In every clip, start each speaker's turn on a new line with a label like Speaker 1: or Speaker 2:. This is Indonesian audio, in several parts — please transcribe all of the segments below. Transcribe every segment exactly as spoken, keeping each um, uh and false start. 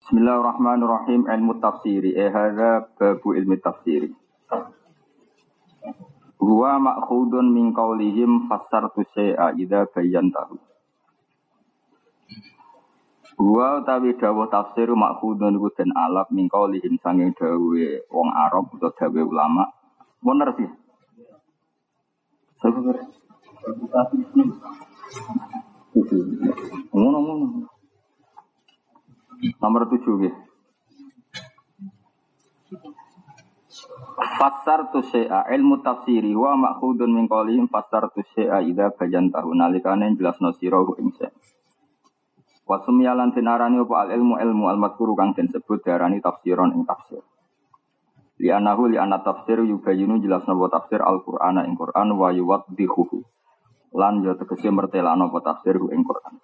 Speaker 1: Bismillahirrahmanirrahim. Ilmu tafsiri. Eh hadza babu ilmi tafsiri. Huwa ma'khudun min qaulihim fassartu syai'a idza bayyantahu. Huwa utawi dawuh tafsir ma'khudun iku den alaf min qaulihim sanging dawuhe wong Arab utawa dawuhe ulama. Bener sih. Sebenarnya. Ngono-ngono. Nomor tujuh ya. Fassar tu syai'a ilmu tafsiri wa ma'khudun min qaulihim fassar tu syai'a idza bayantahu nalikane jelasno sira ing syai'. Wa sumyalan tinarani apa al ilmu ilmu al madhkuru kang den sebut diarani tafsiron ing tafsir. Li anahu li anna tafsir yubayinu jelasno apa tafsir Al-Qur'ana ing Qur'an wa yuwaddihuhu. Lan yo tegese mertelano apa tafsir ing Qur'an.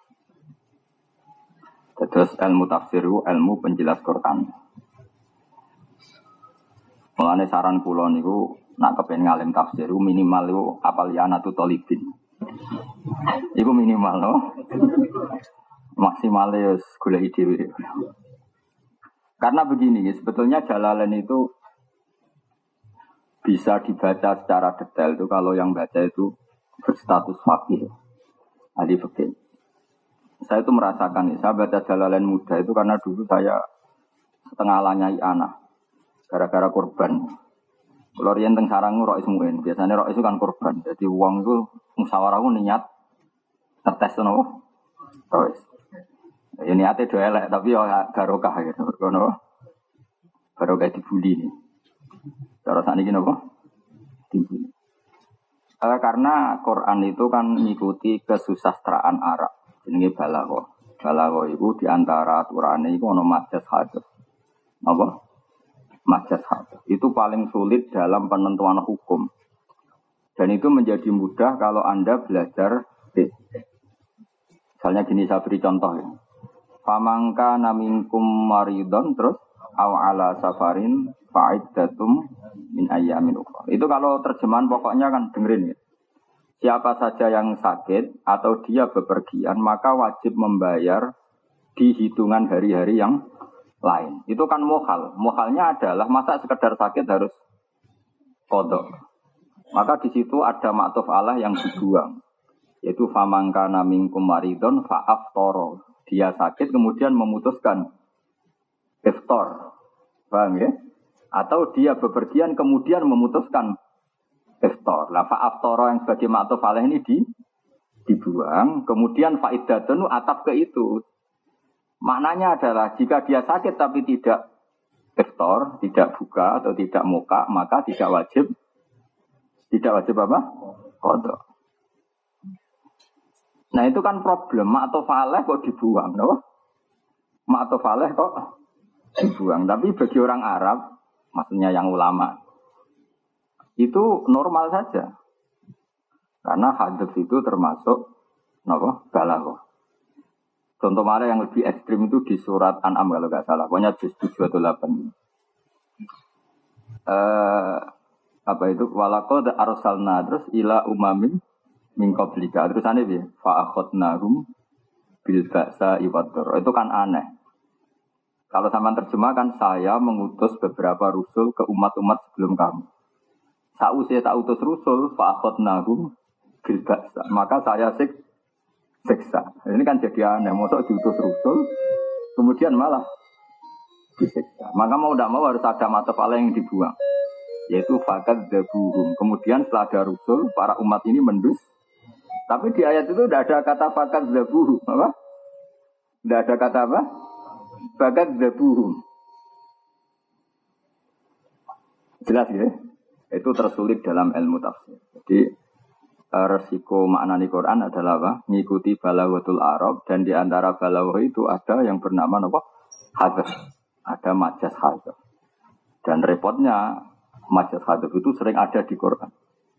Speaker 1: Terus ilmu tafsir ilmu penjelas Quran. Mulane saran kula niku nak kepen ngalim tafsir minimal iku apal ya anatu talibin. Iku minimal no. Maksimale wis golek dhewe. Karena begini, sebetulnya Jalalain itu bisa dibaca secara detail itu kalau yang baca itu berstatus faqih. Ahli fikih. Saya itu merasakan, saya baca Jalalain muda itu karena dulu saya setengah lanyai anak, gara-gara korban. Kalau riyen teng sarang rois muen, biasanya rois itu kan korban. Jadi uang itu musyawarah niat ngetes nopo rois. Ya niatnya do elek tapi ya barokah gitu. Kono barokah dibuli nih. Cara sakniki napa? Dibuli. Eh, karena Quran itu kan mengikuti kesusastraan Arab. Jenenge balaghah. Balaghah iku di antara aturane iku ana majas hadis. Apa? Majas hadis. Itu paling sulit dalam penentuan hukum. Dan itu menjadi mudah kalau Anda belajar fiqh. Misalnya gini saya beri contoh ya. Famangka naminkum maridon terus aw ala safarin fa'iddatum min ayyamin ukhra. Itu kalau terjemahan pokoknya kan dengerin ya. Siapa saja yang sakit atau dia bepergian, maka wajib membayar di hitungan hari-hari yang lain. Itu kan mukhal. Mukhalnya adalah masa sekedar sakit harus qadha. Maka di situ ada ma'tuf Allah yang dibuang. Yaitu famangkana minkum maridon fa'aftara. Dia sakit kemudian memutuskan iftar. Paham ya? Atau dia bepergian kemudian memutuskan iftar. Lah fa'aftara yang sebagai ma'tuf alaih ini di dibuang, kemudian fa'iddatun atap ke itu. Maknanya adalah jika dia sakit tapi tidak iftar, tidak buka atau tidak muka, maka tidak wajib tidak wajib apa? Qadha. Nah, itu kan problem ma'tuf alaih kok dibuang, no? Ma'tuf alaih kok dibuang, tapi bagi orang Arab, maksudnya yang ulama itu normal saja. Karena hadis itu termasuk apa? Balaghah. Contoh mana yang lebih ekstrim itu di surat An'am kalau enggak salah. Pokoknya juz tujuh atau delapan. Eh apa itu? Walaqad arsalna terus ila umamin min qablika. Terus ane piye? Fa akhadnahum bil ba'sa iwaddur. Itu kan aneh. Kalau sama terjemahkan saya mengutus beberapa rasul ke umat-umat sebelum kamu. Sausai tak utus rusul, fa'akhot nahum bilba'sa. Maka saya sik, siksa. Ini kan jadi aneh. Maksud diutus rusul, kemudian malah disiksa. Maka mau tidak mau harus ada mata pala yang dibuang. Yaitu fakat dabuhum. Kemudian setelah ada rusul, para umat ini mendus. Tapi di ayat itu tidak ada kata fakat dabuhum. Apa? Tidak ada kata apa? Fakat dabuhum. Jelas ya? Itu tersulit dalam ilmu tafsir. Jadi resiko maknani Quran adalah apa? Mengikuti balaghatul Arab dan di antara balaghah itu ada yang bernama apa? Hadis. Ada majas hadis. Dan repotnya majas hadis itu sering ada di Quran.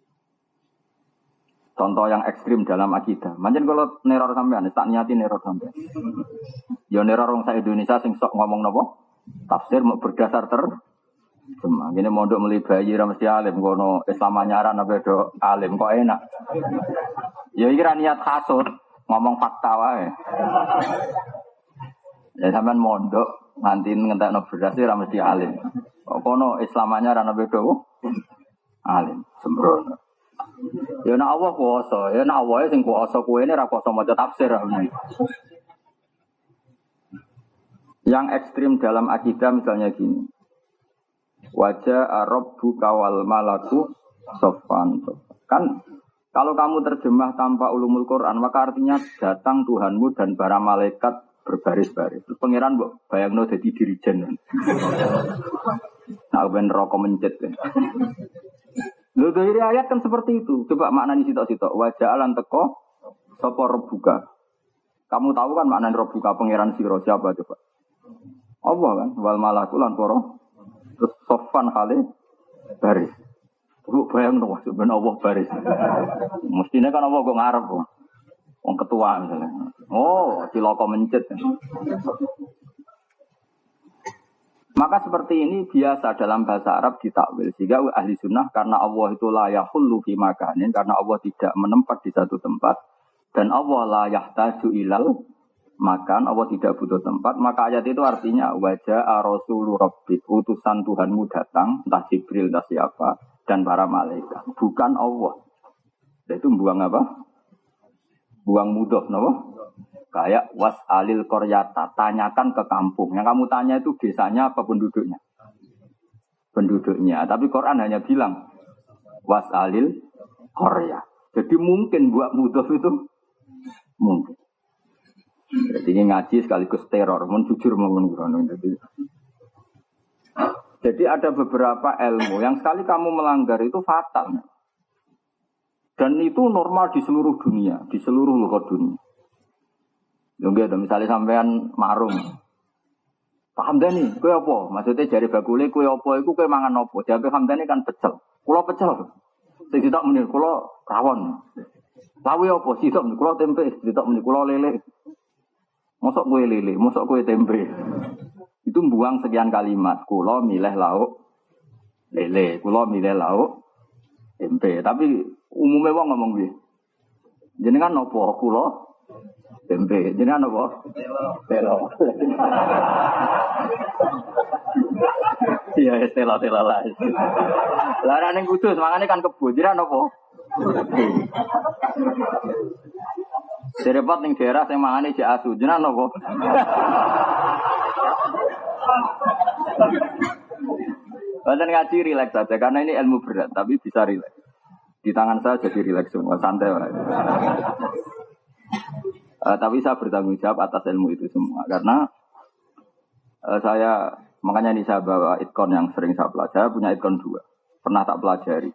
Speaker 1: Contoh yang ekstrim dalam akidah. Manjen kalau neror sampean, tak niati neror sampean. Ya neror orang sa Indonesia sing sok ngomong napa? Tafsir mau berdasar ter Cuma gini mondok meli bayi ra mesti alim kono Islam anyaran apa do alim kok enak. Ya iki ra niat hasud, ngomong fakta wae. Ya sampean mondok nganti ngentekno beras ora mesti alim. Kok kono Islamanya ora ana beda alim sembrono. Ya nek Allah kuwasa, ya nek Allah sing kuwasa kowe ne ora kuwasa maca tafsir. Yang ekstrim dalam akidah misalnya gini. Wajah Rabbu kawal malaku sofan. Kan kalau kamu terjemah tanpa ulumul Quran, maka artinya datang Tuhanmu dan para malaikat berbaris-baris. Terus pangeran mbok bayangno dadi dirijen. Nah, ben rokok mencet. Lho dari ayat kan seperti itu. Coba maknani sitok-sitok. Wajah alan teko sapa Rabbuka. Kamu tahu kan maknani Rabbuka pangeran sira siapa coba? Allah kan wal malaku lan para terus sofan kali baris. Lu bayang dong sebenarnya Allah baris. Mestinya kan Allah kok ngarep kok. Wong ketua misalnya. Oh, ciloko mencet. Maka seperti ini biasa dalam bahasa Arab ditakwil. Sehingga ahli sunnah karena Allah itu la yahullu fi makanin, karena Allah tidak menempat di satu tempat dan Allah la yahtaju ilal makan, Allah tidak butuh tempat, maka ayat itu artinya wajah rasulur rabbik, utusan Tuhanmu datang, entah Jibril entah siapa dan para malaikat, bukan Allah. Itu buang apa? Buang mudah, no? Kayak was alil koryata, tanyakan ke kampung. Yang kamu tanya itu desanya apa penduduknya? Penduduknya. Tapi Quran hanya bilang was alil korya. Jadi mungkin buat mudah itu mungkin. Jadi ini ngaji sekaligus teror, mun jujur mau ngono. Jadi, jadi ada beberapa ilmu yang sekali kamu melanggar itu fatal. Dan itu normal di seluruh dunia, di seluruh luar dunia. Lho misalnya sampean marung. Paham dah nih, kue apa? Maksudnya jari bakule kue apa iku kue mangan apa? Jabe hamdani kan pecel. Kula pecel. Sing sitok muni kula rawon. Lawe apa? Sitok muni kula tempe, sitok muni kula lele. Mosok kue lele, mosok kue tempe. Itu buang sekian kalimat. Kula milih lauk lele, kula milih lauk tempe. Tapi umumnya wong ngomong piye? Jenengan napa kula tempe? Jenengan napa? Telo. Iya, telo-telo lah. Lah nek ning Kudus mangane kan kebo. Jenengan napa? Serepot ning daerah sing mangane jek asu. Jenengan napa? Badan ngaji rileks saja karena ini ilmu berat tapi bisa rileks. Di tangan saya jadi rileks semua, santai lah. Uh, tapi saya bertanggung jawab atas ilmu itu semua karena uh, saya makanya ini saya bawa itkon yang sering saya pelajari. Saya punya itkon dua, pernah tak pelajari.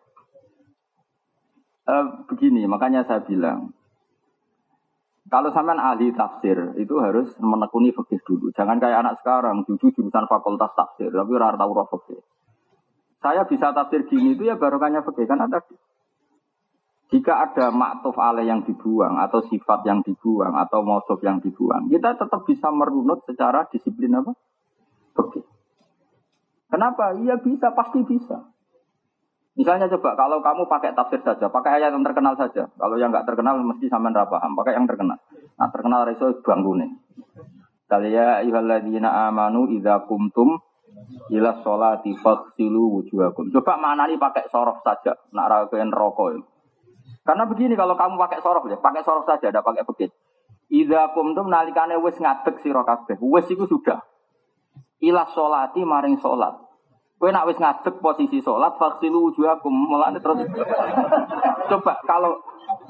Speaker 1: Uh, begini, makanya saya bilang kalau sampean ahli tafsir itu harus menekuni fikih dulu. Jangan kayak anak sekarang, dulu jurusan fakultas tafsir, tapi ora tahu roh fikih. Saya bisa tafsir gini itu ya barokahnya fikih kan ada. Jika ada maktuf alaih yang dibuang atau sifat yang dibuang atau mausuf yang dibuang, kita tetap bisa merunut secara disiplin apa? Fikih. Kenapa? Iya bisa, pasti bisa. Misalnya coba kalau kamu pakai tafsir saja, pakai ayat yang terkenal saja. Kalau yang enggak terkenal mesti sampean ra paham, pakai yang terkenal. Nah, terkenal reso bangkune. Kaliya ayyuhalladzina amanu idza qumtum ila sholati faghsilu wujuhakum. Coba maknani pakai sorof saja, nak ra kepen rokok. Karena begini kalau kamu pakai sorof ya, pakai sorof saja, tidak pakai fikih. Idza qumtum nalikane wis ngadeg sira kabeh. Wis iku sudah. Ila sholati maring salat. Kowe nak wis ngadeg posisi salat, faghsilu wujuhakum. Mulane terus coba kalau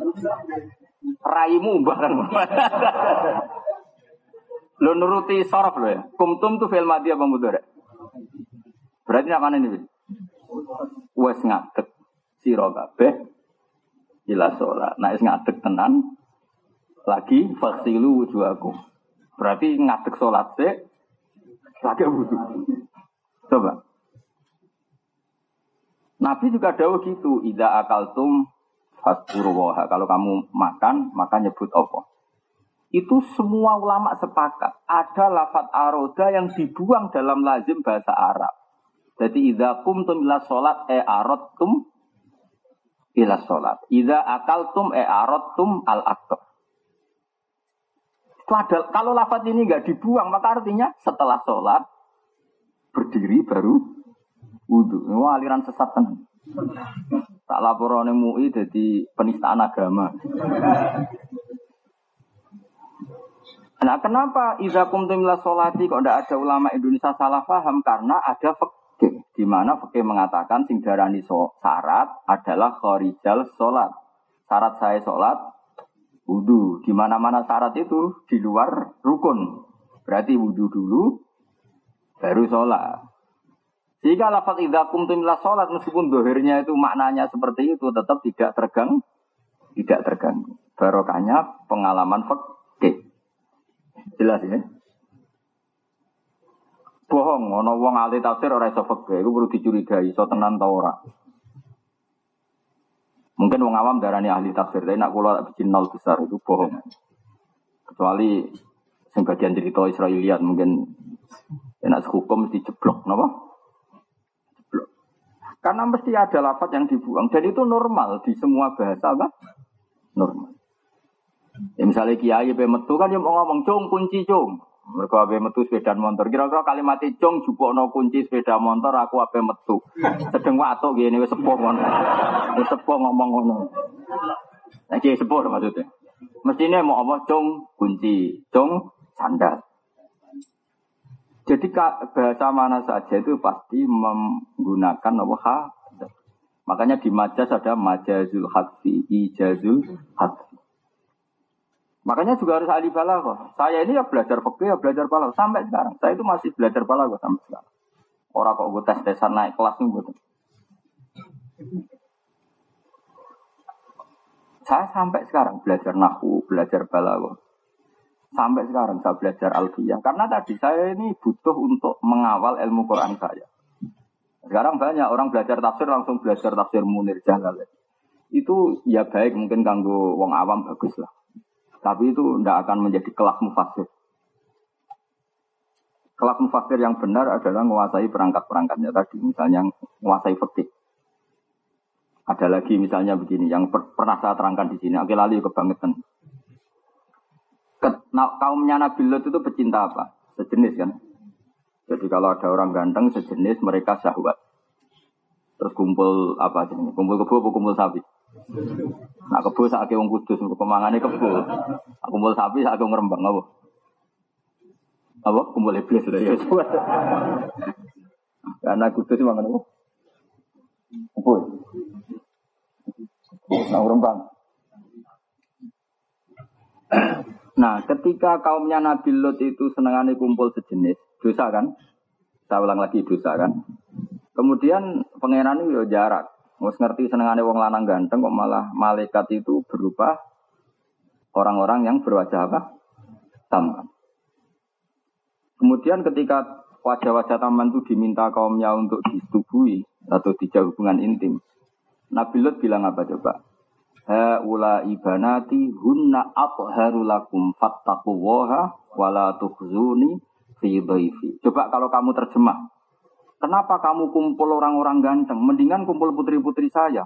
Speaker 1: raimu bareng. Lo nuruti sorof lo ya. Kumtum tu fi'il madhi apa mudhari'? Berarti nak mana ini? Wis ngadeg sira kabeh ila sholat. Nah, is ngadeg tenan lagi faghsilu wujuhakum. Berarti ngadeg sholat sik lagi wudu. Coba. Nabi juga dawuh gitu, idza akaltum fazkurullaha. Kalau kamu makan, maka nyebut apa? Itu semua ulama sepakat. Ada lafaz aroda yang dibuang dalam lazim bahasa Arab. Jadi idza qumtum ila sholat e aradtum ila sholat. Idza akaltum e aradtum al-aqab. Padahal kalau lafaz ini nggak dibuang, maka artinya setelah sholat berdiri baru wudu. Ini aliran sesat kan. Tak laporan M U I jadi penistaan agama. Nah, kenapa iza kumtum ila sholati kok tidak ada ulama Indonesia salah paham? Karena ada fikih di mana fikih mengatakan sing darani syarat adalah khorijal sholat. Syarat saya sholat wudu. Di mana-mana syarat itu di luar rukun. Berarti wudu dulu baru sholat. Jika lafaz idza qumtum ila sholat meskipun dohirnya itu maknanya seperti itu tetap tidak terganggu, tidak terganggu. Barokahnya pengalaman fikih. Jelas ya. Bohong, ana wong ahli tafsir ora iso fikih, iku perlu dicurigai iso tenan ta ora. Mungkin wong awam darani ahli tafsir, tapi nak kula bikin nol besar itu bohong. Kecuali sing bagian cerita Israiliyat mungkin enak hukum mesti jeblok, napa? Jeblok. Karena mesti ada lafaz yang dibuang dan itu normal di semua bahasa apa? Normal. Ya misalnya kiai pe metu kan dia mau ngomong cung kunci cung. Mergo ape metu sepeda motor. Kira-kira kalimat cung jupukno kunci sepeda motor aku ape metu. Sedeng watuk ngene wis sepuh ngono. Wis sepuh ngomong ngono. Nah kiai sepuh maksudnya. Mestine mau apa cung kunci, cung sandal. Jadi bahasa mana saja itu pasti menggunakan apa ha. Makanya di majas ada majazul hadfi, ijazul hadfi. Makanya juga harus ahli balaghah. Saya ini ya belajar fikih, ya belajar balaghah sampai sekarang. Saya itu masih belajar balaghah sampai sekarang. Orang kok gue tes-tesan naik kelas nih gue. Saya sampai sekarang belajar nahwu, belajar balaghah. Sampai sekarang saya belajar alfiyah. Karena tadi saya ini butuh untuk mengawal ilmu Quran saya. Sekarang banyak orang belajar tafsir langsung belajar tafsir Munir Jalal. Itu ya baik mungkin kanggo wong awam bagus lah. Tapi itu tidak akan menjadi kelas mufassir. Kelas mufassir yang benar adalah menguasai perangkat-perangkatnya tadi. Misalnya menguasai fikih. Ada lagi misalnya begini, yang per- pernah saya terangkan di sini. Akhil Ali kebangetan. Ke- nah, kaumnya Nabi Lot itu pecinta apa? Sejenis kan. Jadi kalau ada orang ganteng sejenis mereka syahwat. Terus kumpul apa sih? Kumpul kebo atau kumpul sapi? Nah kebo saake wong kudus kemangane kebo. Aku kumpul sapi saake ngrembang apa? Apa kumpul iblis lho ya. Karena kudus mangan apa? Kebo. Nah ngrembang. Nah, ketika kaumnya Nabi Lot itu senengane kumpul sejenis, dosa kan? Saya ulang lagi dosa kan? Kemudian pangeran itu ya jarak. Mus ngerti senengane wong lanang ganteng kok malah malaikat itu berupa orang-orang yang berwajah apa? Tampan. Kemudian ketika wajah-wajah tampan itu diminta kaumnya untuk disetubuhi atau dijauh hubungan intim, Nabi Lot bilang apa coba? Haula ibanati hunna atharu lakum fattaqullaha wala tukhzuni fi dhaifi. Coba kalau kamu terjemah. Kenapa kamu kumpul orang-orang ganteng? Mendingan kumpul putri-putri saya.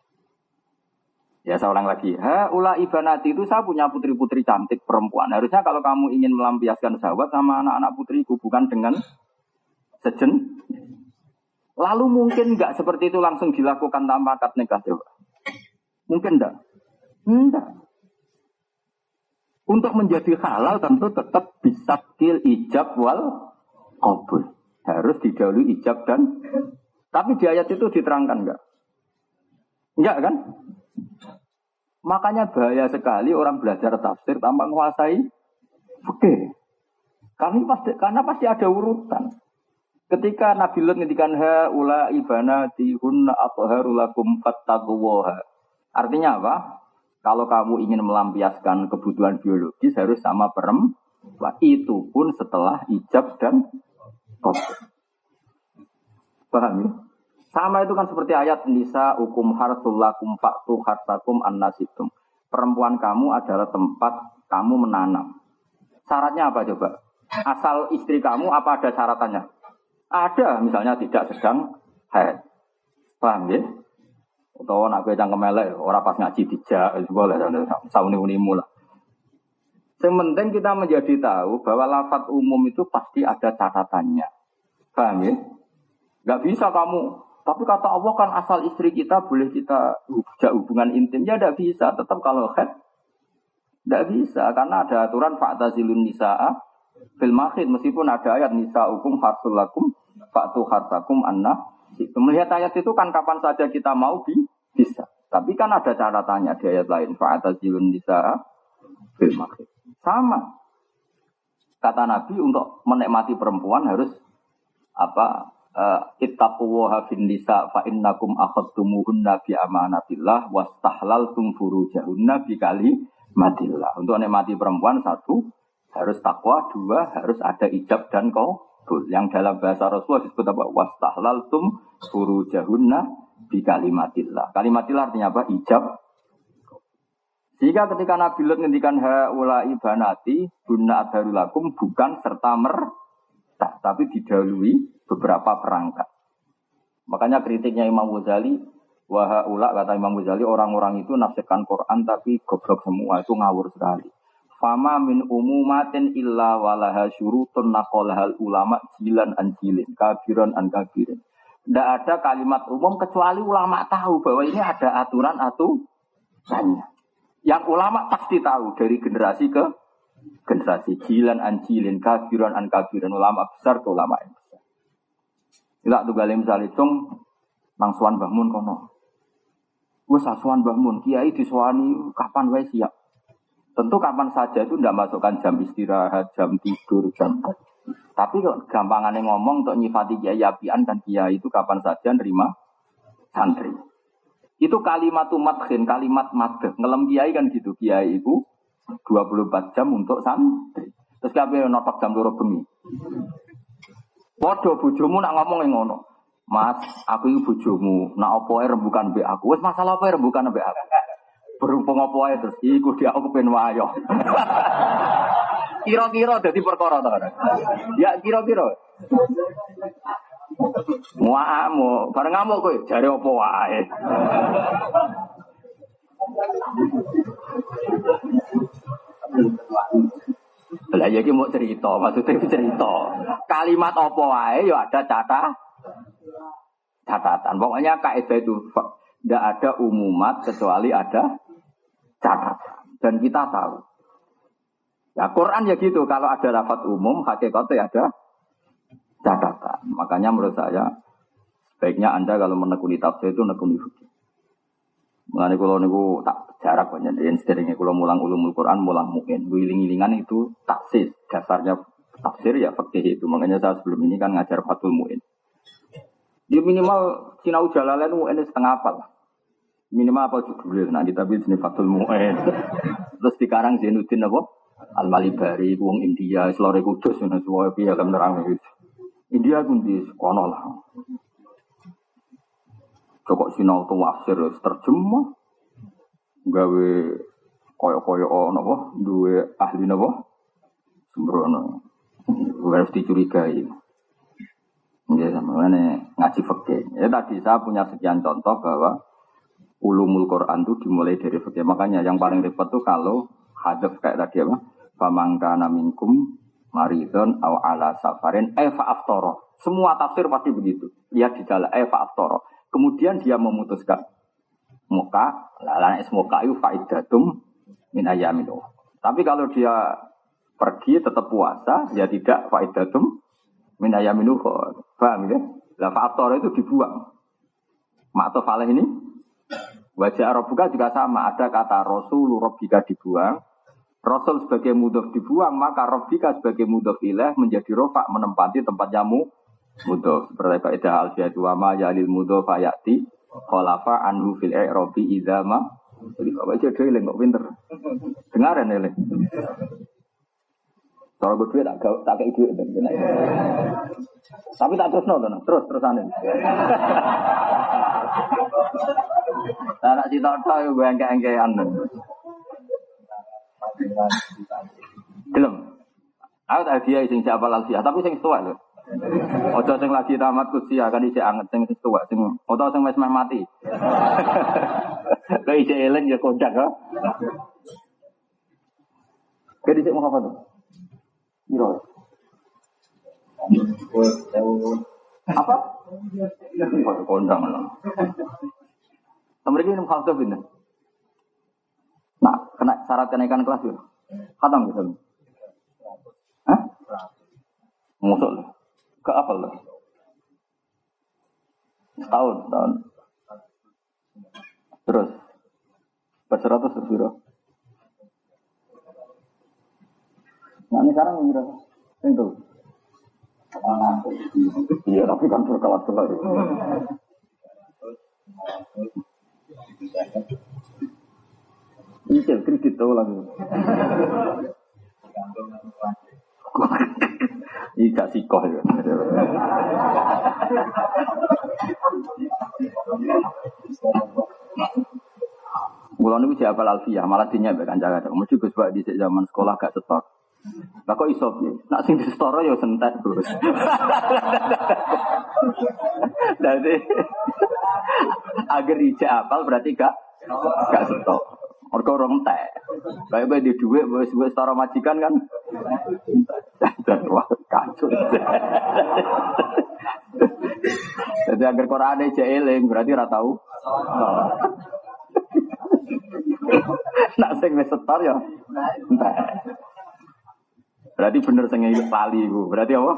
Speaker 1: Ya saya ulang lagi. Haula ibanati itu saya punya putri-putri cantik perempuan. Harusnya kalau kamu ingin melampiaskan syahwat sama anak-anak putriku bukan dengan sejen. Lalu mungkin enggak seperti itu langsung dilakukan tanpa akad nikah coba. Mungkin enggak? Enggak. Untuk menjadi halal tentu tetap bisa kil ijab wal qabul. Harus didahului ijab dan tapi di ayat itu diterangkan enggak? Enggak kan? Makanya bahaya sekali orang belajar tafsir tanpa menguasai fikih. Kami pasti karena pasti ada urutan. Ketika Nabi Lut ngendikan ha ula ibanati hunna atharu lakum fattaqullaha. Artinya apa? Kalau kamu ingin melampiaskan kebutuhan biologis harus sama perempuan. Itu pun setelah ijab dan qabul. Paham ya? Sama itu kan seperti ayat nisa hukum harsul lakum fa'tu harsakum annasitum. Perempuan kamu adalah tempat kamu menanam. Syaratnya apa coba? Asal istri kamu apa ada syaratannya? Ada, misalnya tidak sedang haid. Paham ya? Atau nak kowe cangkem elek ora pas ngaji dijak boleh sauni-unimu lah. Yang penting kita menjadi tahu bahwa lafaz umum itu pasti ada catatannya. Paham ya? Gak bisa kamu, tapi kata Allah kan asal istri kita boleh kita hubungan intim. Ya gak bisa, tetap kalau head. Gak bisa, karena ada aturan fa'tazilun nisa'a fil mahid. Meskipun ada ayat nisa'ukum harsul lakum fa'tu harsakum anna. Melihat ayat itu kan kapan saja kita mau bisa. Tapi kan ada catatannya di ayat lain. Fa'tazilun nisa'a fil mahid. Sama. Kata Nabi untuk menikmati perempuan harus apa? Ittaqullaha fin nisa fa innakum akhadtumuhunna bi amanatillah wastahlaltum furujahunna bi kalimatillah. Untuk menikmati perempuan satu harus takwa, dua harus ada ijab dan qabul. Yang dalam bahasa Rasulullah disebut apa? Wastahlaltum furujahunna bi kalimatillah. Kalimatillah artinya apa? Ijab. Sehingga ketika Nabi Lut ngendikan haula ibanati bunna adharulakum bukan serta merta, tapi didahului beberapa perangkat. Makanya kritiknya Imam Ghazali, wa haula kata Imam Ghazali orang-orang itu nafsirkan Quran tapi goblok semua, itu ngawur sekali. Fama min umumatin illa walaha syurutun naqalahal ulama jilan an jilin, kabiran an kabirin. Tidak ada kalimat umum kecuali ulama tahu bahwa ini ada aturan-aturannya. Yang ulama pasti tahu dari generasi ke generasi. Jilan an jilin, kabiran an kabirin. Ulama besar ke ulama yang besar. Ila tuh galim salitung nangsuan Mbah kono. Wes asuhan Mbah Mun, kiai disuwani kapan wae siap. Tentu kapan saja itu tidak masukkan jam istirahat, jam tidur, jam. Tapi kok gampangane ngomong untuk nyifati kiai apian kan kiai itu kapan saja nerima santri. Itu kalimat madkhin, kalimat madh. Ngelem kiai kan gitu. Kiai itu dua puluh empat jam untuk santri. Terus kabeh notok jam dua bengi. Padha bojomu nak ngomong yang ngono. Mas, aku iki bojomu, nak opo ae rembukan mbek aku. Wis masalah apa rembukan mbek aku. Berhubung opo ae terus iku dia aku ben wayo. Kira-kira dadi perkara to kan. Ya kira-kira. Muamu, bareng ngamuk kowe, jare apa wae. Lah ya iki mau cerita, maksudnya cerita. Kalimat apa wae ya ada catatan. Catatan. Pokoknya kaidah itu tidak ada umumat kecuali ada catatan. Dan kita tahu. Ya Quran ya gitu, kalau ada lafaz umum hakikatnya ada catatan. Makanya menurut saya sebaiknya Anda kalau menekuni tafsir itu menekuni fikih. Mengenai kalau niku tak jarak banyak dan sederhana kalau mulang ulumul Quran mulang muin, wiling-wilingan itu taksis dasarnya tafsir ya fikih itu. Makanya saya sebelum ini kan ngajar Fathul Muin. Dia minimal sinau Jalalain muin setengah apa? Minimal apa judulnya? Nah kita bikin sini Fathul Muin. Terus dikarang Zainuddin apa? Al-Malibari, wong India, Selore Kudus, dan semua pihak yang menerang itu. India pun di kono lah. Cokok sinau tu wafsir terjemah, gawe koyo-koyo napa, duwe ahli napa, sembrono, harus dicurigai. Ya sama ini ngaji fikih. Ya tadi saya punya sekian contoh bahwa ulumul Quran itu dimulai dari fikih. Makanya yang paling repot tuh kalau hadaf kayak tadi apa, famangkana minkum maridon aw ala safarin eh fa'aftoro. Semua tafsir pasti begitu. Lihat di dalam eh fa'aftoro. Kemudian dia memutuskan muka, lalana ismuka itu faidatum min ayamin. Tapi kalau dia pergi tetap puasa, ya tidak faidatum min ayamin. Paham ya? Lah fa'aftoro itu dibuang. Ma'tof alaih ini wajah Rabbuka juga sama. Ada kata Rasul Rabbika dibuang. Rasul sebagai mudhof dibuang, maka Rabbika sebagai mudhof ilaih menjadi rofa menempati tempat jamu mudhof. Seperti kaidah al-fiyatu wa ma yalil mudhof ayati khalafa anhu fil i'rabi idza ma. Jadi bapak aja dhewe kok pinter. Dengaran ya, Le. Soal gue duit tak tak kei duit. Tapi tak terus nonton, terus terusanin. Anak cita-cita yo gue engke-engkean. Gelem. Aku tak dia sing siapa lansia, tapi sing tua lho. Ojo sing lagi tamat kuliah kan isih anget sing tua sing utawa sing wis meh mati. Lah isih eling ya kondak ha. Kayak dicek mau apa tuh? Biro. Apa? Kok kondang lah. Mereka minum khaltuf ini. Nah, kena syarat kenaikan kelas ya. Khatam gitu. Hah? Musuh lah. Ke apa lah? Setahun, setahun. Terus berseratus biro. Nah ini sekarang berapa? Itu. Iya tapi kan berkelas-kelas. Ini kredit tahu lagi. Ini gak sikoh ya. Mulai ini siapa Alfiyah malah dinyabek kan jaga. Mesti Gus Bak di zaman sekolah gak setor. Lah kok iso piye? Nak sing disetara ya sentet, Bos. Dadi agar ijak apal berarti gak gak setor. Mergo ora entek. Bae-bae di dhuwit wis setara majikan kan. Dan wah kacau. Jadi agar Quran ijak eling berarti ora tau. Nak sing wis setor ya entek. Berarti bener sing lali iku. Berarti apa?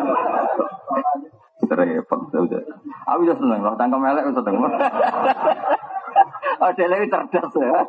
Speaker 1: Repot sudah. Aku wis seneng loh, tangkem elek wis seneng. Oh, dhewe cerdas ya.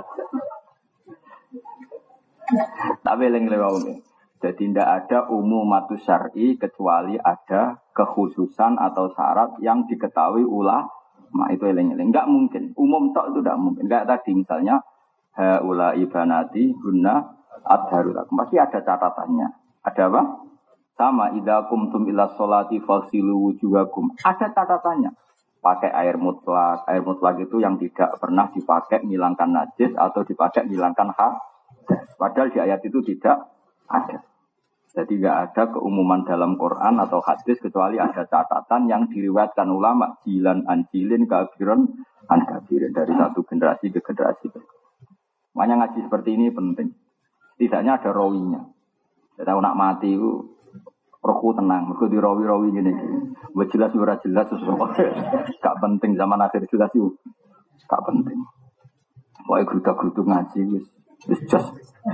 Speaker 1: Tapi eling-eling wae. Jadi tidak ada umumatus syar'i kecuali ada kekhususan atau syarat yang diketahui ulama. Itu eling-eling. Enggak mungkin. Umum tok itu tidak mungkin. Kayak tadi misalnya haula ibanati hunna adharulah. Pasti ada catatannya. Ada apa? Sama idza qumtum ila sholati fasilu wujuhakum. Ada catatannya. Pakai air mutlak. Air mutlak itu yang tidak pernah dipakai menghilangkan najis atau dipakai menghilangkan hadas. Padahal di ayat itu tidak ada. Jadi tidak ada keumuman dalam Quran atau hadis kecuali ada catatan yang diriwayatkan ulama jilan anjilin kafiron an kafirin dari satu generasi ke generasi. Makanya ngaji seperti ini penting. Tidaknya ada rawinya. Kita nak mati itu rohku tenang. Mereka di rawi-rawi gini. Buat jelas ora jelas sesuatu. Gak penting zaman akhir jelas itu. Gak penting. Pokoknya geruda-gerudu ngaji wis wis jos.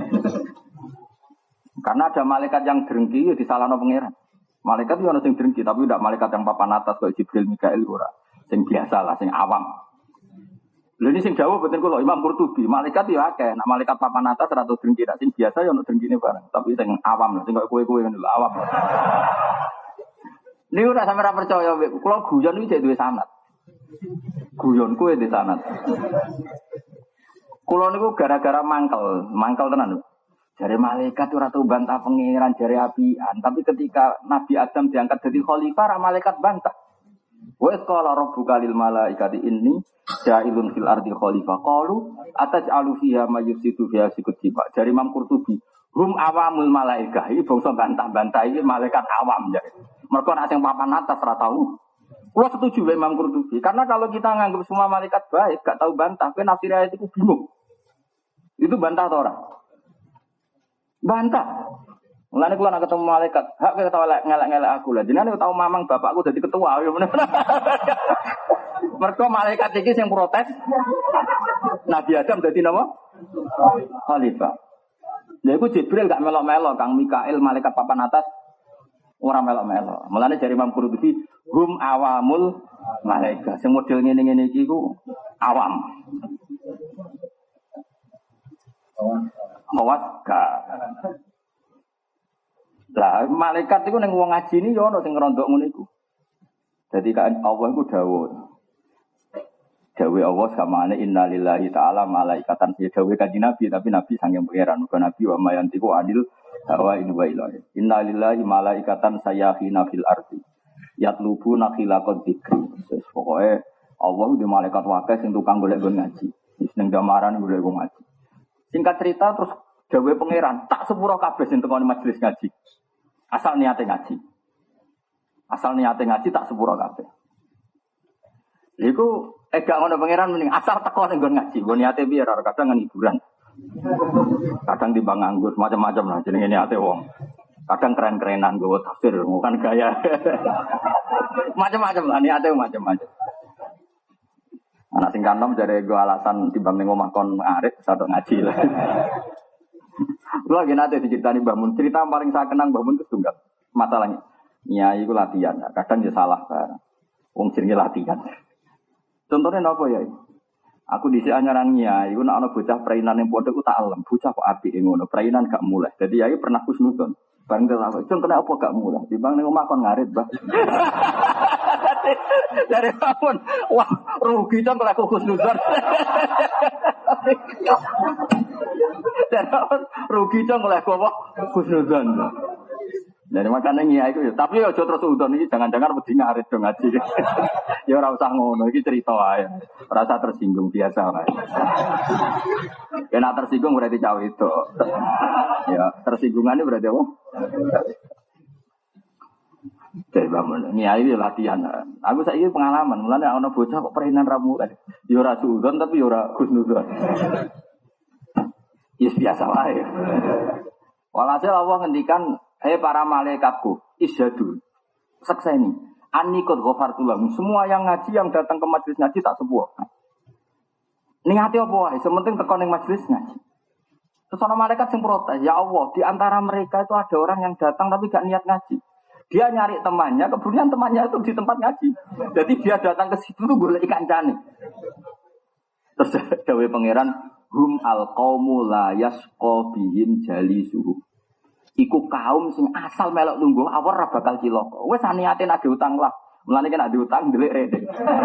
Speaker 1: Karena ada malaikat yang drengki di salahno pangeran. Malaikat itu ono sing drengki tapi tidak malaikat yang papan atas kayak Jibril, Mikail ora. Sing biasa lah, sing awam. Lha ini sing dawuh boten kula Imam Qurtubi, malaikat ya akeh, nek malaikat papan atas ora tau drengki, nek sing biasa ya ono drengkine bareng, tapi sing awam lho, sing koyo kowe-kowe ngono lho, awam. Niku ora sampe ora percaya, kula guyon iki jek duwe sanad. Guyon kowe duwe sanad. Kula niku gara-gara mangkel, mangkel tenan lho. Jare malaikat ora tau bantah pangeran jare apian, tapi ketika Nabi Adam diangkat jadi khalifah, ra malaikat bantah. Wa qala rabbuka lil malaikati inni ja'ilun fil ardi khalifah. Qalu ataj'alu fiha may yufsidu fiha sikutiba. Dari Imam Qurtubi, hum awamul malaikah. Iki bangsa bantah-bantah iki malaikat awam jare. Mergo nek sing papan atas ora tau. Kula setuju wae Imam Qurtubi, karena kalau kita nganggap semua malaikat baik, gak tahu bantah, kowe nafsir ayat itu bingung. Itu bantah atau ora? Bantah. Mulane kula nek ketemu malaikat, hak kowe ketawa ngelak-ngelak aku lah. Jenenge tau mamang bapakku dadi ketua ya bener. Mergo malaikat iki sing protes. Nabi Adam dadi napa? Khalifah. Lha iku Jibril gak melok-melok, Kang Mikail malaikat papan atas ora melok-melok. Mulane jare Imam Qurtubi, hum awamul malaikat. Sing model ngene-ngene iki ku awam. Awas ka. Lah malaikat iku ning wong ngaji ni yo ana sing ngrondok ngono iku. Dadi kan Allah iku dawuh. Dawuh Allah samane innalillahi ta'ala malaikatan ya dawuh kanjeng Nabi tapi Nabi sange pangeran bukan Nabi wa mayantiku adil wa in wa ilahi. Innalillahi malaikatan sayahina fil ardi. Yatlubuna khilaqad dzikri. Wis pokoke Allah di malaikat wae sing tukang golek nggon ngaji. Wis ning gamaran golek nggon ngaji. Singkat cerita terus dawuh pangeran tak sepuro kabeh sing tekoni majelis ngaji. Asal niate ngaji. Asal niate ngaji tak sepuro kabeh. Iku eh gak ngono pangeran mending asal teko ning nggon ngaji. Nggon niate piye ora kadang ngan hiburan. Kadang timbang nganggur macam-macam lah jenenge niate wong. Kadang keren-kerenan gue tafsir, bukan gaya. Macam-macam lah niate macam-macam. Anak sing kanom dari gue alasan timbang ning omah kon ngarit sadok ngaji lah. Lagi nate diceritani Mbah Mun, cerita paling saya kenang Mbah Mun itu tunggal. Masalahnya, nyai itu latihan, kadang dia salah barang. Wong jenenge latihan. Contohnya apa ya? Aku dhisik anyaran nyai, iku nek ana bocah prainan ning pondok ku tak alem, bocah kok apik ngono, prainan gak mulai. Jadi yai pernah kusnudon. Bareng tak cung kena apa gak mulai? Timbang ning omah kon ngarit, Mbah. Dari bangun, wah rugi dong kalau aku kusnudon. Dari bangun, rugi dong kalau aku apa? Kusnudon. Jadi makanya nyai itu, tapi ya terus udon ini jangan-jangan wedi ngarit dong ngaji. Ya ora usah ngono, iki cerita wae. Rasa tersinggung biasa wae. Kena tersinggung berarti cawe itu. Ya, tersinggungannya berarti apa? Jadi bangun, nyai itu latihan. Aku saiki pengalaman, mulane ana bocah kok perainan ramu kan. Ya ora udon tapi ya ora kusnudon. Ya biasa wae. Walhasil Allah ngendikan, hei para malaikatku, isyadu, sakseni, anikot ghafartulahum. Semua yang ngaji, yang datang ke majelis ngaji tak sebuah. Niati apa wae, sementing teko ning majelis ngaji. Terus ana malaikat sing protes, ya Allah, di antara mereka itu ada orang yang datang tapi gak niat ngaji. Dia nyari temannya, kemudian temannya itu di tempat ngaji. Jadi dia datang ke situ tuh golek kancane. Terus dawuh pangeran, hum alqaumu la yasqa bihim jalisuhu. Iku kaum sing asal melok lungguh awor ra bakal cilaka. Wis niate nek diutang lah. Mulane nek diutang ndelik rene.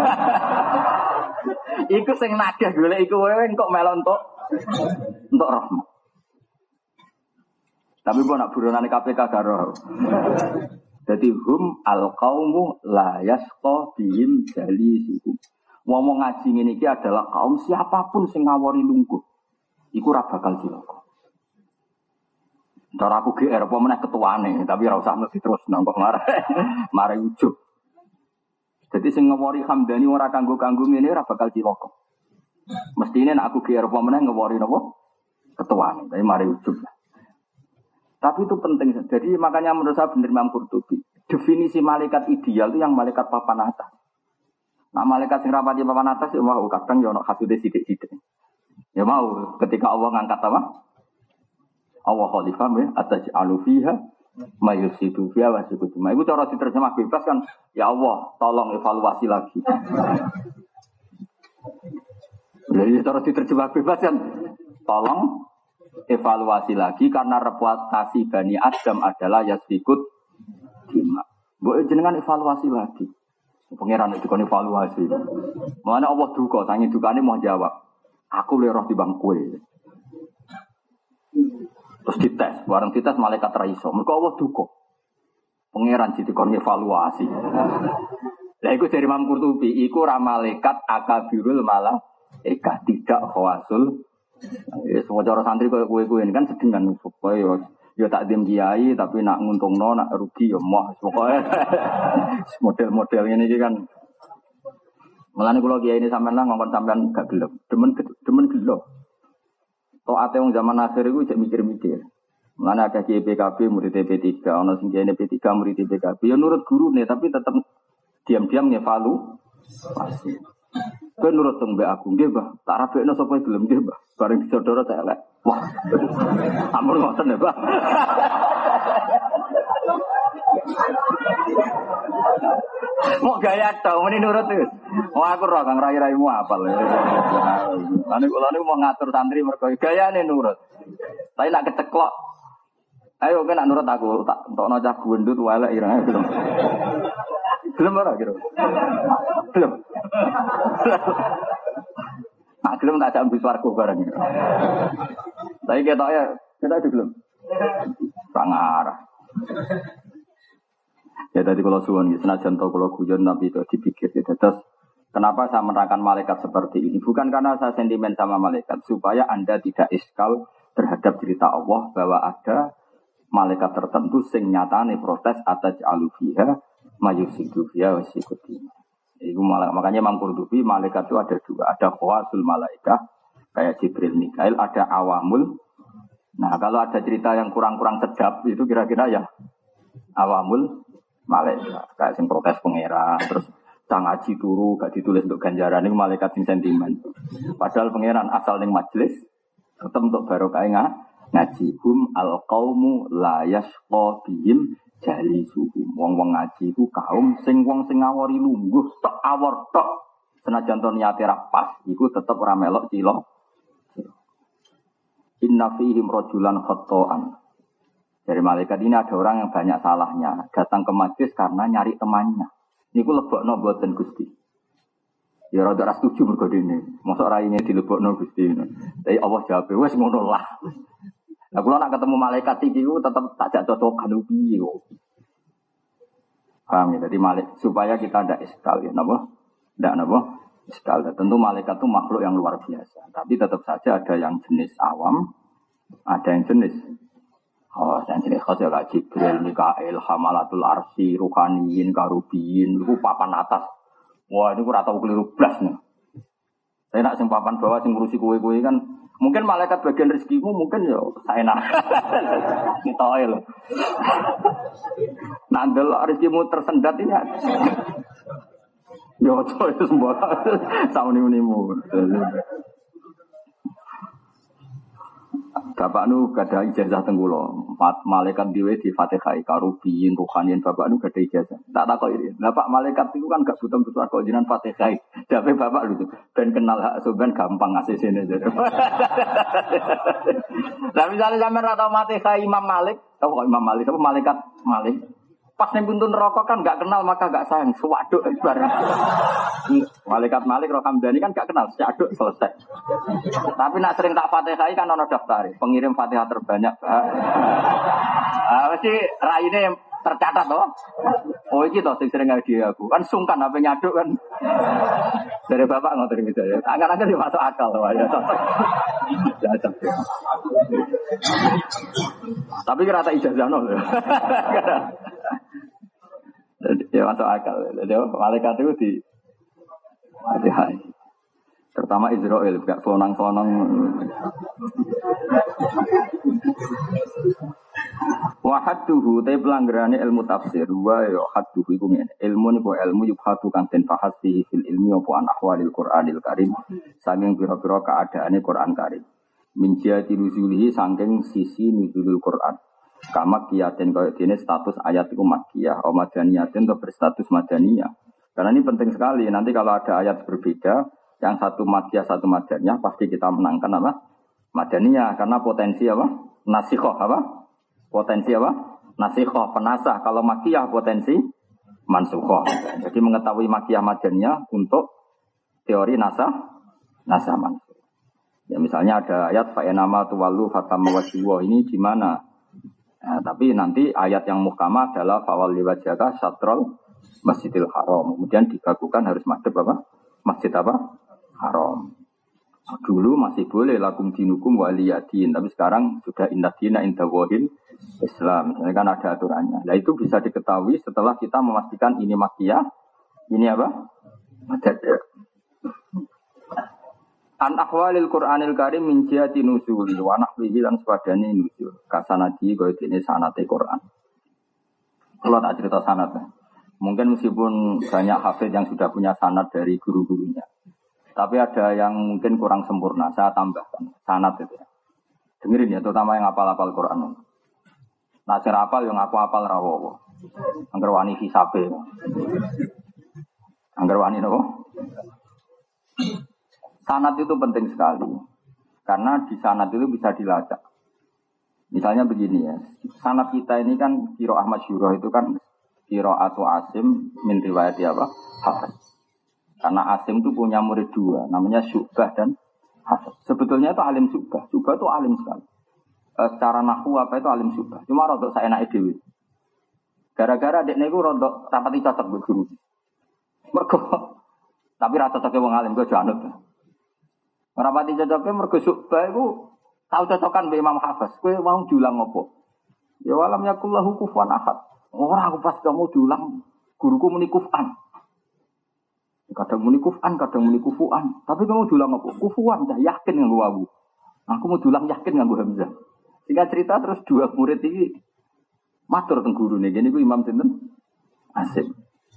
Speaker 1: Iku sing nagih golek iku wewe kok melok entuk entuk rahmat. Tapi kok nak buronane K P K karo. Dadi hum alqaumu la yasqa bihim jalisuhu. Ngomong ngaji ngene iki adalah kaum siapapun sing ngawori lungguh. Iku ra bakal cilaka. Cara aku G R apa meneh ketuane, tapi ora usah mesti terus nangkok marah. Marah ujug. Jadi sing ngewori Hamdani ora kanggo-kanggo ngene ora bakal cilaka. Mestine nek aku G R apa meneh ngewori napa? Ketuane, tapi marah ujug. Tapi itu penting. Jadi makanya menurut saya benar Imam Qurtubi, definisi malaikat ideal itu yang malaikat papan atas. Nah malaikat sing rapati papan atas ya mau kadang ya ono hasude sithik-sithik. Ya mau ketika Allah ngangkat apa? Allah khalifah ya, ataj'alu fiha mayusidu fiha wa sikutu. Iku cara diterjemah bebas kan, ya Allah, tolong evaluasi lagi. Jadi cara diterjemah bebas kan, tolong evaluasi lagi karena reputasi Bani Adam adalah yasikut dima. Mbok jenengan evaluasi lagi. Pangeran itu kan evaluasi. Mana Allah duka, tangi dukane mau jawab. Aku le roh timbang kowe. Terus dites, bareng dites malaikat raiso. Mereka Allah duka. Pangeran situ kon evaluasi. Lah iku dari Imam Qurtubi, iku ra malaikat akabirul malaika tidak khawasul. Ya semua cara santri koyo kowe-kowe ini kan sedengan supaya yo yo tak dim kiai tapi nak nguntungno nak rugi yo moh pokoke. Model-model ngene iki kan. Mulane kula kiai ini sampean lah ngongkon sampean gak gelem. Demen demen gelo. Tok ate wong zaman akhir iku cek mikir-mikir. Mulane akeh P K B murid P tiga, ana sing kiai P tiga murid P K B yo nurut gurune tapi tetep diam-diam ngevaluasi. Kowe nurut teng mbek aku nggih, Mbah. Tak rabekno sapa gelem nggih, Mbah. Bareng disodoro tak elek. Wah. Ampun ngoten ya, Mbah. Mau gaya tau meni nurut terus. Wah aku ora kang rai-raimu apal. Lan kula niku mau ngatur santri mergo gayane nurut. Tapi nak keceklok. Ayo kowe nak nurut aku tak entokno cah gundut wae elek ireng gelem. Gelem ora kira. Gelem. Nah, gelem tak ajak mbis warga bareng. Tapi ketok ya, kita itu gelem. Sangarah. Ya tadi kalau suwon senajan to kalau guyon tapi itu dipikir gitu. Terus kenapa saya menerangkan malaikat seperti ini? Bukan karena saya sentimen sama malaikat, supaya Anda tidak iskal terhadap cerita Allah bahwa ada malaikat tertentu sing nyatane protes atas alufiha mayusidu fiha wasikuti. Itu malah makanya Imam Qurtubi malaikat itu ada dua, ada khawasul malaikah, kayak Jibril, Mikail, ada awamul. Nah, kalau ada cerita yang kurang-kurang sedap itu kira-kira ya awamul malaikat. Kayak sing protes pangeran, terus sang ngaji turu gak ditulis untuk ganjaran itu malaikat sing sentimen. Padahal pangeran asal ning majelis tetep untuk barokah ngaji. Hum al-qaumu la yasqa bihim jalisuhum. Wong-wong ngaji itu kaum sing wong sing ngawori lungguh tok awor tok. Senajan to niate ra pas, iku tetep ora melok cilok. Inna fihim rajulan khata'an. Dari malaikat ini ada orang yang banyak salahnya, datang ke majlis karena nyari temannya. Niku lebokno mboten Gusti. Ya rada ra setuju mergo dene. Mosok raine dilebokno Gusti. Tapi Allah jawab wis ngono lah. Lah kula nak ketemu malaikat iki ku tetep tak jak cocokan piye kok. Paham ya? Jadi malik supaya kita ndak iskal ya napa? Ndak napa? Iskal. Tentu malaikat itu makhluk yang luar biasa. Tapi tetap saja ada yang jenis awam, ada yang jenis oh, yang jenis khas ya kayak Jibril, Mikail, Hamalatul Arsy, Ruhaniyin, Karubiyin, itu papan atas. Wah, ini kurang tahu keliru blas nih. Saya nak sing papan bawah sing ngurusi kue-kue kan mungkin malaikat bagian rezekimu mungkin ya saya nak. Kita loh. Nandel rezekimu tersendat ini. Yo coy semua sauni-unimu. Bapak nu gada ijazah tenggulo, empat malaikat diwe di Fatihah, Karubiyin, Ruhaniyin, bapak nu gada ijazah. Tak tak kok ini, bapak malaikat itu kan gak butuh butuh kok jinan Fatihah. Tapi bapak lu ben kenal hak suban gampang ngasih sini jadi. Nah misalnya sampai rata Fatihah Imam Malik, tahu kok Imam Malik, apa malaikat Malik? Pas ning pintu neraka kan gak kenal maka gak sayang, sewaduk bareng. Malaikat Malik Rohamdani kan gak kenal, seaduk selesai. Tapi nak sering tak Fatihah kan ono daftar, pengirim Fatihah terbanyak. Ah mesti raine tercatat toh. Oh iki toh sing sering hadiah aku. Kan sungkan apa nyaduk kan. Dari bapak ngoten iki ya. Akan-akan yo masuk akal to ya. Tapi kira tak ijazah nol. Ya masuk akal. Jadi malaikat itu di Fatihah. Terutama Israel, gak sonang-sonang. Wahaduhu, tapi pelanggarannya ilmu tafsir. Wa ya haduhu iku ngene. Ilmu niku ilmu yubhatu kang den bahas fihi fil ilmi apa an ahwalil Qur'anil Karim. Saking pira-pira keadaane Qur'an Karim. Min jihati nuzulihi saking sisi nuzulul Qur'an. Kama kiyatin kaya dene status ayat iku makkiyah, o madaniyatin atau berstatus madaniyah. Karena ini penting sekali. Nanti kalau ada ayat berbeda, yang satu makkiyah satu madaniyah, pasti kita menangkan apa? Madaniyah, karena potensi apa? Nasikhoh apa? Potensi apa? Nasikhoh, penasah. Kalau makkiyah potensi mansukhoh. Jadi mengetahui makkiyah madaniyah untuk teori nasah, nasah mansuh. Ya misalnya ada ayat fa'enama tuwallu fatamma wajhuwa ini gimana? Nah, tapi nanti ayat yang muhkamah adalah fawal liwajaka satrol Masjidil Haram. Kemudian dibakukan harus madhab apa? Masjid apa? Haram. Dulu masih boleh lakum dinukum waliyadin, tapi sekarang sudah indah dina indah wahil Islam. Misalnya kan ada aturannya. Nah itu bisa diketahui setelah kita memastikan ini makkiyah, ini apa? Madhab. An ahwalil Qur'anil Karim min jihati nuzuli wa nahwihi lan sepadane nuzul. Kasanadi kaya dene sanate Qur'an. Kalau tak cerita sanad. Mungkin meskipun banyak hafid yang sudah punya sanad dari guru-gurunya. Tapi ada yang mungkin kurang sempurna. Saya tambahkan sanad itu ya. Dengerin ya, terutama yang hafal-hafal Qur'an. Nah, cara hafal yang aku hafal rawowo. Angger wani hisabe. Angger wani napa? Sanad itu penting sekali, karena di sanad itu bisa dilacak. Misalnya begini ya, sanad kita ini kan Qiro Ahmad Syuroh itu kan Qiro atau Asim min riwayat apa? Hafiz. Karena Asim itu punya murid dua, namanya Syu'bah dan Hafiz. Sebetulnya itu alim Syu'bah, Syu'bah itu alim sekali. E, secara nahwu apa itu alim Syu'bah, cuma rodok saya naik dewi. Gara-gara adiknya itu rodok rapati cocok berguru. Mergo, tapi rata cocoknya wong alim gue janut. Rapati cocoknya mergo Syu'bah itu tahu cocokan be Imam Hafiz. Kowe mau diulang apa? Ya walam yakullahu kufuwan ahad. Ora aku pas kamu diulang guruku muni kufan. Kadang muni kufan, kadang muni kufuan. Tapi kamu dulang apa? Kufuan, dah yakin nganggo wawu. Aku mau dulang yakin nganggo hamzah. Sehingga cerita terus dua murid ini matur teng gurune. Gini ku Imam sinten? Asim.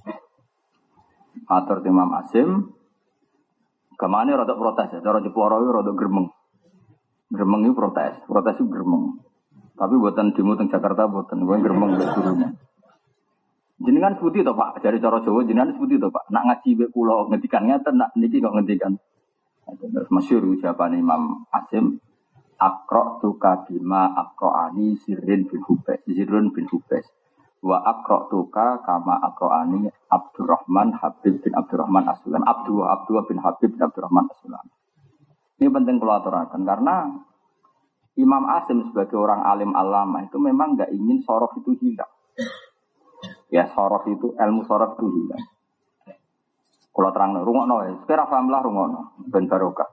Speaker 1: Matur teng Imam Asim. Kemana rada protes ya? Cara Jepara itu rada gremeng. Gremeng itu protes. Protes itu gremeng. Tapi buatan demo teng Jakarta buatan. Gue gremeng mbek gurune. Jenengan sebuti to Pak, dari cara Jawa jenengan sebuti to Pak. Nak ngaji mbek kula ngendikan ngeten, nak niki kok ngendikan. Terus masyhur ucapan Imam Asim, Aqra tuka bima aqraani sirrin bin Hubais, Sirrun bin Hubais. Wa aqra tuka kama aqraani Abdurrahman Habib bin Abdurrahman As-Sulam. Abdul Abdul bin Habib bin Abdurrahman As-Sulam. Ini penting kalau aturakan karena Imam Asim sebagai orang alim alama itu memang enggak ingin sorof itu hilang. Ya sorof itu, ilmu sorof itu hilang. Kalau terang, rungokno ya, sekira pahamlah rungokno, ben barokah.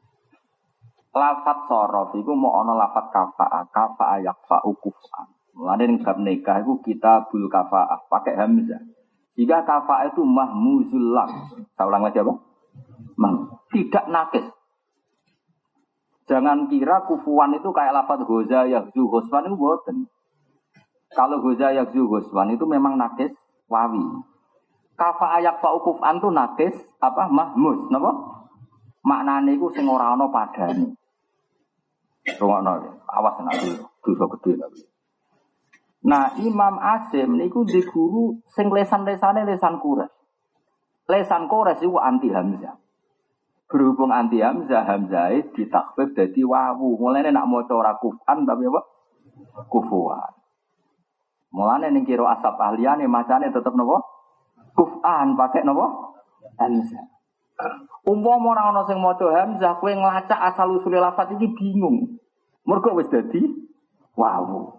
Speaker 1: Lafat sorof itu mau ono lafat kafa'a, kafa'a yakfa'u kuf'an. Mulanya yang bab nikah itu kita bul kafa'ah, pakai hamzah. Jika kafa'a itu mahmuzul lam. Saya ulang lagi apa? Mah, tidak nakis. Jangan kira kufuan itu kayak lafat goza, yakzu, hoswan itu boten. Kalau goza yakzu hoswan itu memang nakis wawi. Kafa ayak fa ukufan itu nakis apa mahmuz, napa? Maknane iku sing ora ana padane. Rungokno, awas nek dosa gedhe tapi. Nah, Imam Asim niku di guru sing lesan-lesane lesan Quraisy. Lesan Quraisy iku anti hamzah. Berhubung anti hamzah, hamzah ditakfif dadi wawu. Mulane nak maca ora kufan tapi apa? Kufuan. Mulane ning kira asap ahliyane macane tetep napa? Kuf'an pakai napa? Hamzah. Umpama ora ana sing maca hamzah, kowe nglacak asal usule lafaz iki bingung. Mergo wis dadi wawu.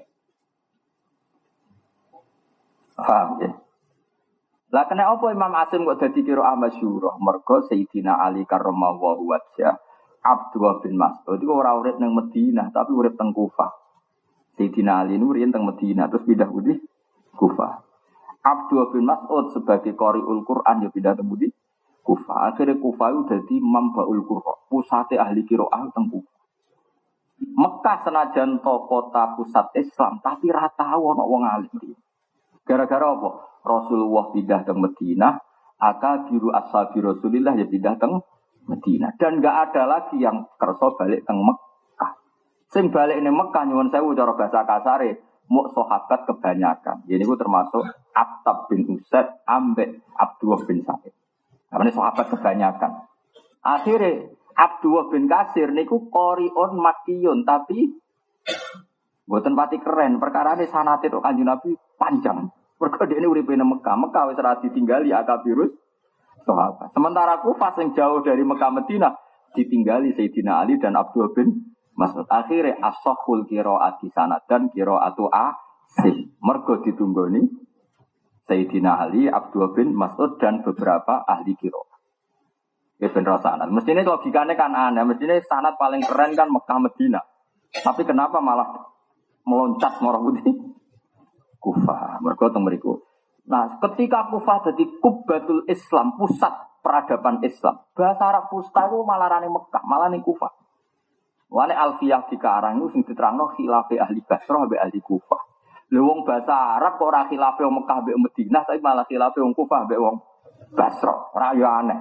Speaker 1: Paham ya? Lah kena apa Imam Asim kok dadi kira masyhur? Mergo Sayyidina Ali karramallahu wajhah Abdullah bin Mas'ud iku ora urip ning Madinah tapi urip teng Kufah. Sayyidina Ali ini riyen teng Madinah terus pindah putih Kufah. Abdullah bin Mas'ud sebagai qari'ul Quran ya pindah teng putih Kufah. Akhirnya Kufah itu dadi mambaul Qur'an, pusate ahli qiraah teng Kufah. Mekah senajan to kota pusat Islam tapi ra tau ana wong alim. Gara-gara apa? Rasulullah pindah teng Madinah, akabiru ashabi Rasulillah ya pindah teng Madinah dan enggak ada lagi yang kersa balik teng Mekah. Sing balik ini Mekah nyuwun sewu cara bahasa kasare muk sahabat kebanyakan. Jadi itu termasuk Attab bin Usaid ambek Abdullah bin Sa'id. Namanya sahabat kebanyakan. Akhirnya Abdullah bin Kasir niku qori'un makkiyun tapi mboten pati keren. Perkara ini sanate tok Kanjeng Nabi panjang. Mergo dhekne uripe nang Mekah. Mekah wis ora ditinggali akabirus sahabat. Sementara Kufah sing jauh dari Mekah Madinah ditinggali Sayyidina Ali dan Abdullah bin Mas'ud. Akhirnya as-sahhul qiraati sanad dan qiraatu Asim. Mergo ditunggoni Sayyidina Ali, Abdullah bin Mas'ud dan beberapa ahli qiraat. Ya bener sanad. Mestine logikane kan aneh, mestine sanad paling keren kan Mekah Madinah. Tapi kenapa malah meloncat marah putih? Kufah. Mergo teng mriku. Nah, ketika Kufah dadi Kubbatul Islam, pusat peradaban Islam. Bahasa Arab Fusta itu malah rane Mekah, malah ning Kufah. Wane Alfiyah dikarang itu sing diterangno khilafe ahli Basrah mbek ahli Kufah. Lha wong bahasa Arab kok ora khilafe wong Mekah mbek Madinah, tapi malah khilafe wong Kufah mbek wong Basrah. Ora yo aneh.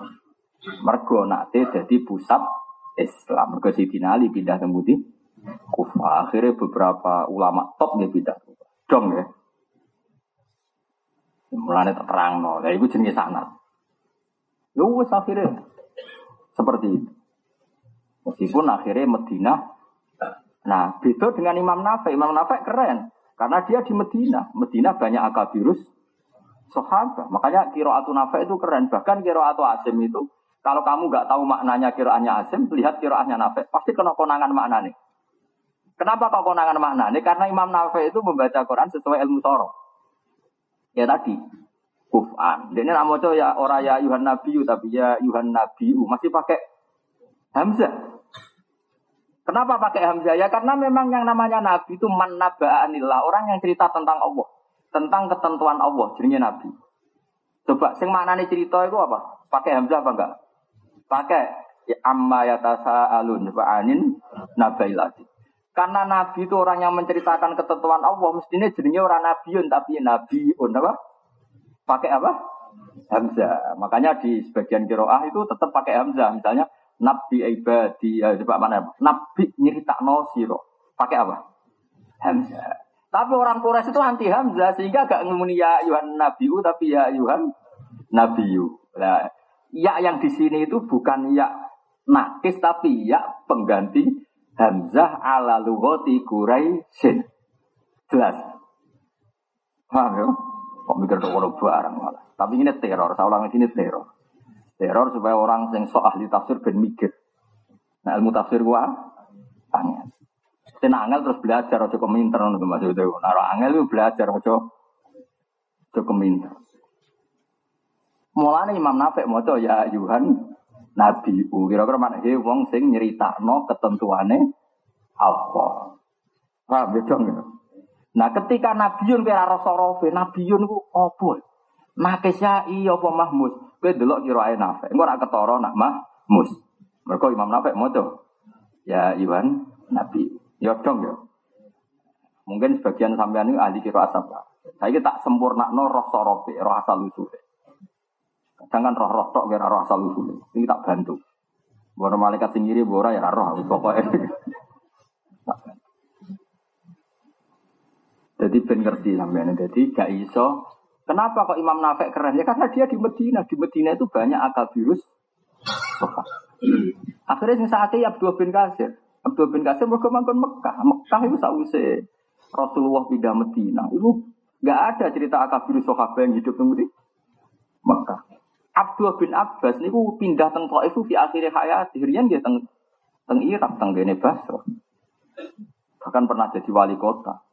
Speaker 1: Mergo nate dadi pusat Islam. Mergo Sayyidina Ali pindah teng Putih Kufah. Akhirnya beberapa ulama top dia pindah Kufah. Dong ya. Mulane tak terangno. Lah iku jenenge sanad. Yo wis akhirnya seperti itu. Meskipun akhirnya Madinah, nah beda dengan Imam Nafi. Imam Nafi keren, karena dia di Madinah. Madinah banyak akabirus sahabat. Makanya qiraatu Nafi itu keren. Bahkan qiraatu Asim itu, kalau kamu nggak tahu maknanya qiraatnya Asim, lihat qiraatnya Nafi. Pasti kena konangan maknanya. Kenapa kok konangan maknanya? Karena Imam Nafi itu membaca Quran sesuai ilmu sorof. Ya tadi, Kuf'an. Dia ini nama ya orang ya Yuhan Nabiyu, tapi ya Yuhan Nabiyu masih pakai Hamzah. Kenapa pakai Hamzah? Ya karena memang yang namanya Nabi itu man naba'anillah, orang yang cerita tentang Allah, tentang ketentuan Allah, jadinya Nabi. Coba sing maknane cerita itu apa? Pakai hamzah apa enggak? Pakai ya, amma yatasaalun fa'anin nabailati. Karena nabi itu orang yang menceritakan ketentuan Allah, mestinya jenenge orang nabiun tapi nabiun apa? Pakai apa? Hamzah. Makanya di sebagian qiraah itu tetap pakai hamzah. Misalnya nabi ibadi ya coba mana? Nabi nyeritakno sira. Pakai apa? Hamzah. Tapi orang Quraisy itu anti hamzah sehingga gak ngomuni ya ayuhan nabiu tapi ya ayuhan nabiyu. Nah, ya yang di sini itu bukan ya nakis tapi ya pengganti hamzah ala lughati Quraisy. Jelas. Paham ya? Kok mikir tok ora barang malah. Tapi ini teror, saya ulang ini teror. Teror supaya orang yang sok ahli tafsir ben mikir. Nah, ilmu tafsir gua tanya. Saya angel terus belajar aja komentar ngono Mas itu. Naro angel itu belajar aja aja komentar. Mulane Imam Nafi maca ya Yuhan Nabi. Kira-kira maknane wong sing nyeritakno ketentuane apa. Paham ya dong ya? Nah ketika Nabiun kira rasa-rasa Nabiun ku apa? Nakesya iya apa Mahmus? Kowe delok kirae Nafi. Engko ora ketara nak Mahmus. Mergo Imam Nafi maca ya Yuhan Nabi. Ya dong ya. Mungkin sebagian sampean ini ahli kira asap. Saya tak sempurnakno roh sorofe, roh asal usule. Jangan roh-roh tok kira roh asal usule. Ini tak bantu. Bono malaikat sing ngiri ora ya roh pokoke. Jadi ben ngerti sampean. Jadi gak iso. Kenapa kok Imam Nafi keren? Ya karena dia di Medina. Di Medina itu banyak akabirus. Akhirnya sing sakit Abdul bin Qasir. Abdul bin Qasim mergo manggon Mekah. Mekah itu sause Rasulullah pindah Medina. Itu enggak ada cerita akabir sahabat yang hidup di Mekah. Abdul bin Abbas niku pindah teng Thaif fi akhir hayat. Riyen nggih teng teng Irak, teng kene Basra. Bahkan pernah jadi wali kota.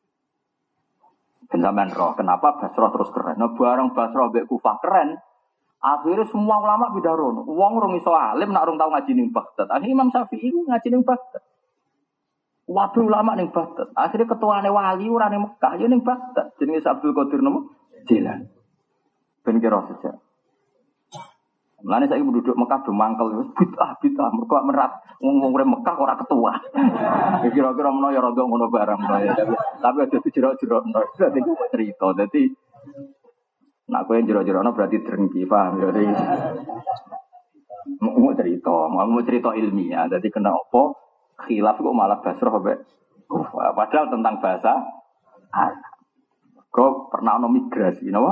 Speaker 1: Ben sampean roh, kenapa Basra terus keren? Nah, bareng Basra mbek Kufah keren. Akhirnya semua ulama pindah rono. Wong rong iso alim nak rong tau ngaji ning Baghdad. Akhirnya Imam Syafi'i ku ngaji ning Baghdad. Waduh ulama ning Baghdad. Akhirnya ketuane wali ora ning Mekah, ya ning Baghdad. Jenenge Abdul Qadir nomo? Jilan. Ben kira saja. Mulane saiki penduduk Mekah do mangkel wis bid'ah bid'ah mergo merat wong-wong urip Mekah ora ketua. Kira-kira menawa ya rada ngono barang ya. Tapi aja dijero-jero. Dadi cerita. Dadi nak kowe jero-jerono berarti drengki, paham ya? Mau cerita, mau cerita ilmiah. Jadi kena apa? Khilaf kok malah Basrah mbek Kufah. Padahal tentang bahasa Arab. Kok pernah ono migrasi, napa?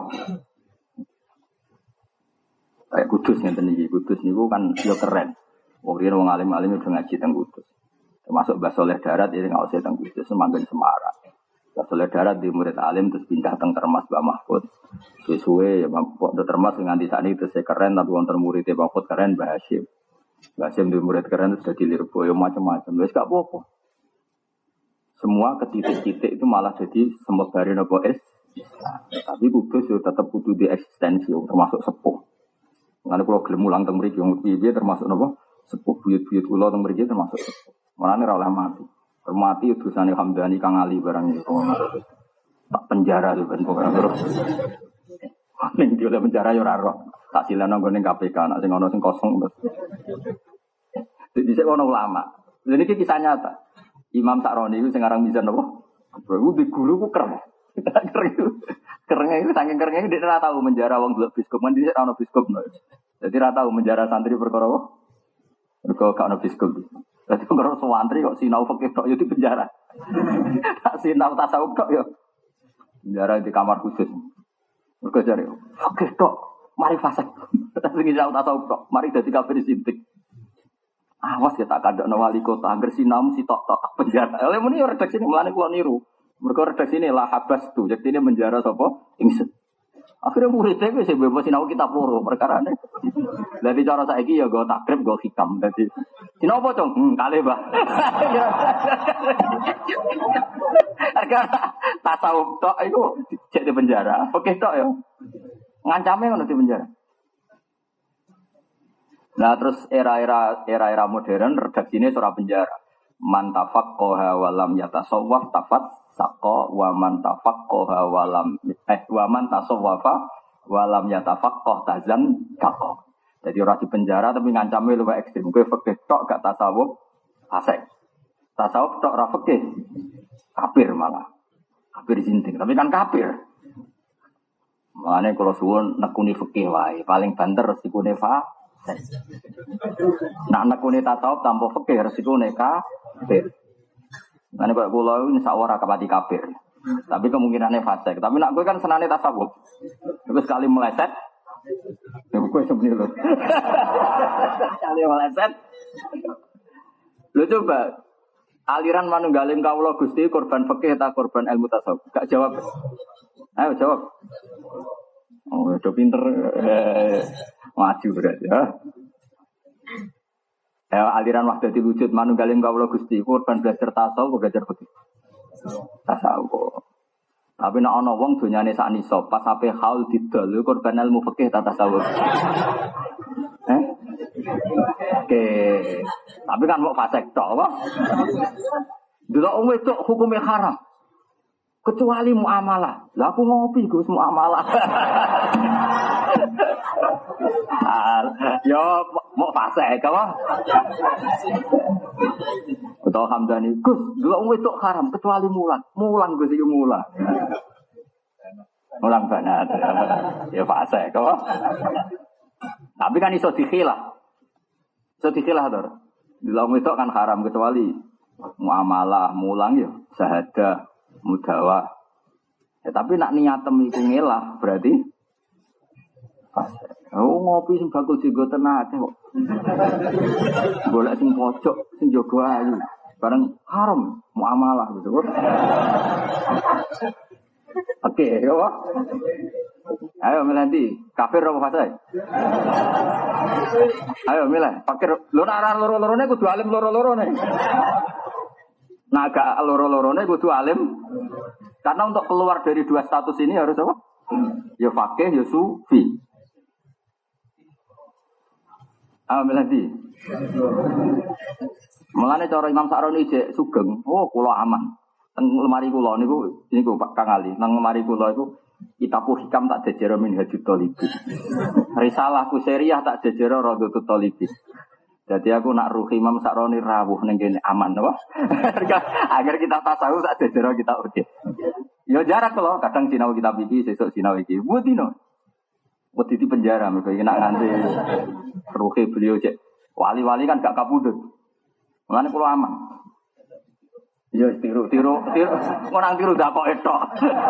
Speaker 1: Kayak Kudus ngeten iki. Kudus niku kan yo keren. Wong riyen wong alim-alim udah ngaji teng Kudus. Termasuk Mbah Soleh Darat ini ngawasi teng Kudus semanggen Semarang. Soleh Darat di murid alim terus pindah teng Termas Mbak Mahfud. Suwe-suwe ya Mbak Termas nganti sakniki terus keren tapi wonten murid Mbak Mahfud keren Mbah Hasyim. Mbah Hasyim di murid keren terus dadi Lirboyo macam-macam. Wis gak apa-apa. Semua ke titik-titik itu malah jadi semebare napa es. Tapi Kudus yo tetep kudu di eksistensi termasuk sepuh. Ngene kula gelem mulang teng mriki wong piye termasuk napa sepuh buyut-buyut kula teng mriki termasuk sepuh. Mulane ora oleh mati. Hormati utusane Hamdani Kang Ali barang itu. Tak penjara tuh ben pokoke terus. Ning dia penjara yo ora roh. Tak silana nggone K P K nek sing ana sing kosong terus. Dhisik ono ulama. Lha niki kisah nyata. Imam Sa'roni itu sing aran Mizan napa? Bro, di guru ku keren. Keren itu. Kerenge itu saking kerenge dia ora tahu menjara wong delok biskop kan dhisik ana biskop. Jadi ora tahu menjara santri perkara apa? Mergo gak ana biskop. Jadi kalau santri kok sinau fikih tok yo di penjara. Tak sinau tasawuf tok yo. Penjara di kamar khusus. Mergo jare fikih tok mari fasik. Tapi sinau tasawuf tok mari dadi kafir sintik. Awas ya tak kandakno wali kota angger sinau mesti tok tok penjara. Oleh muni redaksi mulane kula niru. Mergo redaksi ini lah habas tu. Jadi ini menjara sapa? Ingsun. Akhirnya muridnya gue sih bebas sinau kitab loro perkara ini. Jadi cara saiki ya gue takrib gue hikam. Jadi sinau apa cong? Hmm, kali bah. Karena tasawuf tok itu cek di penjara. Oke tok ya. Ngancamnya kan di penjara. Nah terus era-era era-era modern redaksi ini surah penjara. Man tafaqqaha wa lam yatasawwaf tafat saqqa wa man tafaqqaha wa lam eh wa man tasawwafa walam yatafaqqah tazan kaqqah. Jadi orang di penjara tapi ngancamnya luwih ekstrem. Kowe fikih tok gak tasawuf fasik. Tasawuf tok ra fikih kafir malah. Kafir jinting, tapi kan kafir. Makane kalau suwun nekuni fikih wae, paling banter resikone fasik. Nak nekuni tasawuf tanpa fikih resikone kafir. Makane kok kula iki sak ora kapati kafir. Tapi kemungkinannya fasik. Tapi nak kowe kan senane tasawuf. Terus sekali meleset ya kowe sebenarnya lho. Sekali meleset. Lho coba aliran manunggaling kawula Gusti korban fikih ta korban ilmu tasawuf? Gak jawab. Ayo jawab. Oh, udah pinter. Eh, maju berarti ya. Ya aliran wahdatul wujud manunggaling kawula Gusti korban belajar tasawuf belajar fikih. Tasawuf. Tapi nek ana wong donyane sak nisab pas ape haul didol korban ilmu fikih ta tasawuf. Eh? Oke. Tapi kan mau fasik tok apa? Delok wong wedok hukume haram. Kecuali muamalah. Lah aku ngopi Gus muamalah. Yo mau fasik apa? Betul Hamdani, Gus, delok wong wedok haram kecuali mulan. Mulan Gus iki mulan. Mulan banget. Ya fasik apa? Tapi kan iso dikhilah. Iso dikhilah to. Delok wedok kan haram kecuali muamalah, mulang ya syahadah, mudawa. Ya, tapi nak niatem iku ngelah berarti fasik. Oh ngopi sing bakul dienggo tenake kok. Golek sing pojok sing jaga ayu. Bareng haram muamalah gitu. Oke, ya. Ayo milih kafir apa fasik? Ayo milih, fakir. Lho nak loro-lorone kudu alim loro-lorone. Nah agak loro-lorone kudu alim. Karena untuk keluar dari dua status ini harus apa? Ya fakih, ya sufi. Ah milih. Mulane cara Imam Sa'roni jek sugeng, oh kula aman. Teng lemari kula niku niku Pak Kang Ali, nang lemari kula iku kitabul hikam tak jejero min hajut talibin. Risalahku seriah tak jejero Radhatul Talibin. Jadi aku nak ruh Imam Sa'roni rawuh ning kene aman apa? Agar kita tasawuf tak jejero kita oke. Yo jarak lho, kadang sinau kitab iki, sesuk sinau iki. Butino. Wedi di penjara mergo iki nak nganti ruhe beliau cek. Wali-wali kan gak kapundhut. Mulane kula aman. Yo tiru tiru tiru ngonang tiru dak kok etok.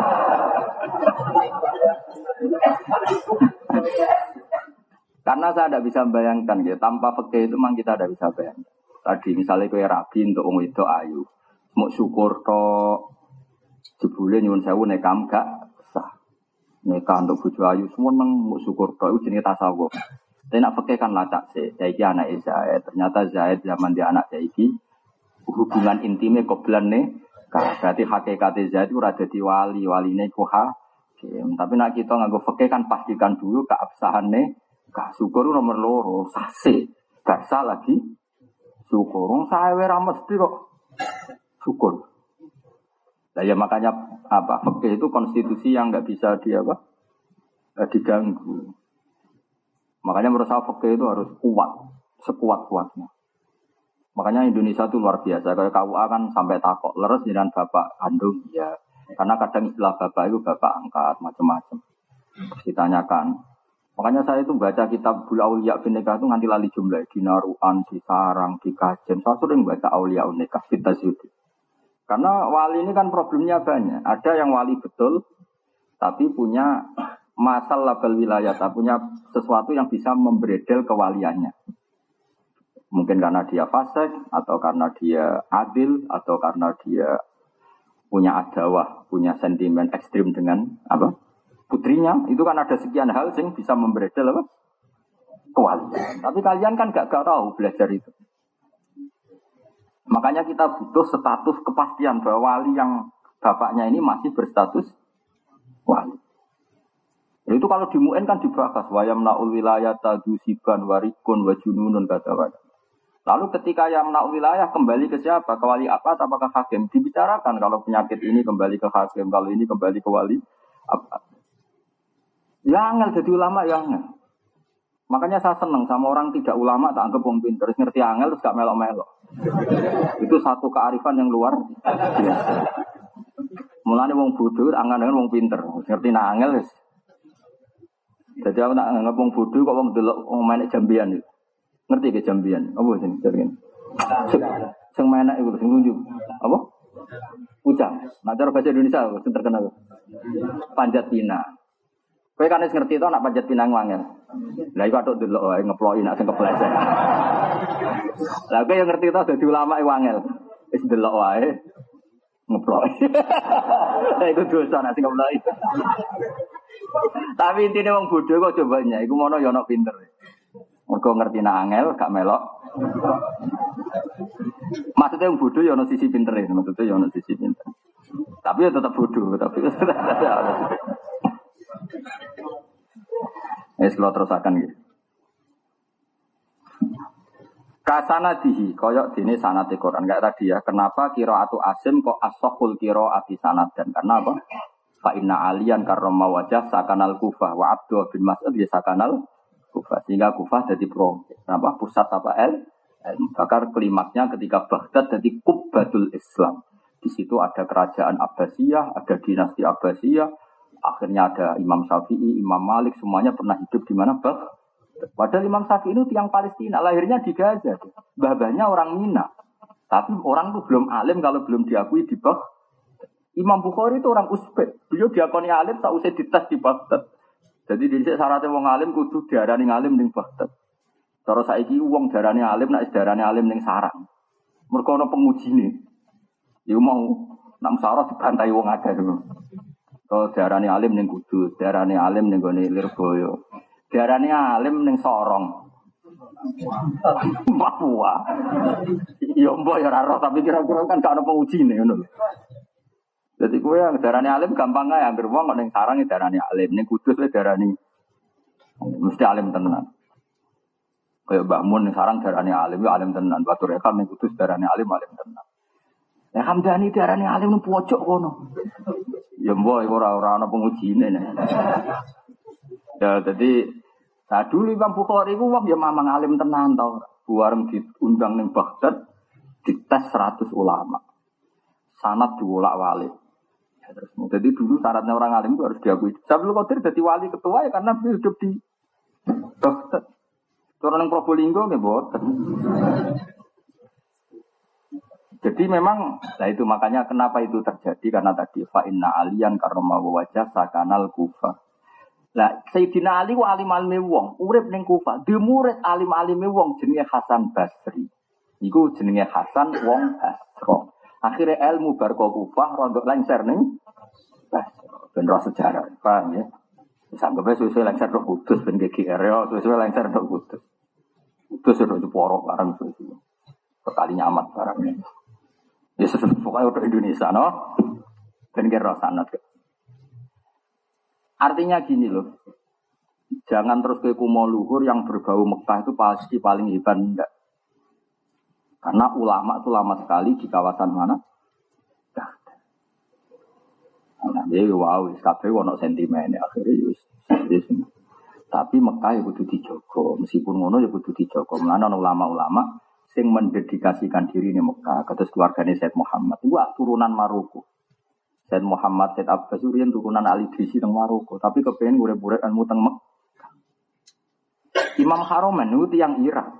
Speaker 1: Karena saya tidak bisa membayangkan ya, tanpa fikih itu memang kita tidak bisa bayangkan. Tadi misalnya kowe rabi untuk wong wedok ayu, mau syukur tok jebule nyuwun sewu nek kam gak sah. Nek untuk bojo ayu seneng mau syukur tok iku jenenge tasawuf. Tapi nak fikih kan lacak sih. Saiki anake Zaid, ternyata Zaid zaman dia anak saiki hubungan intimnya koblan nih. Berarti hakikate Zaid ora dadi wali, waline ku hakim. Tapi nak kita nganggo fikih kan pastikan dulu keabsahane. Kak syukur nomor loro, sase. Gak sah lagi syukur. Wong sawe ra mesti kok syukur. Nah, ya makanya apa? Fikih itu konstitusi yang enggak bisa di apa? Eh, diganggu. Makanya menurut saya fikih itu harus kuat, sekuat-kuatnya. Makanya Indonesia itu luar biasa. Kayak K U A kan sampai takok leres dengan bapak kandung ya. Karena kadang istilah bapak itu bapak angkat macam-macam. Ditanyakan. Makanya saya itu baca kitab Bul Auliya bin Nikah itu nganti lali jumlah Dinaruan, di Sarang, di Kajen. Saya sering baca Auliya bin Nikah Fita Zudi. Karena wali ini kan problemnya banyak. Ada yang wali betul, tapi punya masalah label wilayah, punya sesuatu yang bisa membredel kewaliannya. Mungkin karena dia fasik, atau karena dia adil, atau karena dia punya adawah, punya sentimen ekstrim dengan apa? Putrinya. Itu kan ada sekian hal yang bisa membredel apa? Kewalian. Tapi kalian kan gak, gak tahu belajar itu. Makanya kita butuh status kepastian bahwa wali yang bapaknya ini masih berstatus wali. Itu kalau di M U N kan dibahas wayamnaul wilayata dusiban warikun wajununun kata-kata. Lalu ketika yang nak wilayah kembali ke siapa? Ke wali apa? Apakah hakim? Dibicarakan kalau penyakit ini kembali ke hakim, kalau ini kembali ke wali apa? Ya angel jadi ulama ya angel. Makanya saya senang sama orang tidak ulama tak anggap wong pinter, terus ngerti angel terus gak melok-melok. Itu satu kearifan yang luar biasa. Mulane wong bodoh angan dengan wong pinter, ngerti nak angel wis. Jadi aku nak anggap wong bodoh kok wong delok wong main jambian itu. Ngerti ke jambian? Apa sing jenenge? Sing main iku sing nunjuk. Apa? Ujang. Nah cara bahasa Indonesia sing terkenal. Panjat pinang. Kowe kan wis ngerti to nak panjat pinang wangel. Lah iku atuk delok wae ngeploki nak sing kepleset. Lah kowe yang ngerti to dadi ulama iku wangel. Wis delok wae ngeploki. Lah iku dosa nak sing ngeploki. Tapi intine wong bodho kok cobanya iku mono ya ono pinter. Mergo ngerti nak angel gak melok. Maksudnya wong bodho ya ono sisi pintere, maksudnya ya ono sisi pinter. Tapi ya tetap bodho, tapi es kalau terusakan gitu. Kasana dihi, koyok dini sanate Quran. Enggak tadi ya. Kenapa qiraatu Asim kok as-sahul qiraati sanad dan karena apa? Fa inna aliyan karrama wajah sakanal Kufah wa Abdul bin Mas'ud ya sakanal Kufah. Sehingga Kufah jadi pro. Kenapa? Pusat apa el? Bakar klimaksnya ketika Baghdad jadi Kubbatul Islam. Di situ ada kerajaan Abbasiyah, ada dinasti Abbasiyah. Akhirnya ada Imam Syafi'i, Imam Malik, semuanya pernah hidup di mana bah. Padahal Imam Syafi'i itu tiang Palestina, lahirnya di Gaza. Babanya orang Mina. Tapi orang itu belum alim kalau belum diakui di bah. Imam Bukhari itu orang Uzbek. Beliau diakoni alim tak usah dites di Baghdad. Jadi di sini syaratnya wong alim kudu diarani alim ning Baghdad. Terus saiki wong diarani alim nek diarani alim ning Sarang. Mergo ana pengujine. Ya mau nak musyawarah dibantai wong akeh dulu. Kalau diarani alim ning Kudus, diarani alim ning gone Lirboyo. Diarani alim ning Sorong. Papua. Ya mbok ya ora roh tapi kira-kira kan gak ono pengujine ngono. Jadi kowe yang diarani alim gampang ae anggere wong kok ning Sarang diarani alim, ning Kudus wis diarani mesti alim tenan. Kayak Mbah Mun ning Sarang diarani alim, ya alim tenan. Batur Rekam ning Kudus diarani alim, alim tenan. Ya Hamdani diarani alim nang pojok kono. Ya mbok ora-ora ana pengujine. Ya dadi nah dulu Imam Bukhari ku wong ya mamang alim tenan to. Buareng diundang ning Baghdad dites seratus ulama. Sanad diwolak-walik. Ya, terus jadi dulu syaratnya orang alim itu harus diakui. Sabtu Qadir jadi wali ketua ya karena beliau hidup di Baghdad. Orang Probolinggo nggih mboten. Jadi memang, nah itu makanya kenapa itu terjadi karena tadi fa inna aliyan karma wajah sakanal Kufah. Lah Sayyidina Ali wa alim alime wong, urip ning Kufah, di murid alim alime wong jenenge Hasan Basri. Iku jenenge Hasan wong Basra. Akhire ilmu bar Kufah rondok lengser ning Basra. Ben ro sejarah, paham ya? Sampai suwe-suwe lengser tok Kudus ben G G R ya, suwe-suwe lengser tok Kudus. Kudus ora Jeporo barang suwe-suwe. Sekalinya amat barangnya. Ya sudah pokoknya untuk Indonesia, no? Dan kira sanad. Artinya gini loh, jangan terus ke kumo luhur yang berbau Mekah itu pasti paling hebat enggak. Karena ulama itu lama sekali di kawasan mana? Nah, jadi wow, kabeh ono sentimen akhirnya yus. Tapi Mekah ya kudu dijogo, meskipun ngono ya kudu dijogo. Mulane ana ulama-ulama sing mendedikasikan diri di Mekah, kados keluargane Said Muhammad. Itu turunan Maroko. Said Muhammad, Said Abbas Urian turunan Ali Drisi teng Maroko, tapi kepengin urip-urip ilmu teng Mekah. Imam Haromen itu tiyang Irak.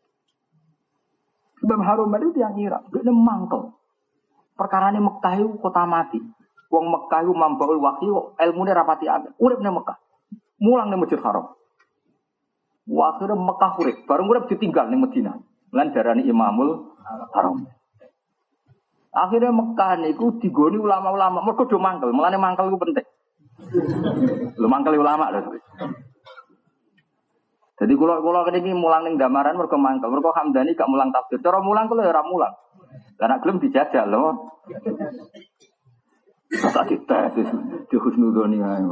Speaker 1: Imam Haromen itu tiyang Irak, dia mangkel. Perkarane Mekah itu kota mati. Wong Mekah itu mambaul wahyu, ilmune rapati akeh. Urip ning Mekah. Mulang ning Masjid Haram. Wa akhire Mekah urip, bareng urip ditinggal ning Madinah. Lan darani Imamul Haram. Akhirnya Mekah niku digoni ulama-ulama, mergo do mangkel, mulane mangkel iku penting. Lho mangkel ulama lho. Jadi kula-kula niki mulang ning damaran mergo mangkel, mergo Hamdani gak mulang tafsir. Cara mulang kula ora mulang. Lah nek gelem dijajal lho. Tak dites di husnudzoni ae.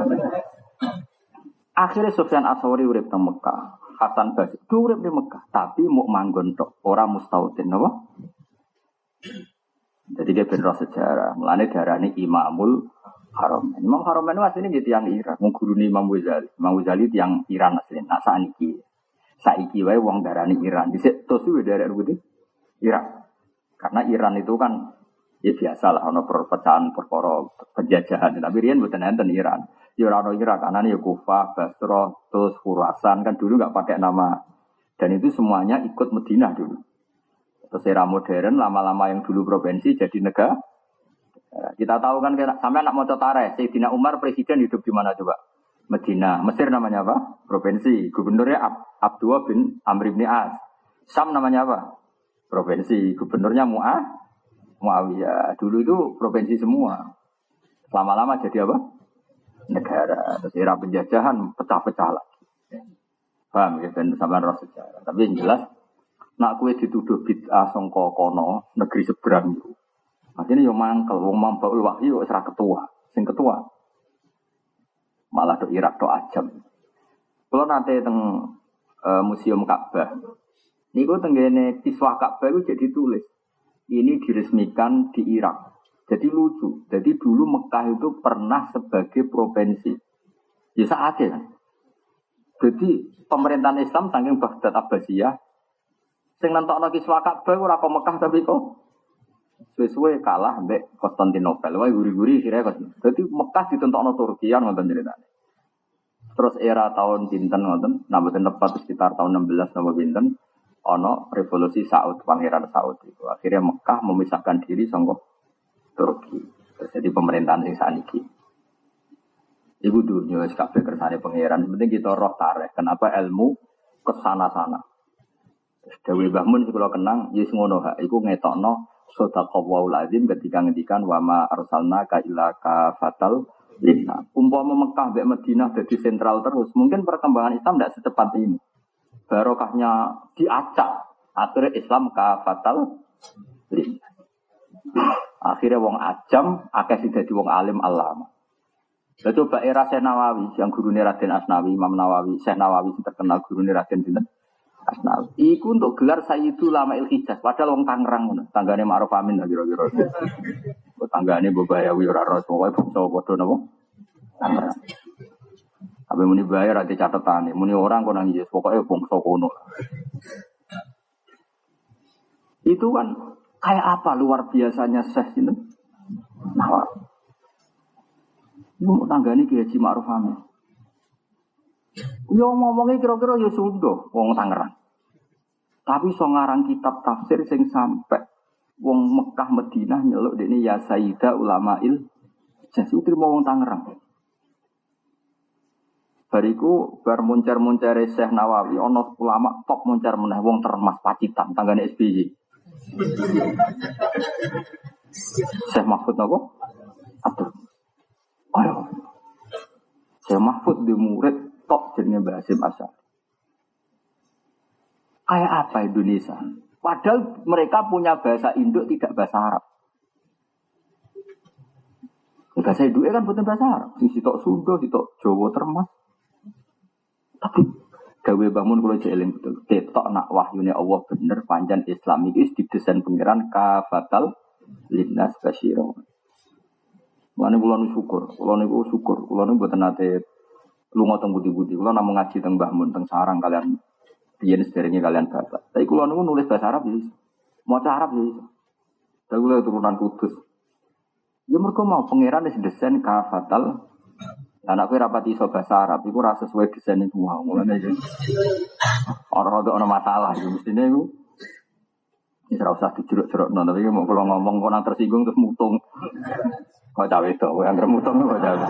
Speaker 1: Akhirnya Sufyan Ats-Tsauri urip teng Mekah. Hasan Basri urip di Mekah, tapi mau manggon tok, ora mustautin napa? Jadi dia bener sejarah. Mulane darane Imamul Haromen. Imam Haromen itu aslinya gitu yang Iran. Mengguruni Imam Ghazali. Imam Ghazali itu yang Iran aslinya. Nah saiki, saiki wae wong darani Iran. Dhisik terus kuwi daerah putih Iran. Karena Iran itu kan ya biasa lah, ono perpecahan perkara penjajahan. Tapi riyen mboten enten Iran. Ya ora ono Iran, karena ya Kufah, Basra, terus Khurasan kan dulu enggak pakai nama. Dan itu semuanya ikut Madinah dulu. Terus era modern lama-lama yang dulu provinsi jadi negara. Kita tahu kan sampai anak maca tarikh, Sayyidina Umar presiden hidup di mana coba? Madinah. Mesir namanya apa? Provinsi. Gubernurnya Ab Abdullah bin Amr bin As. Sam namanya apa? Provinsi. Gubernurnya Mu'ah Muawiyah. Dulu itu provinsi semua. Lama-lama jadi apa? Negara. Terus era penjajahan pecah-pecah lagi. Paham ya? Dan sama roh sejarah. Tapi yang jelas, nak kue dituduh bid'ah sangka kono negeri seberang itu. Maksudnya yang mangkel, wong mambaul wahyu serah ketua, sing ketua malah do Irak do Ajam. Kalau nanti teng e, museum Ka'bah, niku tenggene kiswah Ka'bah itu jadi tulis. Ini diresmikan di Irak. Jadi lucu. Jadi dulu Mekah itu pernah sebagai provinsi. Ya saatnya kan. Jadi pemerintahan Islam saking Baghdad Abbasiyah, sing nentokno kiswah Ka'bah ora kok Mekah tapi kok suwe-suwe kalah mbek Konstantinopel. Wah guri-guri kira kok. Dadi Mekah ditentokno Turki kan ngoten ceritane. Terus era tahun pinten ngoten, nah mboten tepat sekitar tahun enam belas napa pinten ana revolusi Saud, Pangeran Saud itu. Akhirnya Mekah memisahkan diri saka Turki. Terus jadi pemerintahan sing saniki. Ibu dunia kabeh kersane pangeran. Penting kita roh tarikh. Kenapa ilmu kesana-sana. Dewi Bahmun sing kula kenang yes ngono ha iku ngetokno sadaqallahul azim ketika ngendikan wa ma arsalnaka illa kafatal linnas. Umpama Mekah mbek Madinah dadi sentral terus, mungkin perkembangan Islam tidak secepat ini. Barokahnya diacak, akhirnya Islam kafatal linnas. Akhirnya wong ajam akeh sing dadi wong alim alama. Lah coba era Syekh Nawawi yang gurune Raden Asnawi, Imam Nawawi, Syekh Nawawi sing terkenal gurune Raden sinten? Asnawi. Iku untuk gelar Sayyidul Ulama'il Hijaz, padahal wong Tangerang ngono. Tanggane Ma'ruf Amin lah kira-kira. Kok tanggane Bobayawi ora ros, pokoke bangsa padha napa? Tangerang. Tapi muni bayar ati catetane, muni orang kok nang Yesus, pokoke bangsa kono. Itu kan kayak apa luar biasanya Syekh ini? Nawawi. Iku tanggane Ki Haji Ma'ruf Amin. Yo ngomongnya kira-kira ya Sunda, wong Tangerang. Tapi so ngarang kitab tafsir sing sampai wong Mekah Madinah nyeluk dekne ya Sayyidah Ulama'il Hijaz trimo wong Tangerang. Bariku bar muncar-muncare Syekh Nawawi ana ulama top muncar meneh wong Termas Pacitan tanggane S B Y. Syekh Mahfud napa? Atur. Ayo. Syekh Mahfud di murid top jenenge Mbah Hasyim Asy'ari. Kayak apa Indonesia? Padahal mereka punya bahasa Induk tidak bahasa Arab. Bahasa Induk kan bukan bahasa Arab. Sing sitok Sunda, sitok Jawa Termas. Tapi gawe bangun kalau jeeling betul. Ketok nak wahyune Allah bener panjang Islam iki didesain pangeran kafatal linnas basyira. Mulane kula nu syukur, kula niku syukur, kula niku mboten nate lunga teng budi-budi. Kula namung ngaji teng Mbah Mun teng sarang kalian yen sederenge kalian bapak. Tapi kula niku nulis bahasa Arab ya iso. Maca Arab ya iso. Tapi kula turunan Kudus. Ya mergo mau pangeran wis desain kafatal. Anak kowe rapati iso bahasa Arab iku ora sesuai desain iku wae. Mulane iki ora ada masalah iki mestine iku. Wis ora usah dijeruk-jerukno tapi mau kula ngomong kok nang tersinggung terus mutung. Kok cawe to, kowe anggere mutung kok cawe.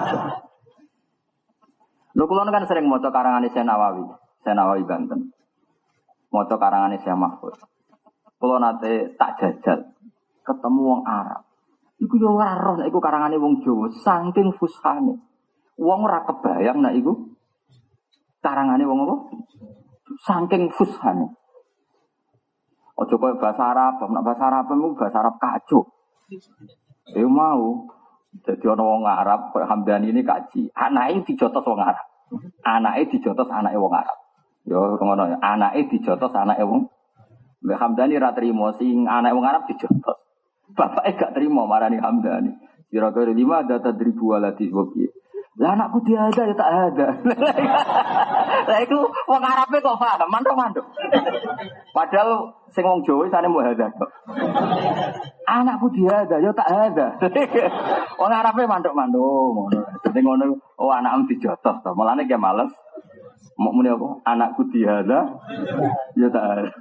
Speaker 1: Lho kula kan sering maca karangane Syekh Nawawi, Syekh Nawawi Banten. Maca karangane Syekh Mahfud. Kula nate tak jajal ketemu wong Arab. Iku yo ora roh nek iku karangane wong Jawa saking fushane. Wong ora kebayang nek iku karangane wong apa? Saking fushane. Ojo koyo bahasa Arab, nek bahasa Arab iku bahasa Arab kacau. Eh mau dadi ana wong Arab koyo Hamdani ini kaji. Anake dijotos wong Arab. Anake dijotos anake wong Arab. Yo ngono ya, anake dijotos anake wong. Mbak Hamdani ra trimo sing anake wong Arab dijotos. Bapake gak trimo marani Hamdani. Kira-kira lima ada tadribu waladi wabi. Lah anakku dia ada ya tak ada. Lah itu wong Arabe kok paham, mantuk-mantuk. Padahal sing wong Jawa sane mau ada kok. Anakku dia ada ya tak ada. Wong Arabe mantuk-mantuk ngono. Dadi ngono, oh anakmu dijotos to. Mulane ki males. Mau muni apa? Anakku dia ada ya tak ada.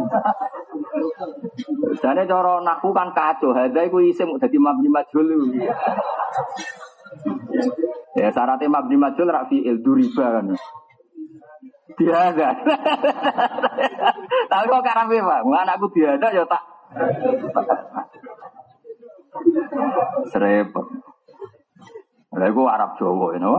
Speaker 1: Jane cara naku kan kacau, hadza iku isim dadi mabni majhul. Ya syaratnya mabni majhul ra fi'il duriba kan. Dia ada. Tapi kok karape, Pak? Anakku dia ada ya tak. Serepot. Lha iku Arab Jawa, you know.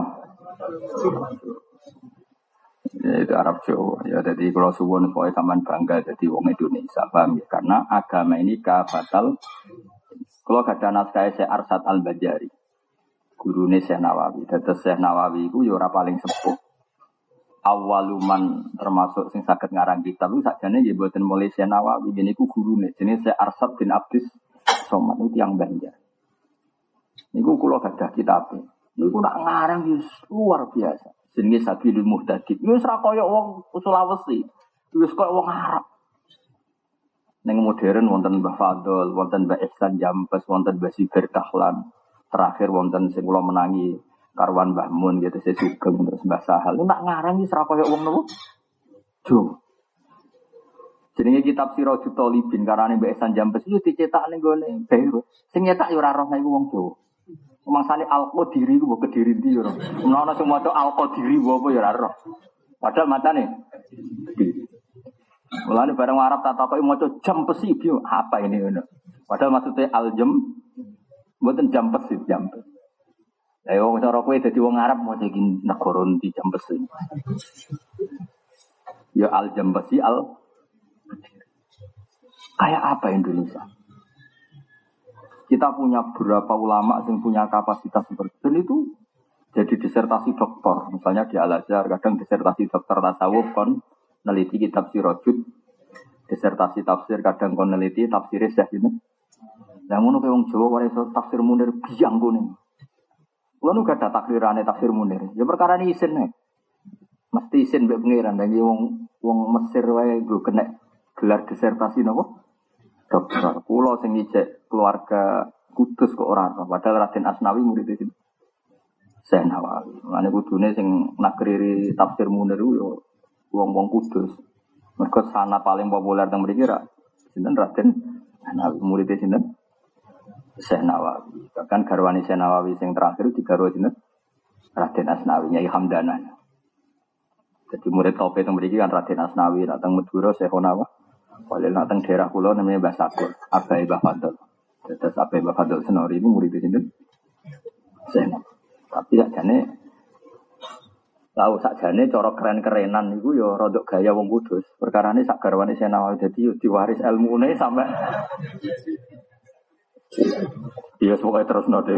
Speaker 1: Ya itu Arab Jawa. Ya jadi kalau suwun supaya sampean bangga jadi wong Indonesia, paham ya? Karena agama ini kafatal. Kalau ada naskah Syekh Arsad Al-Bajari. Gurune Syekh Nawawi. Dados Syekh Nawawi iku ya ora paling sepuh. Awaluman termasuk sing saged ngarang kitab iku sakjane nggih mboten mulai Syekh Nawawi, ngene iku gurune jenenge Syekh Arsad bin Abdus Somad itu yang Banjar. Niku kula gadah kitabe. Niku nak ngarang wis luar biasa. Jenenge Sabilul Muhtadin. Wis ra kaya wong Sulawesi. Wis kaya wong Arab. Ning modern wonten Mbah Fadl, wonten Mbah Ihsan Jampes, wonten Mbah Sibir Dahlan. Terakhir wonten sing kula menangi karwan Mbah Mun gitu saya Sugeng terus Mbah Sahal. Lu nak ngarang wis ra kaya wong nopo? Jo. Jenenge kitab Sirajul Talibin karane Mbah Ihsan Jampes iki dicetak ning gone Beirut. Sing nyetak ya ora roh iku wong Jawa. Mangsane Al-Qadiri ku mbok Kediri ndi ya ora. Menawa sing maca Al-Qadiri apa ya ora roh. Padahal macane Kediri. Mulane bareng Arab tak takoki maca Jampes iki apa ini ngono. Padahal maksudnya al-jam mboten Jampes iki Jampes. Lah wong cara kowe dadi wong Arab mau iki negara ndi Jampes iki. Ya al-Jampes al kayak apa Indonesia? Kita punya beberapa ulama yang punya kapasitas seperti itu. Dan itu jadi disertasi doktor. Misalnya di Al-Azhar, kadang disertasi doktor tasawuf kon neliti kitab Sirajul. Disertasi tafsir, kadang kon neliti tafsir Syekh ini. Yang ngono ke wong Jawa wae tafsir Munir biang kuning. Kulo gak ada takrirane tafsir Munir. Ya perkara ini isin nek. Mesti isin mbek pangeran. Lah wong wong Mesir wae go kena gelar disertasi napa? Dokter, kulo sing ngijek keluarga Kudus kok ora ana. Padahal Raden Asnawi murid itu. Syekh Nawawi. Mane kudune sing nakriri tafsir Munir yo wong-wong Kudus. Mergo sanad paling populer teng mriki ra sinten Raden Asnawi murid sinten? Syekh Nawawi. Bahkan garwane Syekh Nawawi sing terakhir digarwa sinten? Raden Asnawi Nyai Hamdanan. Jadi murid top teng mriki kan Raden Asnawi, datang Madura Syekh Nawawi. Kalau nak teng daerah pulau namanya Mbah Sakur, Abai Mbah Fadl. Terus Abai Mbah Fadl Senori itu murid di sini. Sen. Tapi sakjane tahu sakjane cara keren-kerenan itu yo rodok gaya wong Kudus. Perkarane sak garwane Senawawi dadi diwaris ilmune sampai dia pokoke terus node.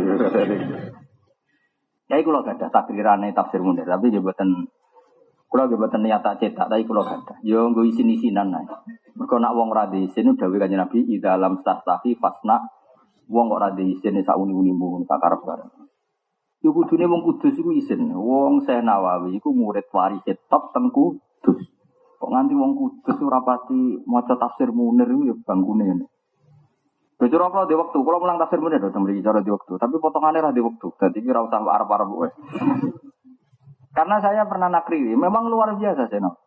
Speaker 1: Ya iku lho gadah takrirane tafsir Munir, tapi yo mboten kula nggih mboten niat tak cetak, tapi kula gadah. Yo nggo isin-isinan ae. Mergo nak wong ora diisin dawuh Kanjeng Nabi di dalam stastafi fasna wong kok ora diisin sak uni-unimu sak karep-karep. Yo kudune wong Kudus iku isin. Wong Syekh Nawawi iku murid waris top teng Kudus. Kok nganti wong Kudus ora pati maca tafsir Munir iku yo bangkune ngene. Bocor apa di waktu, kalau mulang tafsir Munir do mriki cara di waktu, tapi potongane ra di waktu. Dadi ki ora usah arep-arep wae. Karena saya pernah nakriri, memang luar biasa Seno.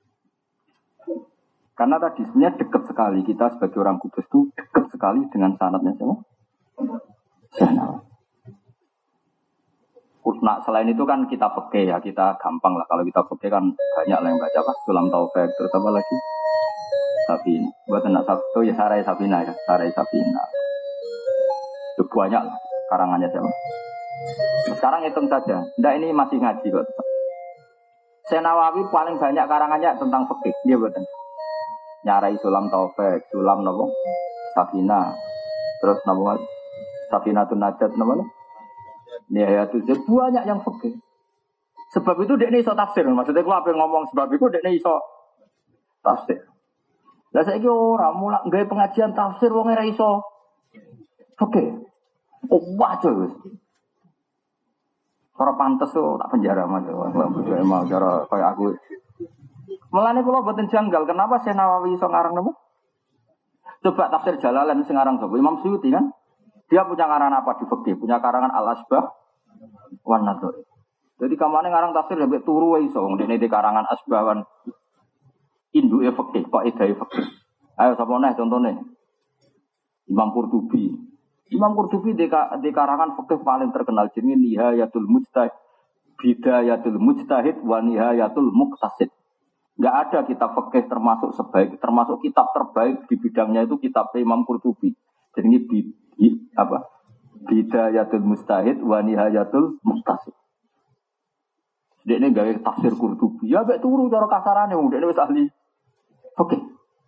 Speaker 1: Karena tadi sebenarnya dekat sekali kita sebagai orang Kudus itu dekat sekali dengan sanadnya siapa? Seno. Nah selain itu kan kita peke ya, kita gampang lah kalau kita peke kan banyak lah yang baca apa? Sulam Taufik terus apa lagi? Sabina. Buat anak Sabtu ya Sarai Sabina ya, Sarai Sabina. Itu banyak lah karangannya siapa? Sekarang hitung saja. Nggak ini masih ngaji kok. Syekh Nawawi paling banyak karangannya tentang fikih. Dia betul. Nyarai Sulam Taufik, Sulam nopo? Safina. Terus nopo? Safinatun Najat nopo? Nihayatul Zid banyak yang fikih. Sebab itu dia ini iso tafsir. Maksudnya gua apa yang ngomong sebab itu dia ini iso tafsir. Lah saiki ora mulak nggawe pengajian tafsir wong ora iso fikih. Oh, wajar wis. Cara pantes tuh tak penjara Mas. Mau cara kayak aku. Mulane kula boten janggal, kenapa Syekh Nawawi iso ngarang napa? Coba tafsir Jalalain sing ngarang sapa? Imam Suyuti kan? Dia punya karangan apa di fikih? Punya karangan Al-Asbah wan Nadhair. Jadi kamane ngarang tafsir sampai turu wae iso wong dene di karangan Asbah wan induke fikih, kok edahe fikih. Ayo sapa neh contone? Imam Qurtubi. Imam Qurtubi di, di karangan fikih paling terkenal jenenge Nihayatul Mujtahid, Bidayatul Mujtahid wa Nihayatul Muqtasid. Enggak ada kitab fikih termasuk sebaik termasuk kitab terbaik di bidangnya itu kitab Imam Qurtubi. Jenenge bi apa? Bidayatul Mujtahid wa Nihayatul Muqtasid. Dekne gawe tafsir Qurtubi. Ya mek turu cara kasarane wong dekne wis ahli fikih.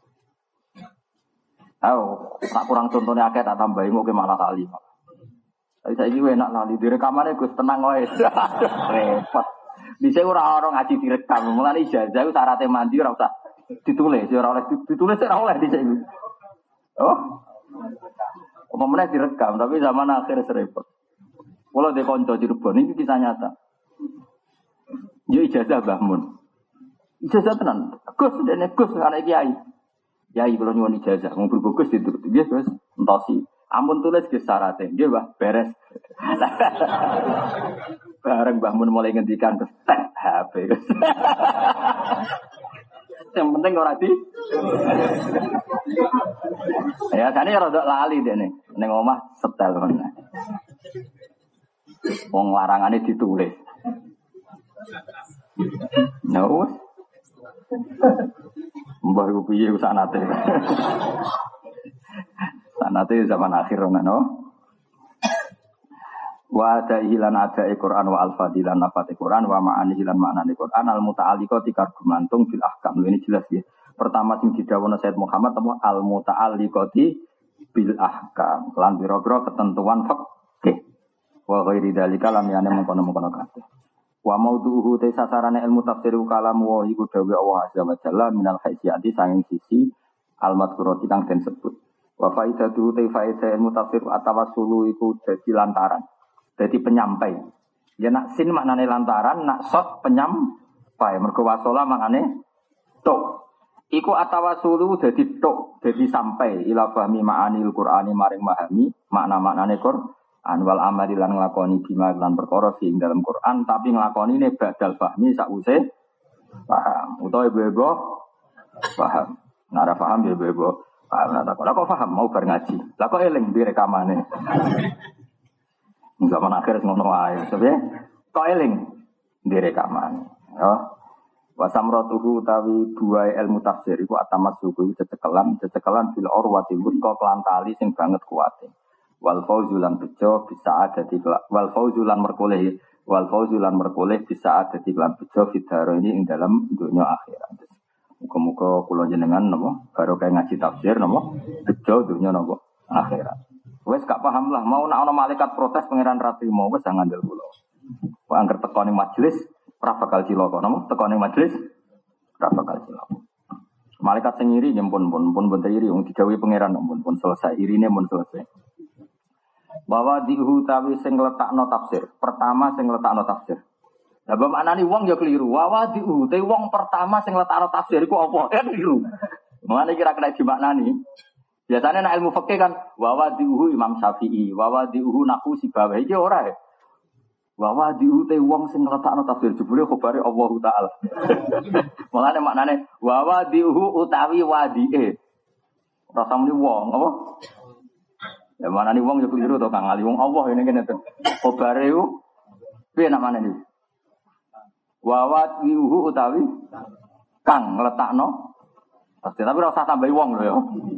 Speaker 1: Ayo, tak kurang contohnya akeh tak tambahi mau ke malah kali. Tapi saya ini enak lali di rekamannya Gus tenang wae. Repot. Bisa ora orang ngaji direkam. Mulane ijazah itu syaratnya mandi ora usah ditulis, ora oleh ditulis ora oleh dhisik. Oh. Umumnya direkam tapi zaman akhir serempet. Kalau di konco Cirebon ini kisah nyata. Yo ijazah Mbah Mun. Ijazah tenan. Gus dene Gus anak kiai. Kiai kula nyuwun ijazah, wong berbagus dituruti. Nggih, Gus, entosi. Ampun tulis ge syaratnya. Nggih, Mbah, beres. Bareng Mbah Mun mulai ngendikan tes H P. Yang penting ora di. Ya, jane rada lali dene. Ning omah setel men. Wong larangane ditulis. No. Mbah iku piye sanate. Sanate zaman akhir ngono. Wa da'ilan ada'i Qur'an wa al-fadilan nafati Qur'an wa ma'ani hilan maknani Qur'an al-muta'alliqati kargumantung bil ahkam. Ini jelas ya. Pertama sing didhawuhna Sayyid Muhammad apa al-muta'alliqati bil ahkam. Lan biro-biro ketentuan fikih. Wa ghairi dzalika lam yana mengkono-mengkono kabeh. Wa maudhu'u te sasarane ilmu tafsir kalam wa iku dawuh Allah azza wa jalla minal haisiyati sanging sisi al-madhkurati kang den sebut. Wa faidatu te faidah ilmu tafsir atawassulu iku dadi lantaran. Dadi penyampai. Ya nak sin maknane lantaran, nak sot penyampai. Mergo wasola maknane tok. Iku atawassulu dadi tok, dadi sampai ila fahmi ma'anil Qur'ani maring mahami makna-maknane Qur'an. Anwal amali lan nglakoni bima lan perkara sing dalam Quran tapi nglakoni ne badal fahmi sakwise paham utawa ibu-ibu paham nek ora paham ya ibu-ibu paham nek kok kok paham mau bar ngaji lha kok eling di rekamane zaman akhir ngono wae sebab kok eling di rekamane ya wa samratuhu utawi dua ilmu tafsir iku atamat suku cecekelan cecekelan bil urwati wuthqa kelan tali sing banget kuwate wal fauzulan bejo bisa ada di wal fauzulan merkoleh wal fauzulan merkoleh bisa ada di lan bejo fidaro ini ing dalam dunia akhirat. Muga-muga kula jenengan napa karo kae ngaji tafsir napa bejo dunia napa akhirat. Wes gak paham lah mau nek ana malaikat protes pangeran ra trimo wes jangan ngandel kula. Kok angger teko ning majelis ora bakal cilaka napa teko ning majelis ora bakal cilaka. Malaikat sing iri nyempun pun pun ben iri wong didhawuhi pangeran pun pun selesai irine pun selesai. Bahwa dihu tawi sing letakno tafsir. Pertama sing letakno tafsir. Lah mbok maknani wong ya keliru. Wa dihu te wong pertama sing letakno tafsir iku apa? Ya keliru. Mulane kira kena dimaknani. Biasanya nek ilmu fikih kan wa dihu Imam Syafi'i, wa dihu naku Sibawayh iki ora ya. Wa dihu te wong sing letakno tafsir jebule khabare Allah taala. Mulane maknane wa dihu utawi wadie. Rasa muni wong apa? Ya mana nih wong yo keliru to Kang Ali wong Allah ini kene to. Kobare ku piye namane iki? Wawat wihu utawi kang ngletakno. Pasti tapi ora usah tambahi wong lho ya.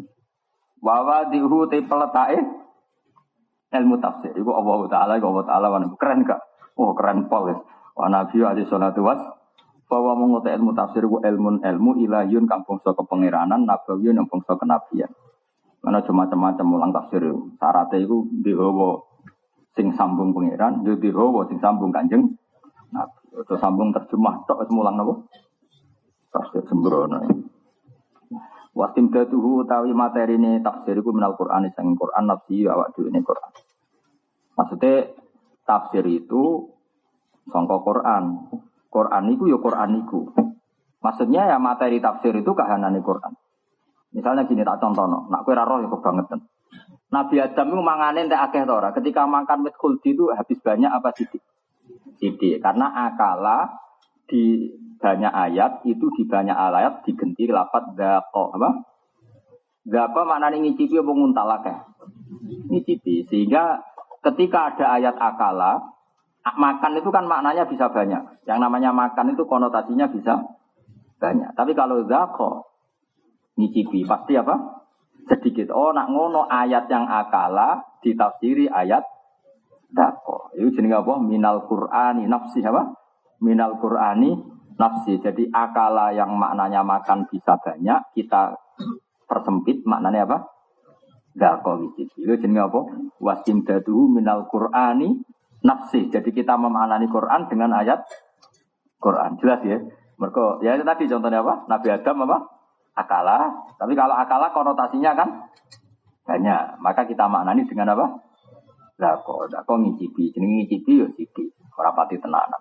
Speaker 1: Wawa dihu te peletake ilmu tafsir. Iku Allah taala iku Allah taala wan keren gak? Oh keren pol wis. Wa nabi alaihi salatu was bahwa menguti ilmu tafsir ku ilmun ilmu ilahiyun kang bangsa kepangeranan nabawiyun yang bangsa kenabian. Mana cuma macam-macam mulang tafsir itu. Syaratnya itu dihawa sing sambung pangeran, yo dihawa sing sambung kanjeng Nabi. Itu sambung terjemah tok wis mulang napa? Tafsir sembrono. Wasim datuhu utawi materine tafsir iku minal Qur'an sing Qur'an nafsi awak dhewe ne Qur'an. Maksudnya tafsir itu sangka Quran. Quran itu ya Quran itu. Maksudnya ya materi tafsir itu kahanane Quran. Misalnya gini tak contohno, nak kowe ra roh ya kebangetan. Nabi Adam itu mangane entek akeh ta ora? Ketika makan wit khuldi itu habis banyak apa sidik? Sidik. Karena akala di banyak ayat itu di banyak ayat digenti lafaz dzaqa apa? Dzaqa maknane ngicipi apa nguntal akeh? Ngicipi. Sehingga ketika ada ayat akala, makan itu kan maknanya bisa banyak. Yang namanya makan itu konotasinya bisa banyak. Tapi kalau dzaqa ngicipi pasti apa? Sedikit. Oh, nak ngono ayat yang akala ditafsiri ayat dzaqa. Itu jenenge apa? Minal Qur'ani nafsi apa? Minal Qur'ani nafsi. Jadi akala yang maknanya makan bisa banyak, kita persempit maknanya apa? Dzaqa ngicipi. Itu jenenge apa? Wasimdadu minal Qur'ani nafsi. Jadi kita memaknani Quran dengan ayat Quran. Jelas ya? Mereka, ya itu tadi contohnya apa? Nabi Adam apa? Akala. Tapi kalau akala konotasinya kan banyak. Maka kita maknani dengan apa? Dzaqa. Dzaqa ngicipi. Jenenge ngicipi ya sithik. Ora pati tenanan.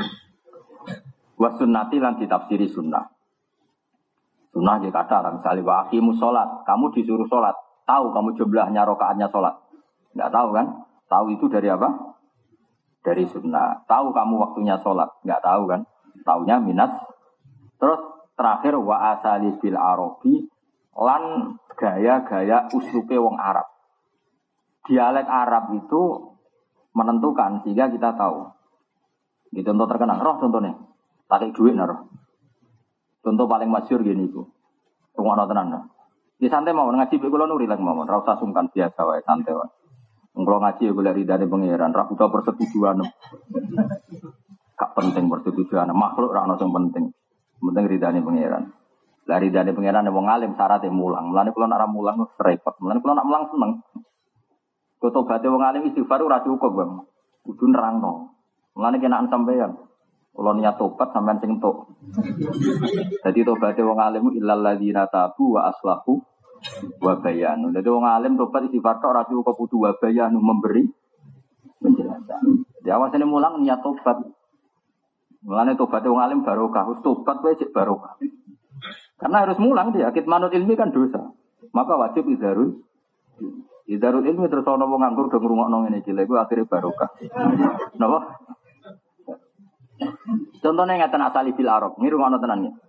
Speaker 1: Wa sunnati lan ditafsiri sunnah. Sunnah ya kata misalnya wa aqimus sholat. Kamu disuruh sholat. Tahu kamu jumlahnya rakaatnya sholat? Enggak tahu kan? Tahu itu dari apa? Dari sunnah. Tahu kamu waktunya sholat? Enggak tahu kan? Taunya minas. Terus terakhir wa asali bil arabi lan gaya-gaya uslupe wong Arab. Dialek Arab itu menentukan sehingga kita tahu. Di contoh terkenal, roh contohnya. Pakai duit naruh. Contoh paling masyhur gini itu. Rumah tenan. Di santai mau ngaji kula nuri lagi mau, ora usah sungkan biasa wae santai wae. Kalau ngaji ya boleh ridane pangeran, ra butuh persetujuan. Gak penting persetujuan, makhluk ra ono sing penting. Penting ridane pangeran. Lah ridane pangeran wong alim syaratnya mulang. Mulane kula nak ra mulang repot. Mulane kula nak mulang seneng. Tobaté wong alim istighfar ora cukup, Bang. Kudu nerangno. Mulane kenaan sampeyan. Kula niat tobat sampean sing entuk. Dadi tobaté wong alim illal ladzina tabu wa aslahu wa bayanu. Dadi wong alim tobat istighfar tok ora cukup kudu wa bayanu memberi penjelasan. Jadi awasane mulang niat tobat. Mulane tobat wong alim barokah, wis tobat wae cek barokah. Karena harus mulang dia, kitmanul ilmi kan dosa. Maka wajib izharul izharul ilmi terus ana wong nganggur do ngrungokno ngene iki lha iku akhire barokah. Napa? Contohnya ngeten asali bil arab, ngiru ngono tenan ya.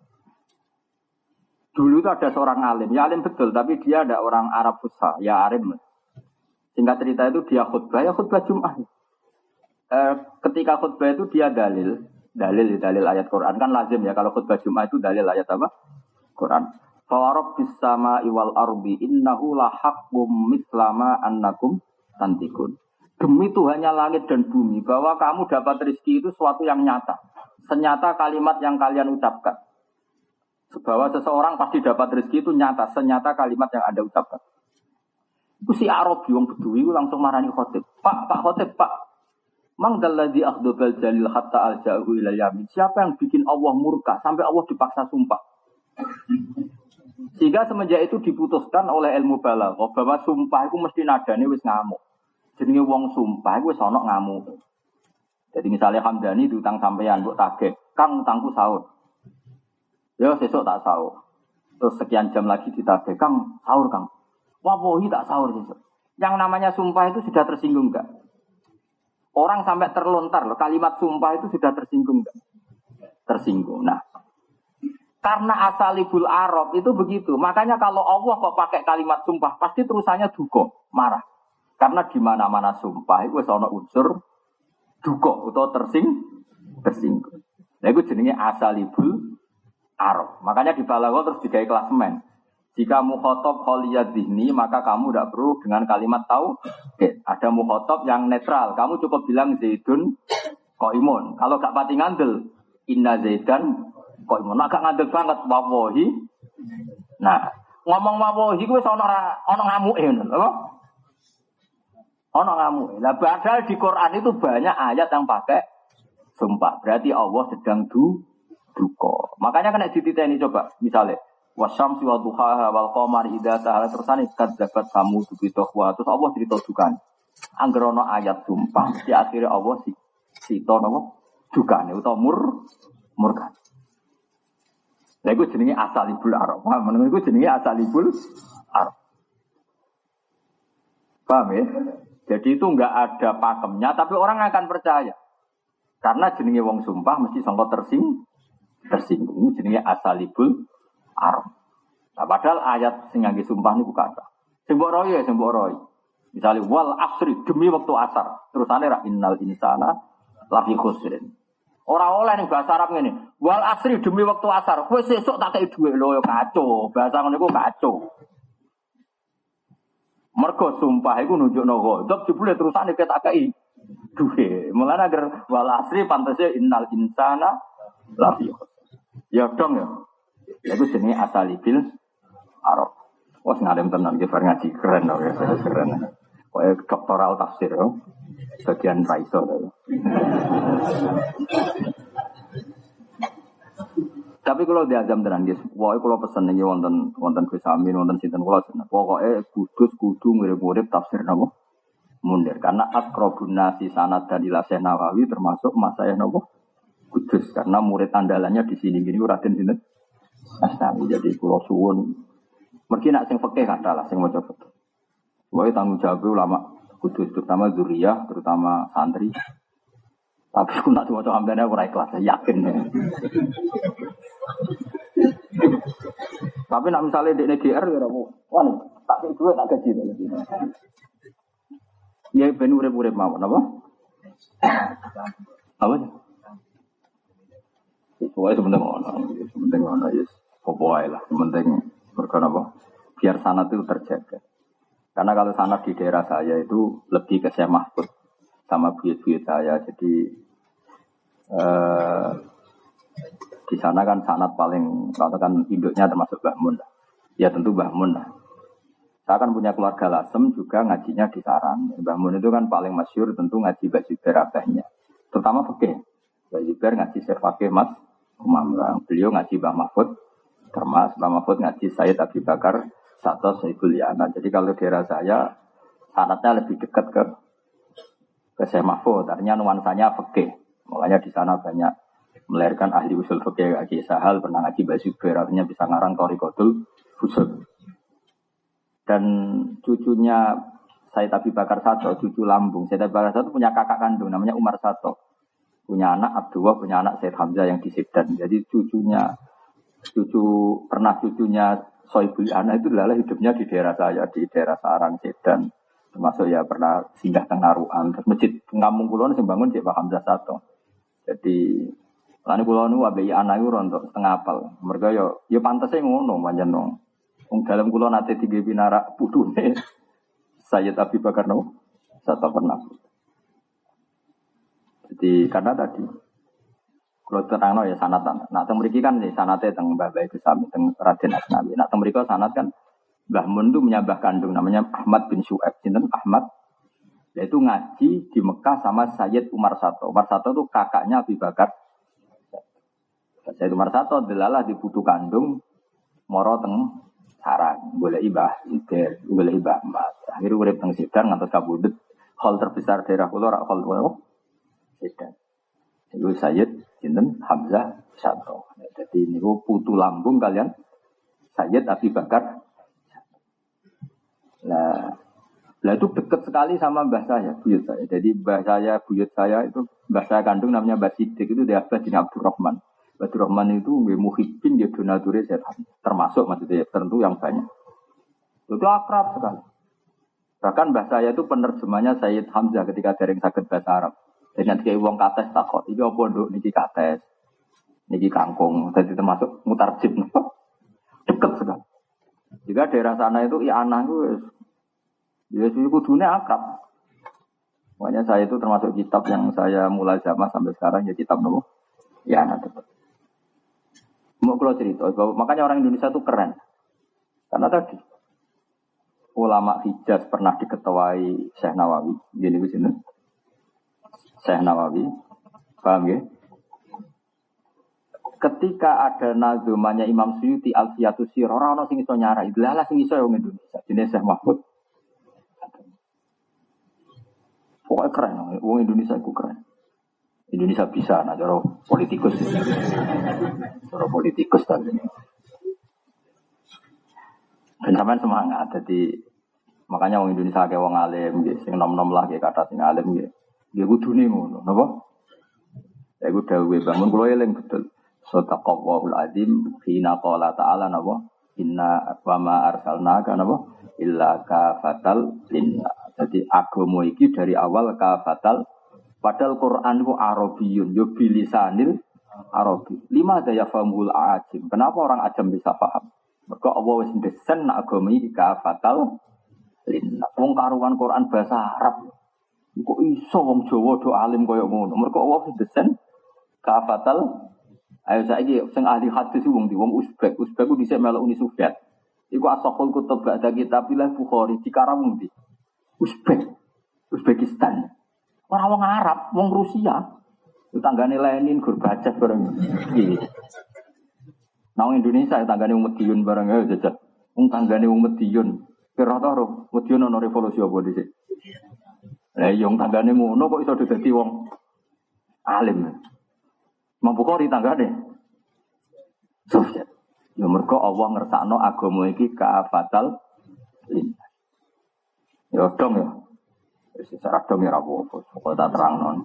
Speaker 1: Dulu itu ada seorang alim, ya alim betul, tapi dia ada orang Arab fusha, ya arim. Singkat cerita itu dia khutbah, ya khutbah Jumat. E, ketika khutbah itu dia dalil, dalil dalil ayat Quran kan lazim ya kalau khutbah Jumat itu dalil ayat apa? Quran. Fa rabbis samai wal ardi innahu la haqqum mislama annakum tantikun. Demi Tuhannya langit dan bumi bahwa kamu dapat rezeki itu suatu yang nyata. Senyata kalimat yang kalian ucapkan. Bahwa seseorang pasti dapat rezeki itu nyata, senyata kalimat yang Anda ucapkan. Itu si Arabi wong Bedui langsung marani khotib. Pak, Pak khotib, Pak. Mang dalladzi akhdabal jalil hatta alja'u ila yamin. Siapa yang bikin Allah murka sampai Allah dipaksa sumpah? Sehingga semenjak itu diputuskan oleh ilmu balaghah bahwa sumpah itu mesti nadane wis ngamuk. Jenenge wong sumpah iku wis ana ngamuk. Jadi misalnya Hamdani diutang sampean mbok tagih, Kang utangku sahur. Ya sesuk tak sahur. Terus sekian jam lagi ditagih, Kang sahur Kang. Wallahi tak sahur sesuk. Yang namanya sumpah itu sudah tersinggung enggak? Orang sampai terlontar loh, kalimat sumpah itu sudah tersinggung enggak? Tersinggung. Nah, karena asalibul Arab itu begitu. Makanya kalau Allah kok pakai kalimat sumpah, pasti terusannya duka, marah. Karena di mana-mana sumpah itu ana unsur duka atau tersing tersinggung. Nah itu jenenge asalibul Arab. Makanya di balaghah terus digawe klasemen. Jika mukhatab khaliyad dzihni, maka kamu tidak perlu dengan kalimat tauhid. Ada mukhatab yang netral. Kamu cukup bilang Zaidun qaimun. Kalau gak pati ngandel, inna Zaidan qaimun. Nah, gak ngandel banget wallahi. Nah, ngomong wallahi kuwi ana ana ngamuke ngono, apa? Ana ngamuke. Lah padahal di Quran itu banyak ayat yang pakai sumpah. Berarti Allah sedang du duka. Makanya kena dititeni coba, misalnya wasyamsi wa duhaha wal qamari idza tahala tersane kadzabat kamu bitohwa terus Allah cerita dukan. Angger ana ayat sumpah di akhire Allah si sita napa dukane utawa mur murka. Lha iku jenenge asalibul arab. Paham men iku jenenge asalibul arab. Paham ya? Jadi itu enggak ada pakemnya tapi orang akan percaya. Karena jenenge wong sumpah mesti sangka tersing tersinggung jenenge asalibul arab. Nah, padahal ayat sing ngangge sumpah niku kata. Sing mbok royo ya sing mbok royo. Misalnya wal asri demi waktu asar. Terus ane ra innal insana lafi khusrin. Ora oleh ning bahasa Arab ngene. Wal asri demi waktu asar. Kowe sesuk tak kei dhuwit lho ya kacau. Bahasa ngono iku kacau. Mergo sumpah iku nunjukno ghadab jebule terusane ket tak kei dhuwit. Mulane agar wal asri pantese innal insana lafi khusrin. Ya dong ya. Iku jenenge asalibil Arab. Wah, ngadem tenan ki bar ngaji keren lho ya, keren. Kayak doktoral tafsir yo. Bagian raiso yo. Tapi kalau diazam tenan guys, wae kalau pesen iki wonten wonten Gus Amin, wonten sinten kula seneng. Pokoke kudus kudu mirip-mirip tafsir napa? Mundir. Karena aqrabun nasi sanad dan ila Syekh Nawawi termasuk masayah napa? Kudus karena murid andalannya di sini gini Raden sinten? Asnawi. Jadi kula suwun mergi nak sing fikih katalah sing maca fikih. Wae tanggung jawab ulama kudus terutama zuriyah, terutama santri. Tapi aku nak coba hamdane aku ora ikhlas, yakin ya. Tapi nak misalnya di G R ya ora mau. Wah, tak kei duit tak gaji. Ya ben urip-urip mawon apa? Apa? Pokoknya sebentar ngono, sebentar ngono ya. Pokoknya lah, sebentar berkena apa? Biar sanad itu terjaga. Karena kalau sanad di daerah saya itu lebih ke Syekh Mahfud sama buyut-buyut saya. Jadi eh, di sana kan sanad paling, katakan induknya termasuk Mbah Mun. Ya tentu Mbah Mun lah. Saya kan punya keluarga Lasem juga ngajinya di sarang. Mbah Mun itu kan paling masyhur tentu ngaji Mbah Zubair abahnya. Terutama fikih. Mbah Zubair ngaji Syekh Fakih Mas Umam. Beliau ngaji Mbah Mahfud. Termas Mbah Mahfud ngaji Sayyid Abi Bakar Sato Saiful Yana. Jadi kalau daerah saya sanadnya lebih dekat ke ke Syekh Mahfud. Artinya nuansanya fikih. Makanya di sana banyak melahirkan ahli usul fikih. Aki Sahal pernah ngaji Mbah Zubair. Artinya bisa ngarang Thariqatul Usul. Dan cucunya Sayyid Abi Bakar Sato, cucu lambung. Sayyid Abi Bakar Sato punya kakak kandung namanya Umar Sato. Punya anak Abdullah, punya anak Sayyid Hamzah yang di Sibdan. Jadi cucunya cucu pernah cucunya Soibul Ana itu adalah hidupnya di daerah saya, di daerah Sarang, Sedan. Termasuk ya pernah singgah teng Narukan. Terus masjid Ngampung Kulon sing bangun Cek Pak Hamzah Sato. Jadi lani kula nu abe anak iku rontok setengah apal. Mergo yo yo pantese ngono pancen no. Wong dalem kula nate tiga binara putune. Sayyid Abi Bakar no Sato pernah. Jadi karena tadi kalau terangno ya sanatan. Nah, teng mriki kan sanate teng Mbah Bae Gusami teng Raden Asnawi. Nah, teng mriki sanat kan Mbah Mun itu menyabah kandung namanya Ahmad bin Syuaib. Sinten Ahmad? Yaitu ngaji di Mekah sama Sayyid Umar Sato. Umar Sato itu kakaknya Abi Bakar. Sayyid Umar Sato delalah di putu kandung moro teng Sarang, boleh ibah, iber, boleh ibah emas. Akhirnya urip teng Sidang ngantos kabudut. Hall terbesar daerah kula rak hall kula. Sidang. Itu Sayyid sinten Hamzah Sato. Jadi niku putu lambung kalian Sayyid Abi Bakar. Nah, lah itu dekat sekali sama mbah saya, buyut saya. Jadi mbah saya, buyut saya itu mbah saya kandung namanya Mbah Sidik itu dia Abdul bin Abdurrahman. Abdurrahman itu nggih muhibbin dia donature setan. Termasuk maksudnya tentu yang banyak. Itu akrab sekali. Bahkan mbah saya itu penerjemahnya Sayyid Hamzah ketika dereng saged bahasa Arab. Dengan kayak uang kates takut, ini apa dok niki kates, niki kangkung, jadi termasuk mutarjim, dekat sekali. Jika daerah sana itu ya anak itu, ya sih kudunya akrab. Makanya saya itu termasuk kitab yang saya mulai zaman sampai sekarang ya kitab nopo, ya anak dekat. Mau kalau cerita, makanya orang Indonesia itu keren, karena tadi ulama Hijaz pernah diketuai Syekh Nawawi, gini begini. Syekh Nawawi, paham ya? Ketika ada nazumanya Imam Suyuti Alfiyatus Sirah, orang-orang sing iso nyarai, lah sing iso wong Indonesia, jenenge Syekh Mahfud. Pokoknya keren, wong Indonesia itu keren. Indonesia bisa, nah cara politikus, cara politikus tadi. Dan sampean semangat, jadi makanya wong Indonesia kayak wong alim, gitu, sing nom-nom lah kayak kata sing alim, gitu, dia kudune ngono, napa? Ya gue dawuh bangun kulo eling betul. Sadaqallahul azim hina qala ta'ala napa? Inna wa ma arsalnaka napa? Illa kafatal linnas. Jadi agama iki dari awal kafatal. Padahal Quran itu Arabiyun, yo bilisanil Arabi. Lima daya famul ajim. Kenapa orang ajam bisa paham? Mergo Allah wis ndesen nek agama iki kafatal linnas. Wong karuan Quran bahasa Arab. Kok iso wong Jawa do alim koyo ngono? Mergo Allah wis ndesen kafatal. Ayo saiki sing ahli hadis wong di wong Uzbek. Uzbek ku dhisik melok Uni Soviet. Iku asaqul kutub ba'da kitabillah Bukhari dikarang wong di Uzbek. Uzbekistan. Ora wong Arab, wong Rusia. Tanggane Lenin, Gorbachev bareng iki. Nang Indonesia tanggane wong Medion bareng ayo jajal. Wong tanggane wong Medion. Kira ta ro, Medion ono revolusi apa dhisik. Lah yo tanggane ngono kok iso dadi wong alim. Mampukhori tanggane Soviet. Ya mergo Allah ngersakno agama iki kaafatal linnas. Ya dong ya. Wis secara dong ya ra apa-apa. Pokoke tak terangno.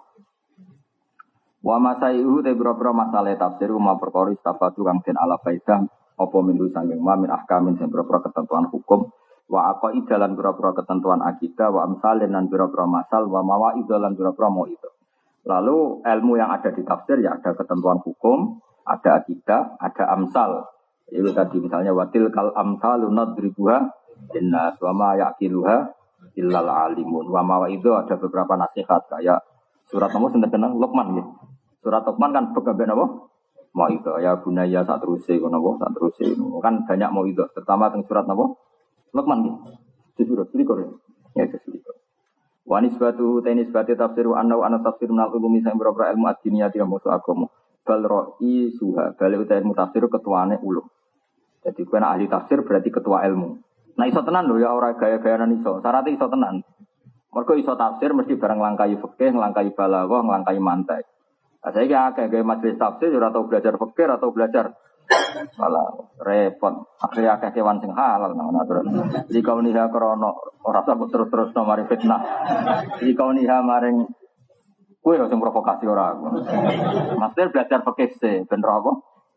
Speaker 1: Wa masaihu te boro-boro masalah tafsir uma perkara istafatu kang den ala faidah apa mindu sanging ma min ahkamin sing boro-boro ketentuan hukum wa aqaid lan boro-boro ketentuan akidah wa amsalin lan boro-boro masal wa mawaid lan boro-boro mauidh. Lalu ilmu yang ada di tafsir ya ada ketentuan hukum, ada akidah, ada amsal. Itu tadi misalnya watil kal amsalu nadribuha inna wa ma yaqiluha illal alimun. Wa ma itu ada beberapa nasihat kayak surat nomor seneng Luqman gitu. Surat Luqman kan begaben apa? Mau itu ya bunaya sak teruse ngono apa sak teruse kan banyak mau itu terutama teng surat napa? Luqman gitu. Surat likur ya itu. Wa nisbatu tanisbati tafsiru anna wa ana tafsir minal ulumi sing beberapa ilmu ad-diniyah yang musuh agama. Bal ra'i suha, bal uta ilmu tafsir ketuane ulum. Jadi kowe ahli tafsir berarti ketua ilmu. Nah iso tenan lho ya ora gaya-gayanan iso. Syaratnya iso tenan. Mergo iso tafsir mesti bareng nglangkai fikih, nglangkai balaghah, nglangkai mantek. Lah saiki akeh gawe majelis tafsir ora tau belajar fikih, ora tau belajar malah repot. Akhirnya akeh kewan sing halal ngono aturan. Jika uniha krana ora sabut terus-terus no mari fitnah. Jika uniha maring kowe sing provokasi ora aku. Maksudnya belajar fikih se ben apa?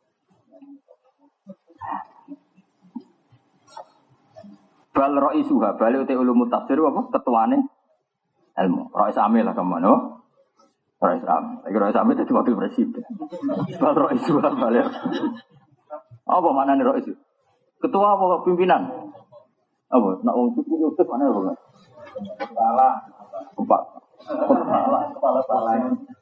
Speaker 1: Bal raisuha, bal uti ulumut tafsir apa ketuane ilmu. Rais amil lah kemana? Rais am. Lagi rais amil jadi wakil presiden. Bal raisuha balik. Apa maknanya rais itu? Ketua apa pimpinan? Apa? Nak wong suku itu mana apa? Kepala. Kepala. Kepala. Kepala kepala.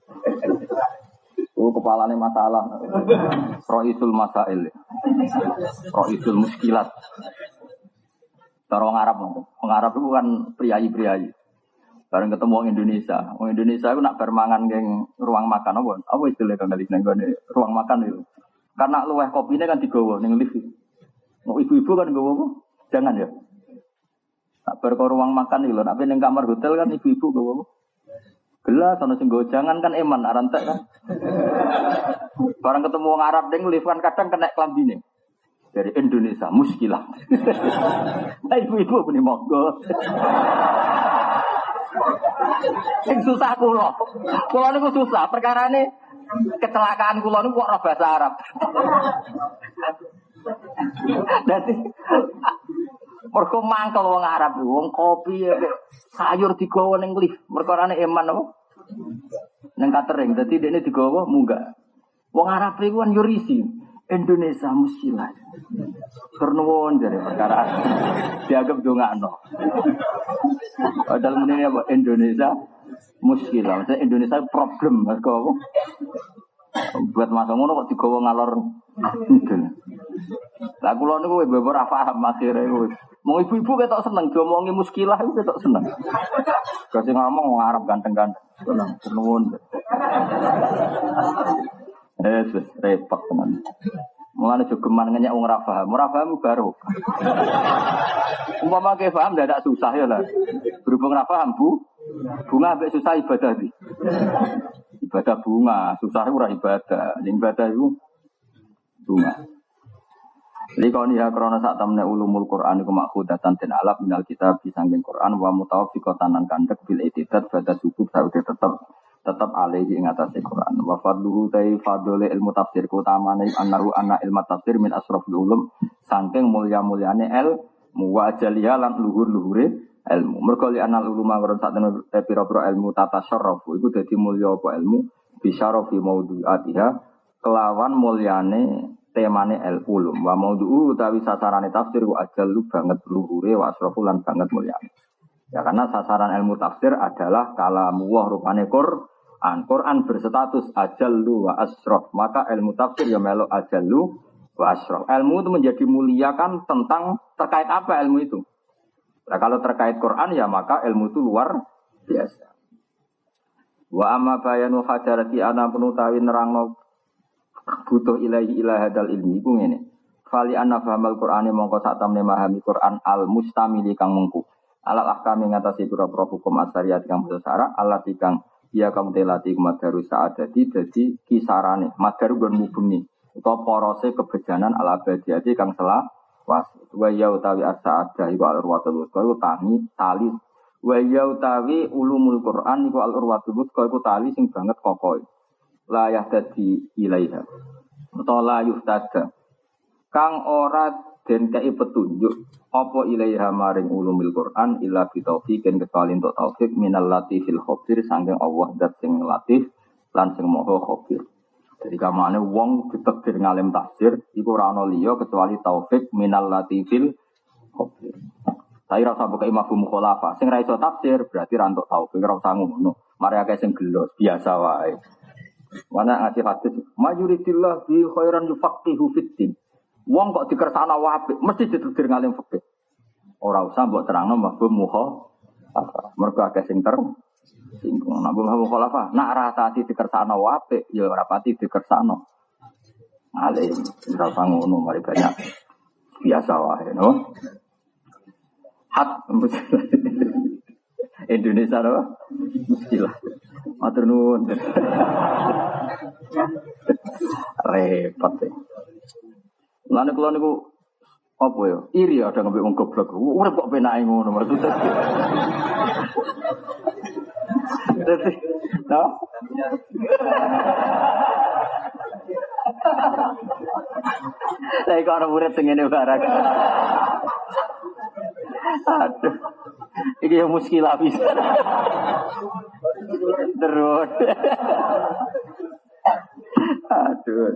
Speaker 1: Oh, kepalanya masalah. Raisul masail. Raisul muskilat. Cara orang Arab, orang Arab itu kan priayi-priayi. Bareng ketemu orang Indonesia, orang Indonesia itu nak bermangan geng ruang makan, apa? Apa istilah kang kali nenggone ruang makan itu? Karena luweh kopine kan digawa ning lift. Mau ibu-ibu kan gawa apa? Jangan ya. Nak bar ruang makan iki lho, nak ning kamar hotel kan ibu-ibu gawa apa? Gelas ana sing gawa jangan kan eman arantek kan. Bareng ketemu orang Arab ning lift kan kadang kena klambine. Dari Indonesia, muskilah. Nah, ibu-ibu punya monggo. Yang susah kulo. Kulo ini susah. Perkara ini kecelakaan kulo ini kok bahasa Arab. Jadi, mereka mangkel wong Arab. Wong kopi, sayur digawa ning lift. Perkara ini eman apa? Neng catering. Jadi ini digawa munggah. Wong Arab itu kan yurisi. Indonesia muskilah. Pernuwun dari perkara dianggap dongakno. Padahal menene apa Indonesia muskilah. Maksudnya Indonesia problem mergo apa? Buat masa ngono kok digawa ngalor. Lah kula niku beber ora paham akhire wis. Mau ibu-ibu ketok seneng diomongi muskilah iku ketok seneng. Kok sing ngomong Arab ganteng-ganteng. Seneng pernuwun. Eh, repot teman. Mulane jogeman ngenyek wong ora paham. Ora paham baru. Umpama ke paham ndak susah ya lah. Berhubung ora paham Bu, Bunga ambek susah ibadah di. Ibadah bunga, susah ora ibadah. Ibadah itu bunga. Likoni ya krana sak temne ulumul Quran iku makhudatan den alaf minal kitab disangking Quran wa mutawaffiqatan lan kandhek bil itidat pada subuh saude tetep tetep alaihi ing atase Quran. Wa fadluhu ta fadlul ilmu tafsir kutamane annahu anna ilmu tafsir min asrafil ulum saking mulya-mulyane el muwajjaliha lan luhur-luhure ilmu. Mergo li anal uluma karo sak temne pira-pira ilmu tata syarrafu iku dadi mulya apa ilmu bisyarafi maudhu'atiha kelawan mulyane temane el ulum wa maudhu utawi sasarane tafsir ku ajallu banget luhure wa asrafulan banget mulyane. Ya karena sasaran ilmu tafsir adalah kalamullah rupane Quran. Quran berstatus ajallu wa asraf, maka ilmu tafsir ya melo ajallu wa asraf. Ilmu itu menjadi mulia kan tentang terkait apa ilmu itu. Nah, kalau terkait Quran ya maka ilmu itu luar biasa. Wa amma bayanu hajarati ana penutawi nerangno butuh ilahi ilah hadal ilmi iku ngene. Fali anna fahamal Qur'ani mongko sak temne memahami Qur'an al mustamili kang mengku. Alal ahkami ngatasi pira-pira hukum asyariat kang besar Allah kang ya kamu telati kumadaru saadati dadi kisarane madaru gon mubengi utawa porose kebejanan al abadiyati kang sela was wa ya utawi as-saadah iku al-urwatul wuthqa iku tani tali wa ya utawi ulumul Qur'an iku al-urwatul wuthqa iku tali sing banget kokoh. La yahtadi ilaiha utawa la yuhtada kang ora den kei petunjuk apa ilaiha maring ulumil Quran illa bi taufiqin kecuali untuk taufik minal latifil khabir saking Allah zat sing latif lan sing maha khabir. Jadi kamane wong ditakdir ngalim tafsir iku ora ana liya kecuali taufik minal latifil khabir. Saya rasa buka imam mukhalafah sing ra iso tafsir berarti ra entuk taufik ora usah ngono. Mari akeh sing gelos biasa wae. Mana ngasih hadis majuridillah bi khairan yufaqihu fiddin. Wong kok dikersana apik mesti ditudir ngalim fikih. Ora usah mbok terangno mabum muha. Mergo akeh sing ter singgung nabung mukhalafah. Nak rasati dikersana apik ya ora pati dikersana. Alim ora usah ngono mari banyak. Biasa wae no. Hak Indonesia loh. Muskilah. Matur nuwun. Repot ya. Lane kula niku apa ya? Iri ada ngembek wong goblok. Urip kok penake ngono maksudnya. Dadi, no? Saya kok ora urip sing ngene barang. Aduh. Iki yang muskilah bisa. Terus. Aduh.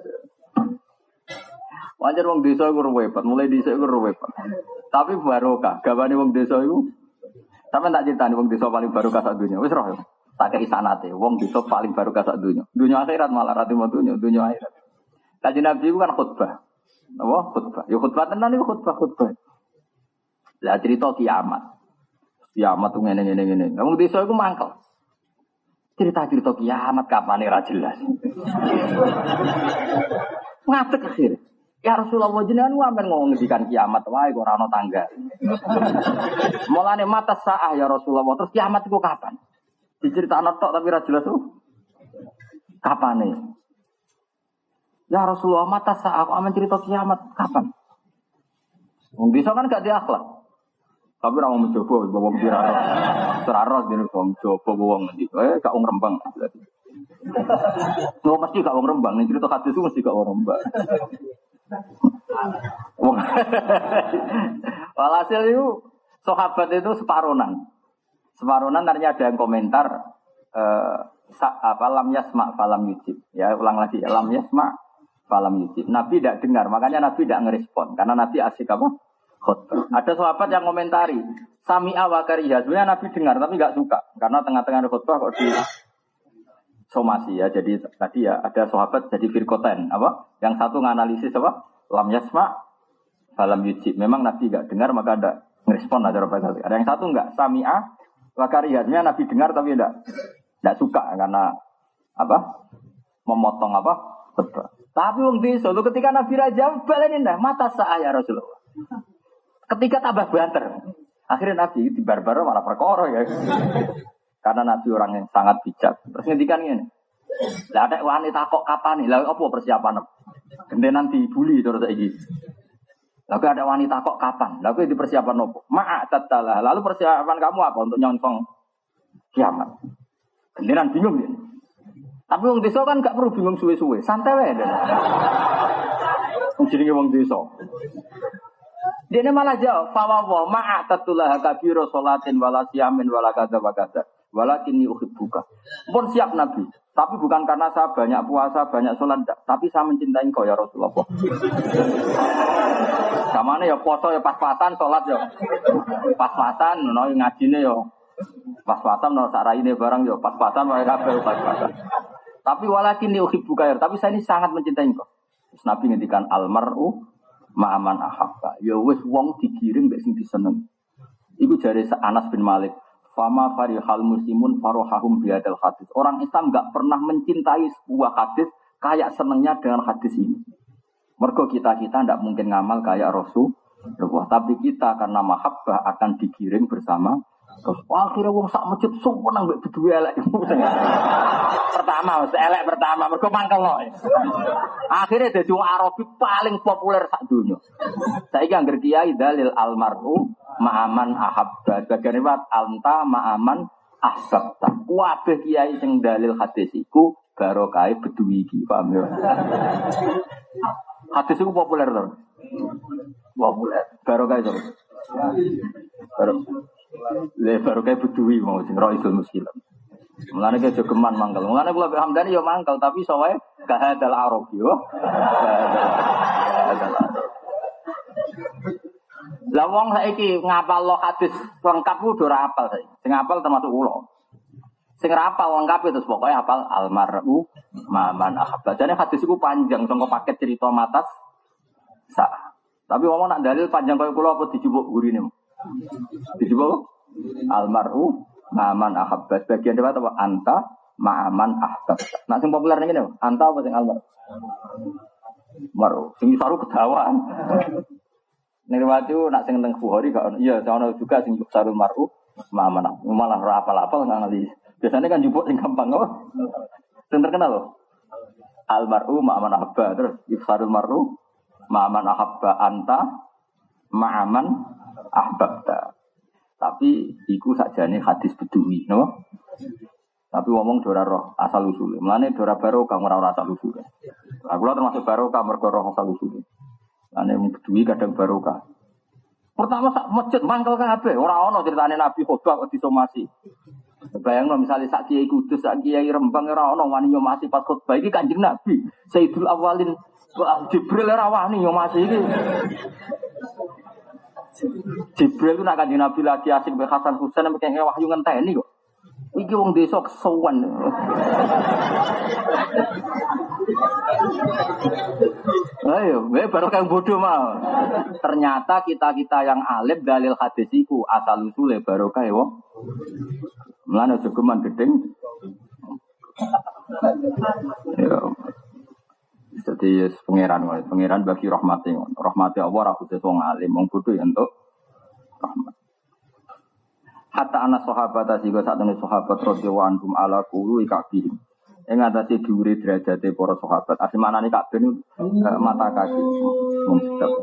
Speaker 1: Wajar wong desa iku repot, mulai desa iku repot. Tapi barokah, gawane wong desa iku. Sampe tak critani wong desa paling barokah sak donya. Wis roh. Tak kei sanate, wong desa paling barokah sak donya. Donya akhirat malah ra timo donya, donya akhirat. Kanjeng Nabi iku kan khutbah. Apa? Khutbah. Ya khutbah tenan iku khutbah-khutbah. Lah cerita kiamat. Kiamat tuh ngene-ngene ngene. Wong desa iku mangkel. Cerita-cerita kiamat kapane ra jelas. Ngadeg akhir. Ya Rasulullah jenengan wae ngomong ngendikan kiamat wae kok ora ana tanggal. Mulane mata saah ya Rasulullah terus kiamat iku kapan? Diceritakno tok tapi ra jelas tuh. Kapane? Ya Rasulullah mata saah kok amen cerita kiamat kapan? Wong bisa kan gak diakhlak. Tapi ora mau mencoba wong piraro. Teraro dene wong coba wong ngendi. Eh gak wong Rembang berarti. Lo mesti gak wong Rembang, nek cerita hadis itu mesti gak wong Rembang. Walhasil itu sahabat itu separonan. Separonan ternyata ada yang komentar eh, apa lam yasma falam yujib. Ya ulang lagi lam yasma falam yujib. Nabi tidak dengar, makanya Nabi tidak ngerespon karena Nabi asik apa? Khutbah. Ada sahabat yang komentari sami'a wa kariha. Sebenarnya Nabi dengar tapi enggak suka karena tengah-tengah khutbah kok di somasi ya. Jadi tadi ya ada sahabat jadi firqoten apa? Yang satu nganalisis apa? Lam yasma falam yujib. Memang Nabi enggak dengar maka ada ngerespon aja apa Ada yang satu enggak sami'a wa kariha. Sebenarnya Nabi dengar tapi enggak enggak suka karena apa? Memotong apa? Khutbah. Tapi wong desa ketika Nabi raja balenin dah mata sa'ah ya Rasulullah. Ketika tambah banter, akhirnya Nabi di barbar malah perkara ya. Karena Nabi orang yang sangat bijak. Terus ngendikan ngene. Lah ada wanita kok kapan nih? Lah apa persiapan? Gendenan dibuli terus saiki. Lalu ada wanita kok kapan? Lalu di persiapan apa? Ma'atattalah. Lalu persiapan kamu apa untuk nyongsong kiamat? Gendenan bingung dia. Tapi wong desa kan gak perlu bingung suwe-suwe, santai wae. Wong jenenge wong desa. Dene malah jawab, fa wa ma'atatullah kabira salatin wala siyamin wala kadza wa kadza. Walakinni uhibbuka. Pun siap Nabi, tapi bukan karena saya banyak puasa, banyak salat, tapi saya mencintai engkau ya Rasulullah. Samane ya poso ya pas-pasan, salat ya pas-pasan, ono ngajine ya pas-pasan, ono saraine barang ya pas-pasan wae kabeh pas-pasan. Tapi walakinni uhibbuka, tapi saya ini sangat mencintai engkau. Terus Nabi ngendikan almar'u ma'aman ahabba. Ya wis wong digiring mek sing diseneng. Iku jare Anas bin Malik. Fama farihal muslimun farohahum biadal hadis. Orang Islam enggak pernah mencintai sebuah hadis kayak senengnya dengan hadis ini. Mergo kita-kita enggak mungkin ngamal kayak Rasulullah, tapi kita karena mahabbah akan digiring bersama. Terus akhirnya wong sak masjid sumpah mbek berdua elek. Pertama, elek pertama mergo mangkelno. Akhirnya dadi wong Arabi paling populer sak donya. Saiki angger kiai dalil almar'u ma'aman ahabba. Bagian riwayat anta ma'aman ahbabta. Kabeh kiai sing dalil hadis iku barokah bedui iki, paham ya? Hadis iku populer to. Populer. Barokah itu. Barokah. Le barokah bedui mau sing raisul muslim. Mulane ke jogeman mangkel. Mulane kula Hamdani ya mangkel tapi sowae kahadal arab yo. Lah wong saiki ngapalno hadis lengkap ku ora hafal saiki. Sing hafal termasuk kula. Sing ora hafal lengkap itu pokoke hafal almar'u ma'aman ahabba. Jane hadis iku panjang sangko paket cerita matas sa. Tapi wong nak dalil panjang kaya kula apa dijupuk gurine. Dijupuk almar'u ma'aman ahabba. Bagian dewa apa anta ma'aman ahbab. Nak sing populer ngene anta apa sing almar? Maru sing saru kedawaan. Nirwati nak sing teng Bukhari gak ono. Iya, ono juga sing sarul mar'u ma'aman. Malah ora apal-apal nganali. Biasanya kan jupuk sing gampang kok. Sing terkenal lho. Al mar'u ma'aman ahabba. Terus ifsarul mar'u ma'aman ahabba anta ma'aman ahbabta. Tapi iku sakjane hadis bedui, no? Tapi ngomong dora roh asal usule. Mulane dora barokah ora ora asal usule. Lah kula termasuk barokah mergo roh asal usule. Ane bedui kadang barokah. Pertama sak masjid mangkel kabeh, ora ana critane Nabi khotbah kok disomasi. Bayangno misale sak kiai Kudus, sak kiai Rembang ora ana wani nyomasi pas khotbah iki Kanjeng Nabi. Sayyidul Awwalin Jibril ora wani nyomasi iki. Jibril itu nak Kanjeng Nabi lagi asik be Hasan Husain nek kene wahyu ngenteni kok. Iki wong desa kesuwen. Ayo, we baru kang bodoh mah. Ternyata kita-kita yang alim dalil hadis iku asal usule barokah ya wong. Mulane jogeman gedeng. Ya. Jadi pangeran wae, pangeran bagi rahmate ngono. Rahmate Allah ora khusus wong alim, wong bodoh ya entuk rahmat. Hatta ana sahabat asiko satune sahabat radhiyallahu anhum ala qulu ikabihim. Ing atase dhuwure derajate para sahabat. Asmanane kabeh niku mata kaki. Mun sedap.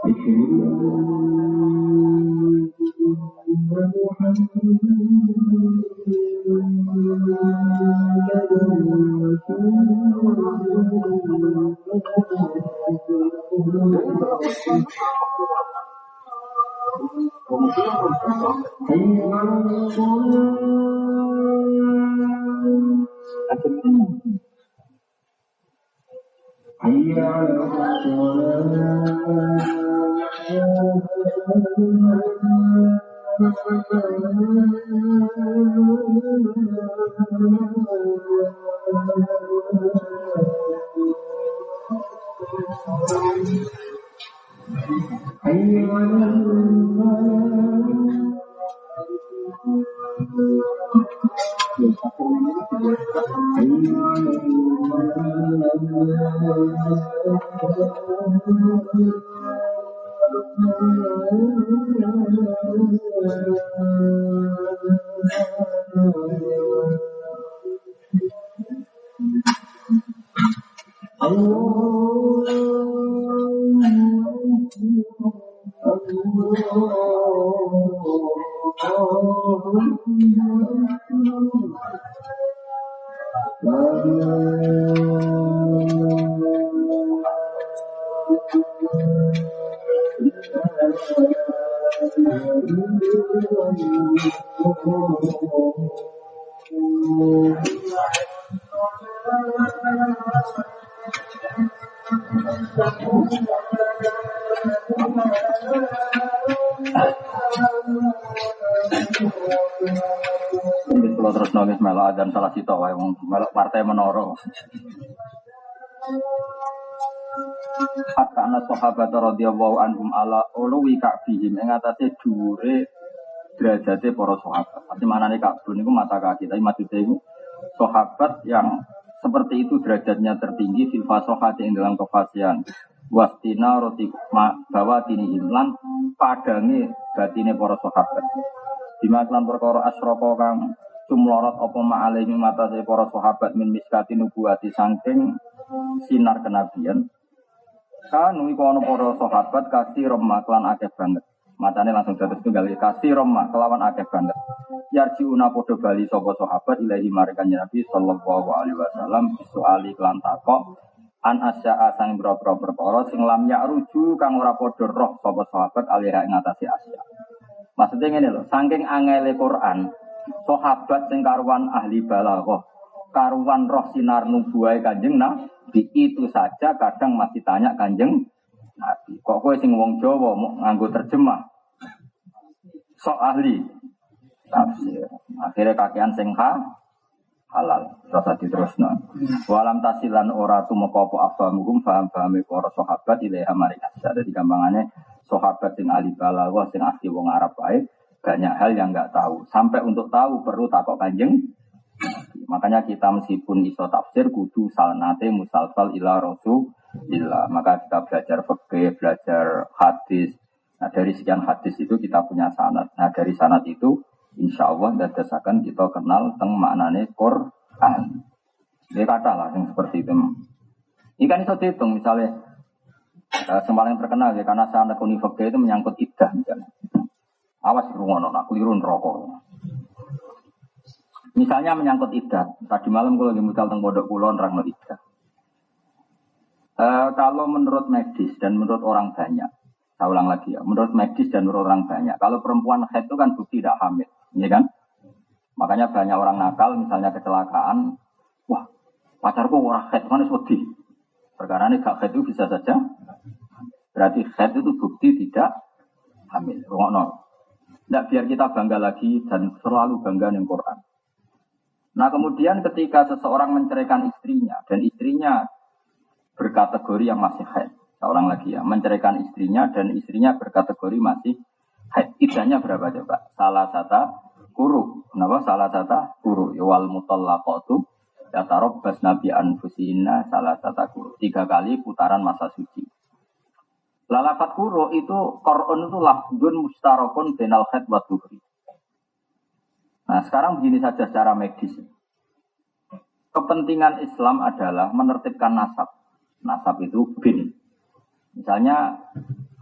Speaker 1: Kalau terus nulis melok dan salah sito wae wong melok partai menoro. Hatta ana sahabat radhiyallahu anhum ala uluwi ka'bihim ing atase dhuwure derajate para sahabat. Pasti manane Ka'bun niku mata kaki, tapi maksudnya itu sahabat yang seperti itu derajatnya tertinggi fil fasahati ing dalam kefasihan. Wastina roti bawa tini imlan padange batine para sahabat. Dimaklan perkara asroko kang cumlorot apa ma'alaihi matase para sahabat min miskati nubuwati saking sinar kenabian. Kanu iku ana para sahabat kasih remah lan akeh banget. Matane langsung dados tunggal kasih remah kelawan akeh banget. Yarjiuna padha bali sapa sahabat ilahi marikan Nabi sallallahu alaihi wasallam soali lan takok an asya'a sang boro-boro perkara sing lam ya'ruju kang ora padha roh sapa sahabat alih ing ngatasi asya. Maksudnya ngene lho, saking angele Quran, sahabat sing karuan ahli balaghah, karuan roh sinar nubuwah Kanjeng Nabi itu saja kadang masih tanya Kanjeng Nabi. Kok kowe sing wong Jawa mau nganggo terjemah? Sok ahli tafsir. Akhirnya kakean sing ha halal. Terus diterusno. Walam tasilan ora tumeka apa afamuhum paham-pahame para sahabat ilaha marikas. Dadi gampangane sahabat sing ahli balaghah sing asli wong Arab wae banyak hal yang enggak tahu. Sampai untuk tahu perlu takok Kanjeng. Makanya kita meskipun iso tafsir kudu sanate musalsal ila rasulillah. Maka kita belajar fikih, belajar hadis. Nah, dari sekian hadis itu kita punya sanad. Nah, dari sanad itu insyaallah dadasaken kita kenal teng maknane Quran. Dia kata lah yang seperti itu. Ini kan iso dihitung misalnya Uh, yang terkenal ya karena sanad kuni fikih itu menyangkut iddah misalnya. Awas rungono nak keliru neraka. Misalnya menyangkut iddah. Tadi malam kalau lagi mutal teng pondok kula nerangno iddah. Uh, kalau menurut medis dan menurut orang banyak, saya ulang lagi ya, menurut medis dan menurut orang banyak, kalau perempuan haid itu kan bukti tidak hamil, ya kan? Makanya banyak orang nakal misalnya kecelakaan, wah pacarku ora haid kan wedi. Perkara ini gak haid itu bisa saja. Berarti haid itu bukti tidak hamil. Rungokno. Tidak biar kita bangga lagi dan selalu bangga dengan Quran. Nah kemudian ketika seseorang menceraikan istrinya dan istrinya berkategori yang masih haid. Seorang lagi ya menceraikan istrinya dan istrinya berkategori masih haid. Iddahnya berapa coba? Salah satu kuru. Kenapa? Salah satu kuru. Wal mutallaqatu yatarabbas nabi anfusina salah satu kuru. Tiga kali putaran masa suci. Lalafat kuru itu Qur'an itu lafzun mustarakun bainal haid wa dhuhri. Nah, sekarang begini saja secara medis. Kepentingan Islam adalah menertibkan nasab. Nasab itu bin. Misalnya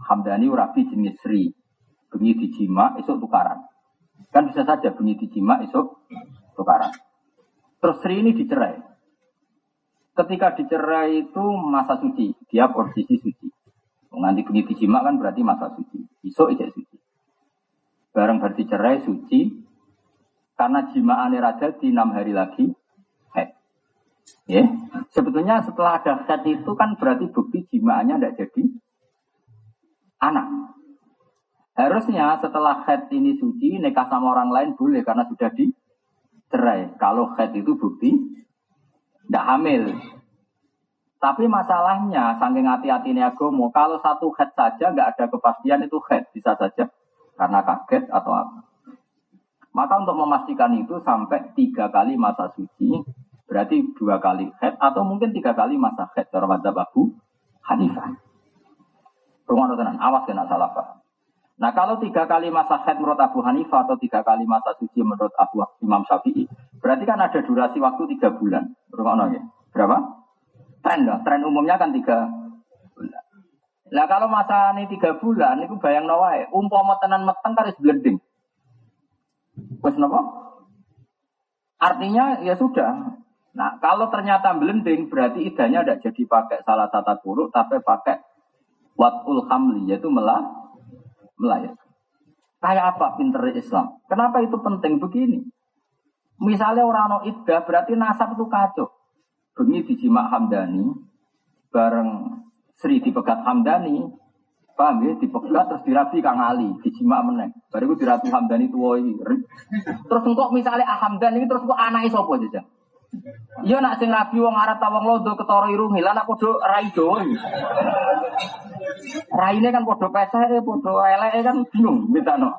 Speaker 1: Hamdani rabi jenis Sri. Bengi dijima esuk tukaran. Kan bisa saja bengi dijima esuk tukaran. Terus Sri ini dicerai. Ketika dicerai itu masa suci, dia posisi suci. Nanti bengi dijima kan berarti masa suci. Esuk ijek suci. Bareng berarti cerai suci karena jimaane raja di enam hari lagi head. Ya, sebetulnya setelah ada head itu kan berarti bukti jimaannya tidak jadi anak. Harusnya setelah head ini suci, nikah sama orang lain boleh karena sudah dicerai. Kalau head itu bukti tidak hamil. Tapi masalahnya, saking hati-hatinya agama, kalau satu head saja nggak ada kepastian itu head, bisa saja karena kaget atau apa. Maka untuk memastikan itu sampai tiga kali masa suci, berarti dua kali head atau mungkin tiga kali masa head. Cara madzhab Abu Hanifah. Rumah tenan, awas kena salah paham. Nah kalau tiga kali masa head menurut Abu Hanifah atau tiga kali masa suci menurut Abu Imam Syafi'i, berarti kan ada durasi waktu tiga bulan. Rumah ya? Berapa? Tren lah. Tren umumnya kan tiga bulan. Nah kalau masa ini tiga bulan, itu bayang nawai. Umpama tenan meteng karis blending. Wes napa? Artinya ya sudah. Nah kalau ternyata blending, berarti idahnya tidak jadi pakai salah satu huruf, tapi pakai watul hamli, yaitu melah, melahirkan. Kayak apa pinter Islam? Kenapa itu penting begini? Misalnya orang no iddah, berarti nasab itu kacau. Bengi dijima Hamdani, bareng Sri dipegat Hamdani, paham ya? Dipegat terus dirabi Kang Ali, dijima meneng. Baru itu dirabi Hamdani tuwoi. Terus engkau misalnya Hamdani terus engkau anaknya sopo aja. Iya nak sing rabi wong Arab ta wong londo ketara irungi, lan aku do rai do. Raine kan padha peseke, padha eleke kan bingung mitano.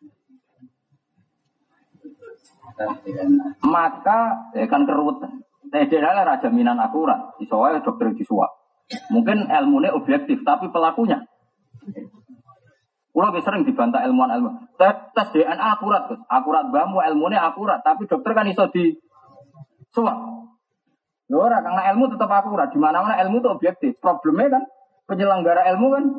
Speaker 1: Maka ya kan keruwetan. Tedela raja minan akurat, iso wae dokter disuap. Mungkin ilmunya objektif, tapi pelakunya. Kulo sering dibantah ilmuwan ilmu. Tes, tes D N A akurat, Gus. Akurat bamu ilmunya akurat, tapi dokter kan iso di suap. Lho ora karena ilmu tetap akurat. Di mana-mana ilmu itu objektif. Problemnya kan penyelenggara ilmu kan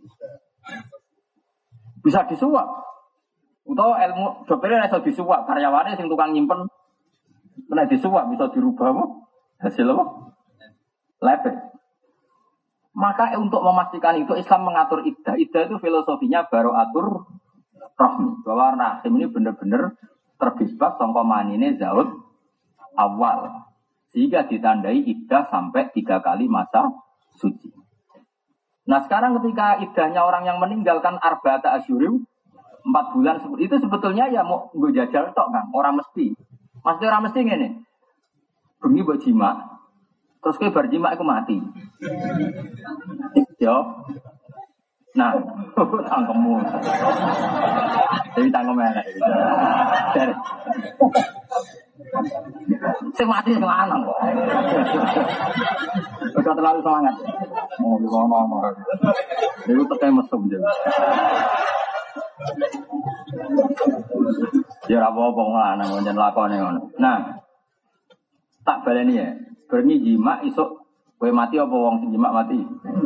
Speaker 1: bisa disuap. Utawa ilmu dokternya iso disuap, karyawannya sing tukang nyimpen kena disuap bisa dirubah apa? Hasil apa? Lepek. Maka untuk memastikan itu Islam mengatur iddah. Iddah itu filosofinya baru atur rahmi. Bahwa rahim ini benar-benar terbebas sangka manine zaud awal. Sehingga ditandai iddah sampai tiga kali masa suci. Nah sekarang ketika iddahnya orang yang meninggalkan arba'ata asyurim, empat bulan, itu sebetulnya ya mau gue jajal tok kan, orang mesti. Maksudnya orang mesti ngene. Bengi mbok jima. Terus kowe bar jima iku mati. Yo. Nah, tangkemmu. Jadi tangkem elek iki. Dari. Sing mati sing lanang kok. Ora terlalu semangat. Oh, ngono-ngono. Iku tekan mesum jare. Ya ora apa-apa ngono njen lakone ngono. Nah, tak baleni ya. Bengi jima isuk kowe mati apa wong sing jima mati?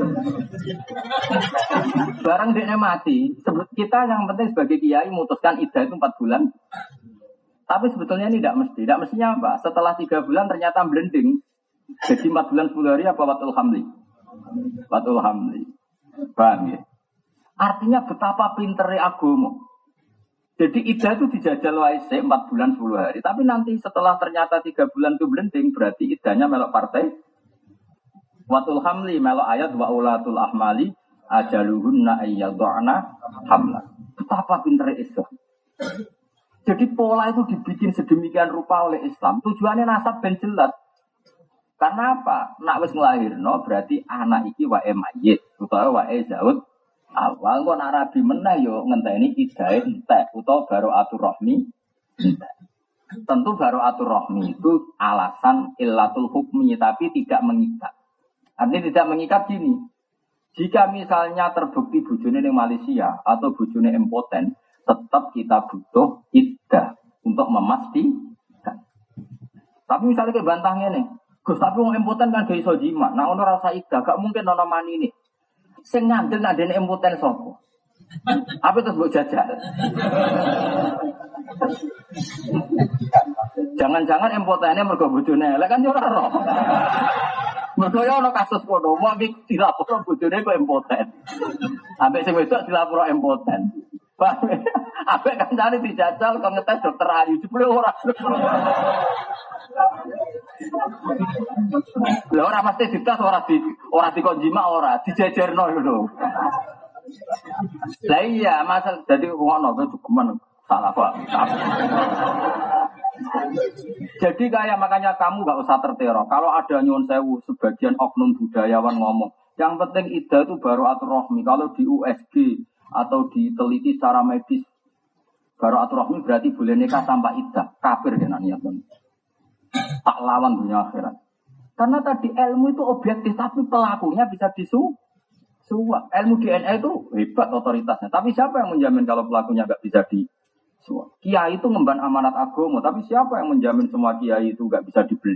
Speaker 1: Barang dekne mati, kita yang penting sebagai kiai memutuskan iddah itu empat bulan. Tapi sebetulnya ini tidak mesti. Tidak mestinya apa? Setelah tiga bulan ternyata blending. Jadi empat bulan sepuluh hari apa watul hamli? Watul hamli. Paham ya? Artinya betapa pinternya agama. Jadi iddah itu dijajal wae empat bulan sepuluh hari. Tapi nanti setelah ternyata tiga bulan itu blending, berarti iddahnya melok partai. Watul hamli melok ayat wa ulatul ahmali ajaluhunna ayyadhana hamla. Betapa pinternya Islam. Jadi pola itu dibikin sedemikian rupa oleh Islam. Tujuannya nasab ben jelas. Karena apa? Nak wis nglahirno berarti anak iki wae mayit utawa wae zaud awal kok nak rabi meneh yo ngenteni iddahe entek utawa baraatur rahmi entek. Tentu baraatur rahmi itu alasan illatul hukmi tapi tidak mengikat. Artinya tidak mengikat gini. Jika misalnya terbukti bojone ning Malaysia atau bojone impoten, tetap kita butuh iddah untuk memastikan. Tapi misalnya kayak bantahnya nih, Gus tapi wong impoten kan gak iso jima. Nah ono rasa iddah, gak mungkin ono mani ini. Sing ngandel nak dene impoten sapa? Apa terus mbok jajal? Jangan-jangan impotene mergo bojone elek kan yo ora ro. Mergo yo ana kasus kono, wong iki dilapor bojone kok impoten. Ambek sing wedok dilapor impoten. Ambek kancane dijajal kok ngetes dokter Ayu jebule ora. Lah ora mesti dites ora di ora dikonjima ora dijejerno lho. Lah iya, masal jadi ngono kok cukuman salah Pak. Jadi kayak makanya kamu gak usah terteror. Kalau ada nyuwun sewu sebagian oknum budayawan ngomong, yang penting iddah itu baru atur rohmi. Kalau di U S G atau diteliti secara medis baru atur rohmi berarti boleh nikah tanpa iddah. Kafir kan niatnya. Tak lawan dunia akhirat. Karena tadi ilmu itu objektif tapi pelakunya bisa disu suap. Ilmu D N A itu hebat otoritasnya. Tapi siapa yang menjamin kalau pelakunya nggak bisa disuap? Kiai itu ngemban amanat agama. Tapi siapa yang menjamin semua kiai itu nggak bisa dibeli?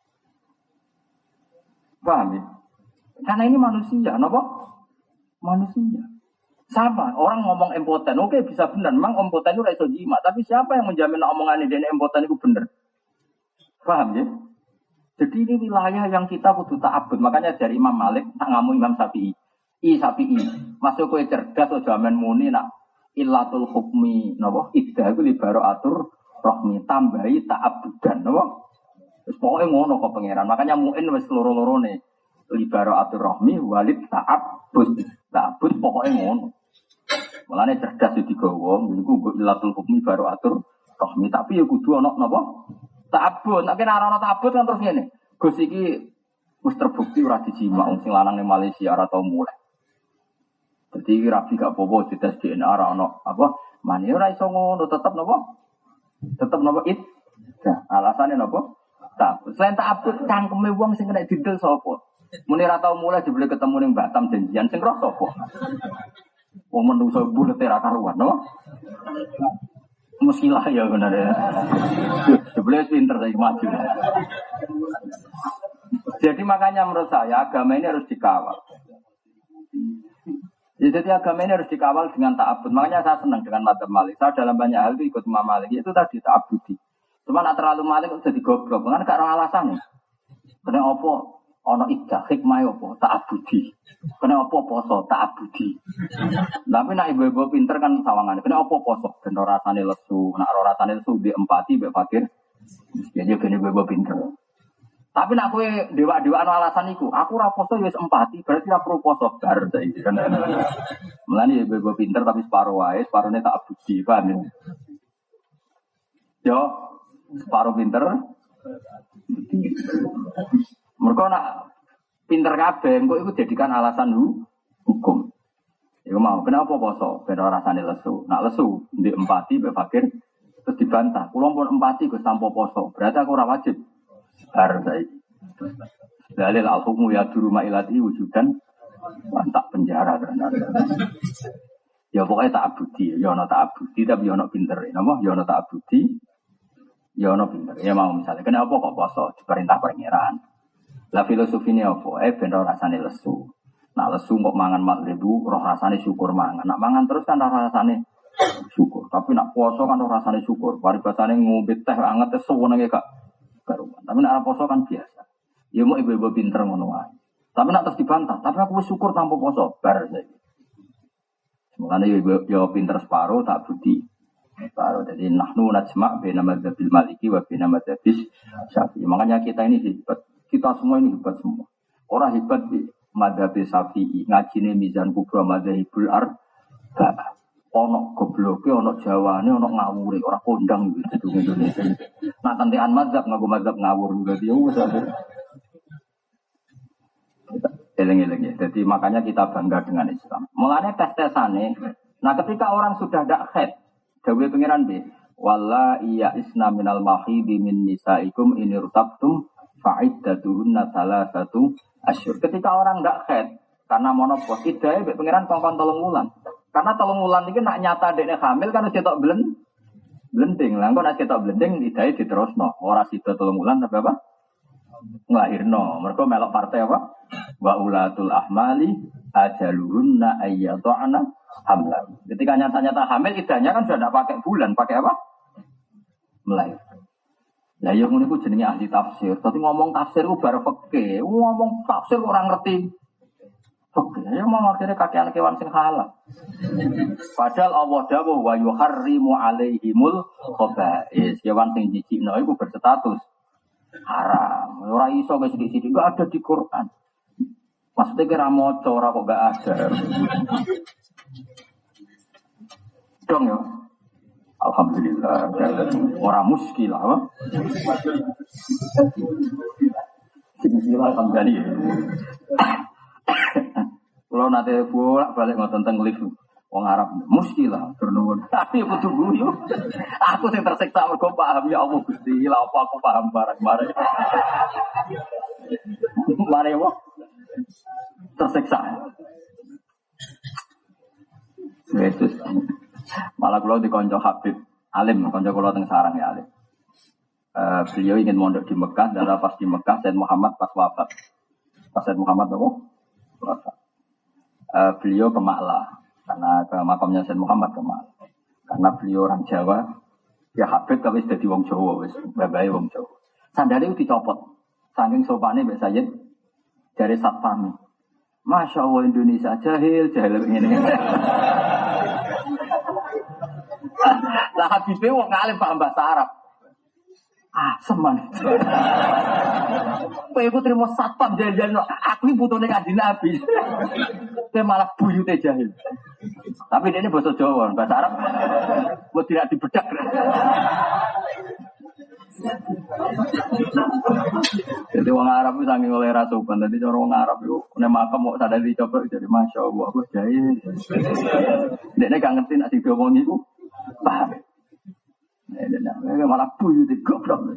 Speaker 1: Paham ya? Karena ini manusia, kenapa? Manusia. Sama, orang ngomong impoten. Oke, bisa benar. Memang impoten itu iso jima. Tapi siapa yang menjamin omongan D N A impoten itu benar? Paham ya? Jadi ini wilayah yang kita kudu ta'abud. Makanya dari Imam Malik, tak ngamu Imam Syafi'i. I sapi i, masuk kue cerdas atau zaman muni nak ilatul hukmi, nopo iddah itu libaro atur rohmi tambahi ta'abudan, nopo. Terus pokoknya ngono kok pangeran. Makanya muin wes loro-loro nih libaro atur rohmi walid ta'abud, ta'abud pokoknya ngono. Mulane cerdas itu digawa, jadi gue ilatul hukmi baru atur rohmi. Tapi ya kudu ono nopo ta'abud. Nak kena ono ta'abud kan terus ngene. Gus iki wis terbukti ora dijima wong sing lanang ning Malaysia ora tau mulai. Jadi rapi gak apa-apa dites D N A ora ono apa mane ora iso ngono tetep napa tetep napa it nah alasane napa tak selain tak abut cangkeme wong sing kena didel sapa muni ora tau mulai jebule ketemu ning Batam janjian sing roh sapa wong menungso bulet ora karuan no musilah ya bener ya jebule pinter saiki maju jadi makanya menurut saya agama ini harus dikawal. Jadi agama ini harus dikawal dengan ta'abud. Makanya saya senang dengan madzhab Malik. Saya dalam banyak hal itu ikut Imam Malik. Itu tadi ta'abudi. Cuma nak terlalu Malik itu jadi goblok. Karena gak ada alasan nih. Kena apa? Ono iddah. Hikmah apa? Ta'abudi. Kena apa poso? Ta'abudi. Tapi nak ibu-ibu pinter kan sawangan. Kena apa poso? Kena rasanya lesu. Nak rasanya lesu di empati, di fakir. Jadi kena ibu-ibu pinter. Tapi nak kowe dewa-dewa anu alasan iku, aku ora poso ya wis empati, berarti ora perlu poso bar saiki kan. Mulane ya bebo pinter tapi separo wae, separone tak abudi, paham ya. Yo, separo pinter. Mergo nak pinter kabeh, engko iku jadikan alasan hukum. Iku mau, kenapa poso? Ben ora rasane lesu. Nak lesu, ndek empati mbek fakir terus dibantah. Kulo pun empati Gus tanpa poso, berarti aku ora wajib. Bar saiki. Dalil al-hukmu ya duru ma'ilati wujudan tak penjara ternyata. Ya pokoknya tak abudi, ya ono tak abudi tapi ya ono pinter. Napa? Ya ono tak abudi. Ya ono pinter. Ya mau misalnya kenapa kok poso diperintah pangeran. Lah filosofine apa? Eh ben ora rasane lesu. Nak lesu kok mangan magribu roh rasane syukur mangan. Nak mangan terus kan roh rasane syukur. Tapi nak puasa kan roh rasane syukur. Paribasane ngombe teh anget sewenenge gak karuan. Tapi nak poso kan biasa. Ya mau ibu-ibu pinter ngono wae. Tapi nak terus dibantah, tapi aku wis syukur tanpa poso bar saiki. Mulane ya ibu ya pinter separo tak budi. Separo. Jadi nahnu najma' baina madzhabil maliki wa baina madzhabis syafi'i. Makanya kita ini hebat. Kita semua ini hebat semua. Orang hebat di madzhab Syafi'i, ngajine mizan kubra madzhabul arba'. Ono gobloke, ono jawane, ono ngawure, ora kondang gitu di Indonesia. Nah, tentean mazhab ngaku mazhab ngawur berarti ya wis. Eleng-eleng ya. Jadi makanya kita bangga dengan Islam. Mulane tes-tesane, nah ketika orang sudah ndak khed, dawuh pangeran be, walla iya isna minal mahidi min nisaikum in irtabtum fa'iddatuhunna salasatu asyhur. Ketika orang ndak khed karena monopos, idae be pangeran kongkon telung wulan. Karena telung wulan iki nak nyata dekne hamil kan wis ketok blen blending. Lah kok nek ketok blending idahe diterusno. Ora sida telung wulan tapi apa? Nglahirno. Mergo melok partai apa? Wa ulatul ahmali ajaluhunna ayyadhana hamlan. Ketika nyata-nyata hamil idahnya kan sudah tidak pakai bulan, pakai apa? Melahirkan. Lah yo ngono iku jenenge ahli tafsir. Tapi ngomong tafsir ku bar fikih, ngomong tafsir orang ngerti. Oke, ya mau akhirnya kakean kewan sing halal. Padahal Allah dawuh wa yuharrimu alaihimul khaba'is. Kewan sing jijikno iku berstatus haram. Ora iso wis sithik-sithik enggak ada di Quran. Maksudnya kira maca ora kok enggak ada. Dong ya. Alhamdulillah. Ora muskilah, apa? Bismillah alhamdulillah. Kalau nanti bolak balik ngotot tentang lift, orang Arab muskilah bernuwun. Tapi butuh guyu. Aku sing tersiksa mergo paham ya Allah Gusti. Lah apa aku paham barang-barang. Mare wong tersiksa. Yesus. Malah kalau di konco Habib Alim, konco kalau teng sarang ya Alim. Uh, beliau ingin mondok di Mekah dan pas di Mekah Said Muhammad pas wafat. Pas Said Muhammad apa? Wafat. Uh, beliau ke Ma'la karena ke makamnya Said Muhammad ke Ma'la karena beliau orang Jawa ya Habib tapi sudah di wong Jawa wis babae wong Jawa sandale itu dicopot saking sopane Mbak Sayyid dari satpam. Masya Allah Indonesia jahil jahil ngene lah Habib wong ngalim paham bahasa Arab ah seman kowe iku trimo satpam jahil-jahil aku iki putune Kanjeng Nabi. Dia malah buyute jahil. Tapi dia ini bahasa Jawa, bahasa Arab. Buat tidak dibedak. Jadi orang Arab itu sangat oleh rasukan. Jadi orang Arab itu nek makam mau sadar dicoba jadi masya Allah aku jahil. Dia ini gak ngerti nak diomong itu paham. Dia malah buyute goblok.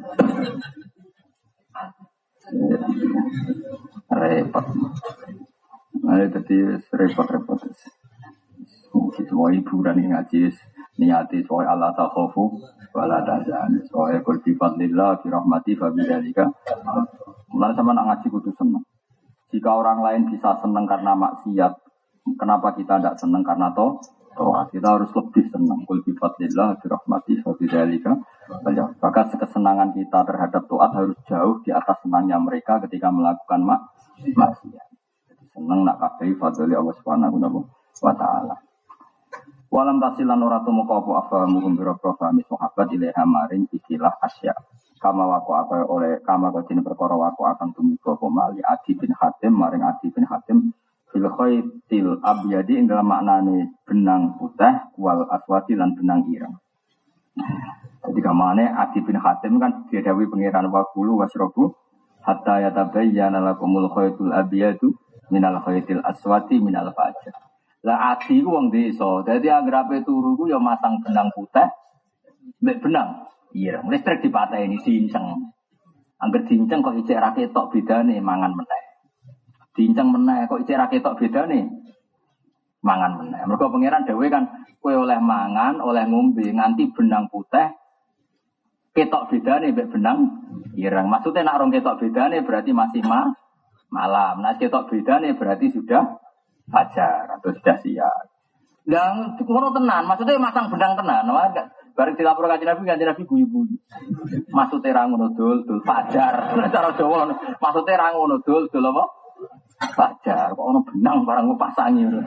Speaker 1: Repot. Nah, jadi repot-repot. Semua hiburan yang ngaji niati soal Allah takhofu wala tahzan. Soal kul bi fadlillah bi rahmati fa bidzalika. Mulai sama nak ngaji kudu seneng. Jika orang lain bisa senang karena maksiat, kenapa kita tidak senang karena toh? Toh kita harus lebih senang. Kul bi fadlillah bi rahmati fa bidzalika. Maka kesenangan kita terhadap taat harus jauh di atas senangnya mereka ketika melakukan mak maksiat. Seneng nak kabeh fadhole Allah Subhanahu wa taala. Walam tasilan ora tumeka apa afamu kumbira profami sahabat ilaha maring ikilah asya. Kama wako apa oleh kama kodine perkara wako akan tumeka apa mali Adi bin Hatim maring Adi bin Hatim fil khaitil abyadi ing dalam maknane benang putih wal aswati lan benang ireng. Jadi kamane Adi bin Hatim kan didhawuhi pangeran waqulu wasrobu hatta yatabayyana lakumul khaitul abyadu minal khaitil aswati minal fajr. Lah adi ku wong desa, dadi anggerape turu ku ya masang benang putih mek benang ireng. Listrik dipateni diinceng. Angger diinceng kok ijek ra ketok bedane mangan meneh. Diinceng meneh kok ijek ra ketok bedane mangan meneh. Mergo pangeran dhewe kan kowe oleh mangan, oleh ngombe nganti benang putih ketok bedane mek benang ireng. Maksudnya nek rong ketok bedane berarti masih mah malam. Nah, ketok bedane berarti sudah fajar atau sudah siang. Dan ngono tenan, maksudnya masang benang tenan. Bareng dilapor Kanjeng Nabi, Kanjeng Nabi guyu-guyu. Maksudnya ra ngono dul, dul fajar. Cara Jawa, maksudnya ra ngono dul, dul apa? Fajar. Kok ono benang barang kok pasangi ngono.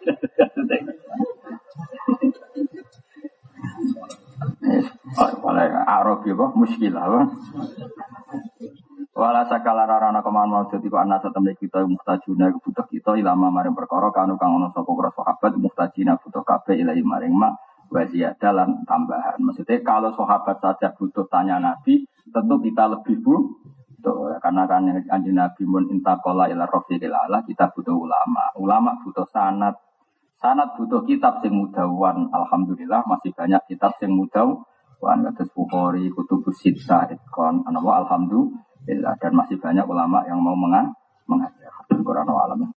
Speaker 1: Oleh Arab ya, muskilah apa? Wala sakala rarana keman mau dadi kok ana satemene kita muhtajuna butuh kita ilama maring perkara kanu kang ana sapa para sahabat muhtajina butuh kabeh ilahi maring mak wa ziyadalan tambahan. Maksudnya kalau sahabat saja butuh tanya Nabi, tentu kita lebih butuh karena kan Kanjeng Nabi mun intaqala ila rafiqil ala, kita butuh ulama. Ulama butuh sanad. Sanad butuh kitab sing mudawan. Alhamdulillah masih banyak kitab sing mudawan. Kados Bukhari, Kutubus Sittah, Itqan, alhamdulillah. Dan masih banyak ulama yang mau mengajar. Quran wa alam.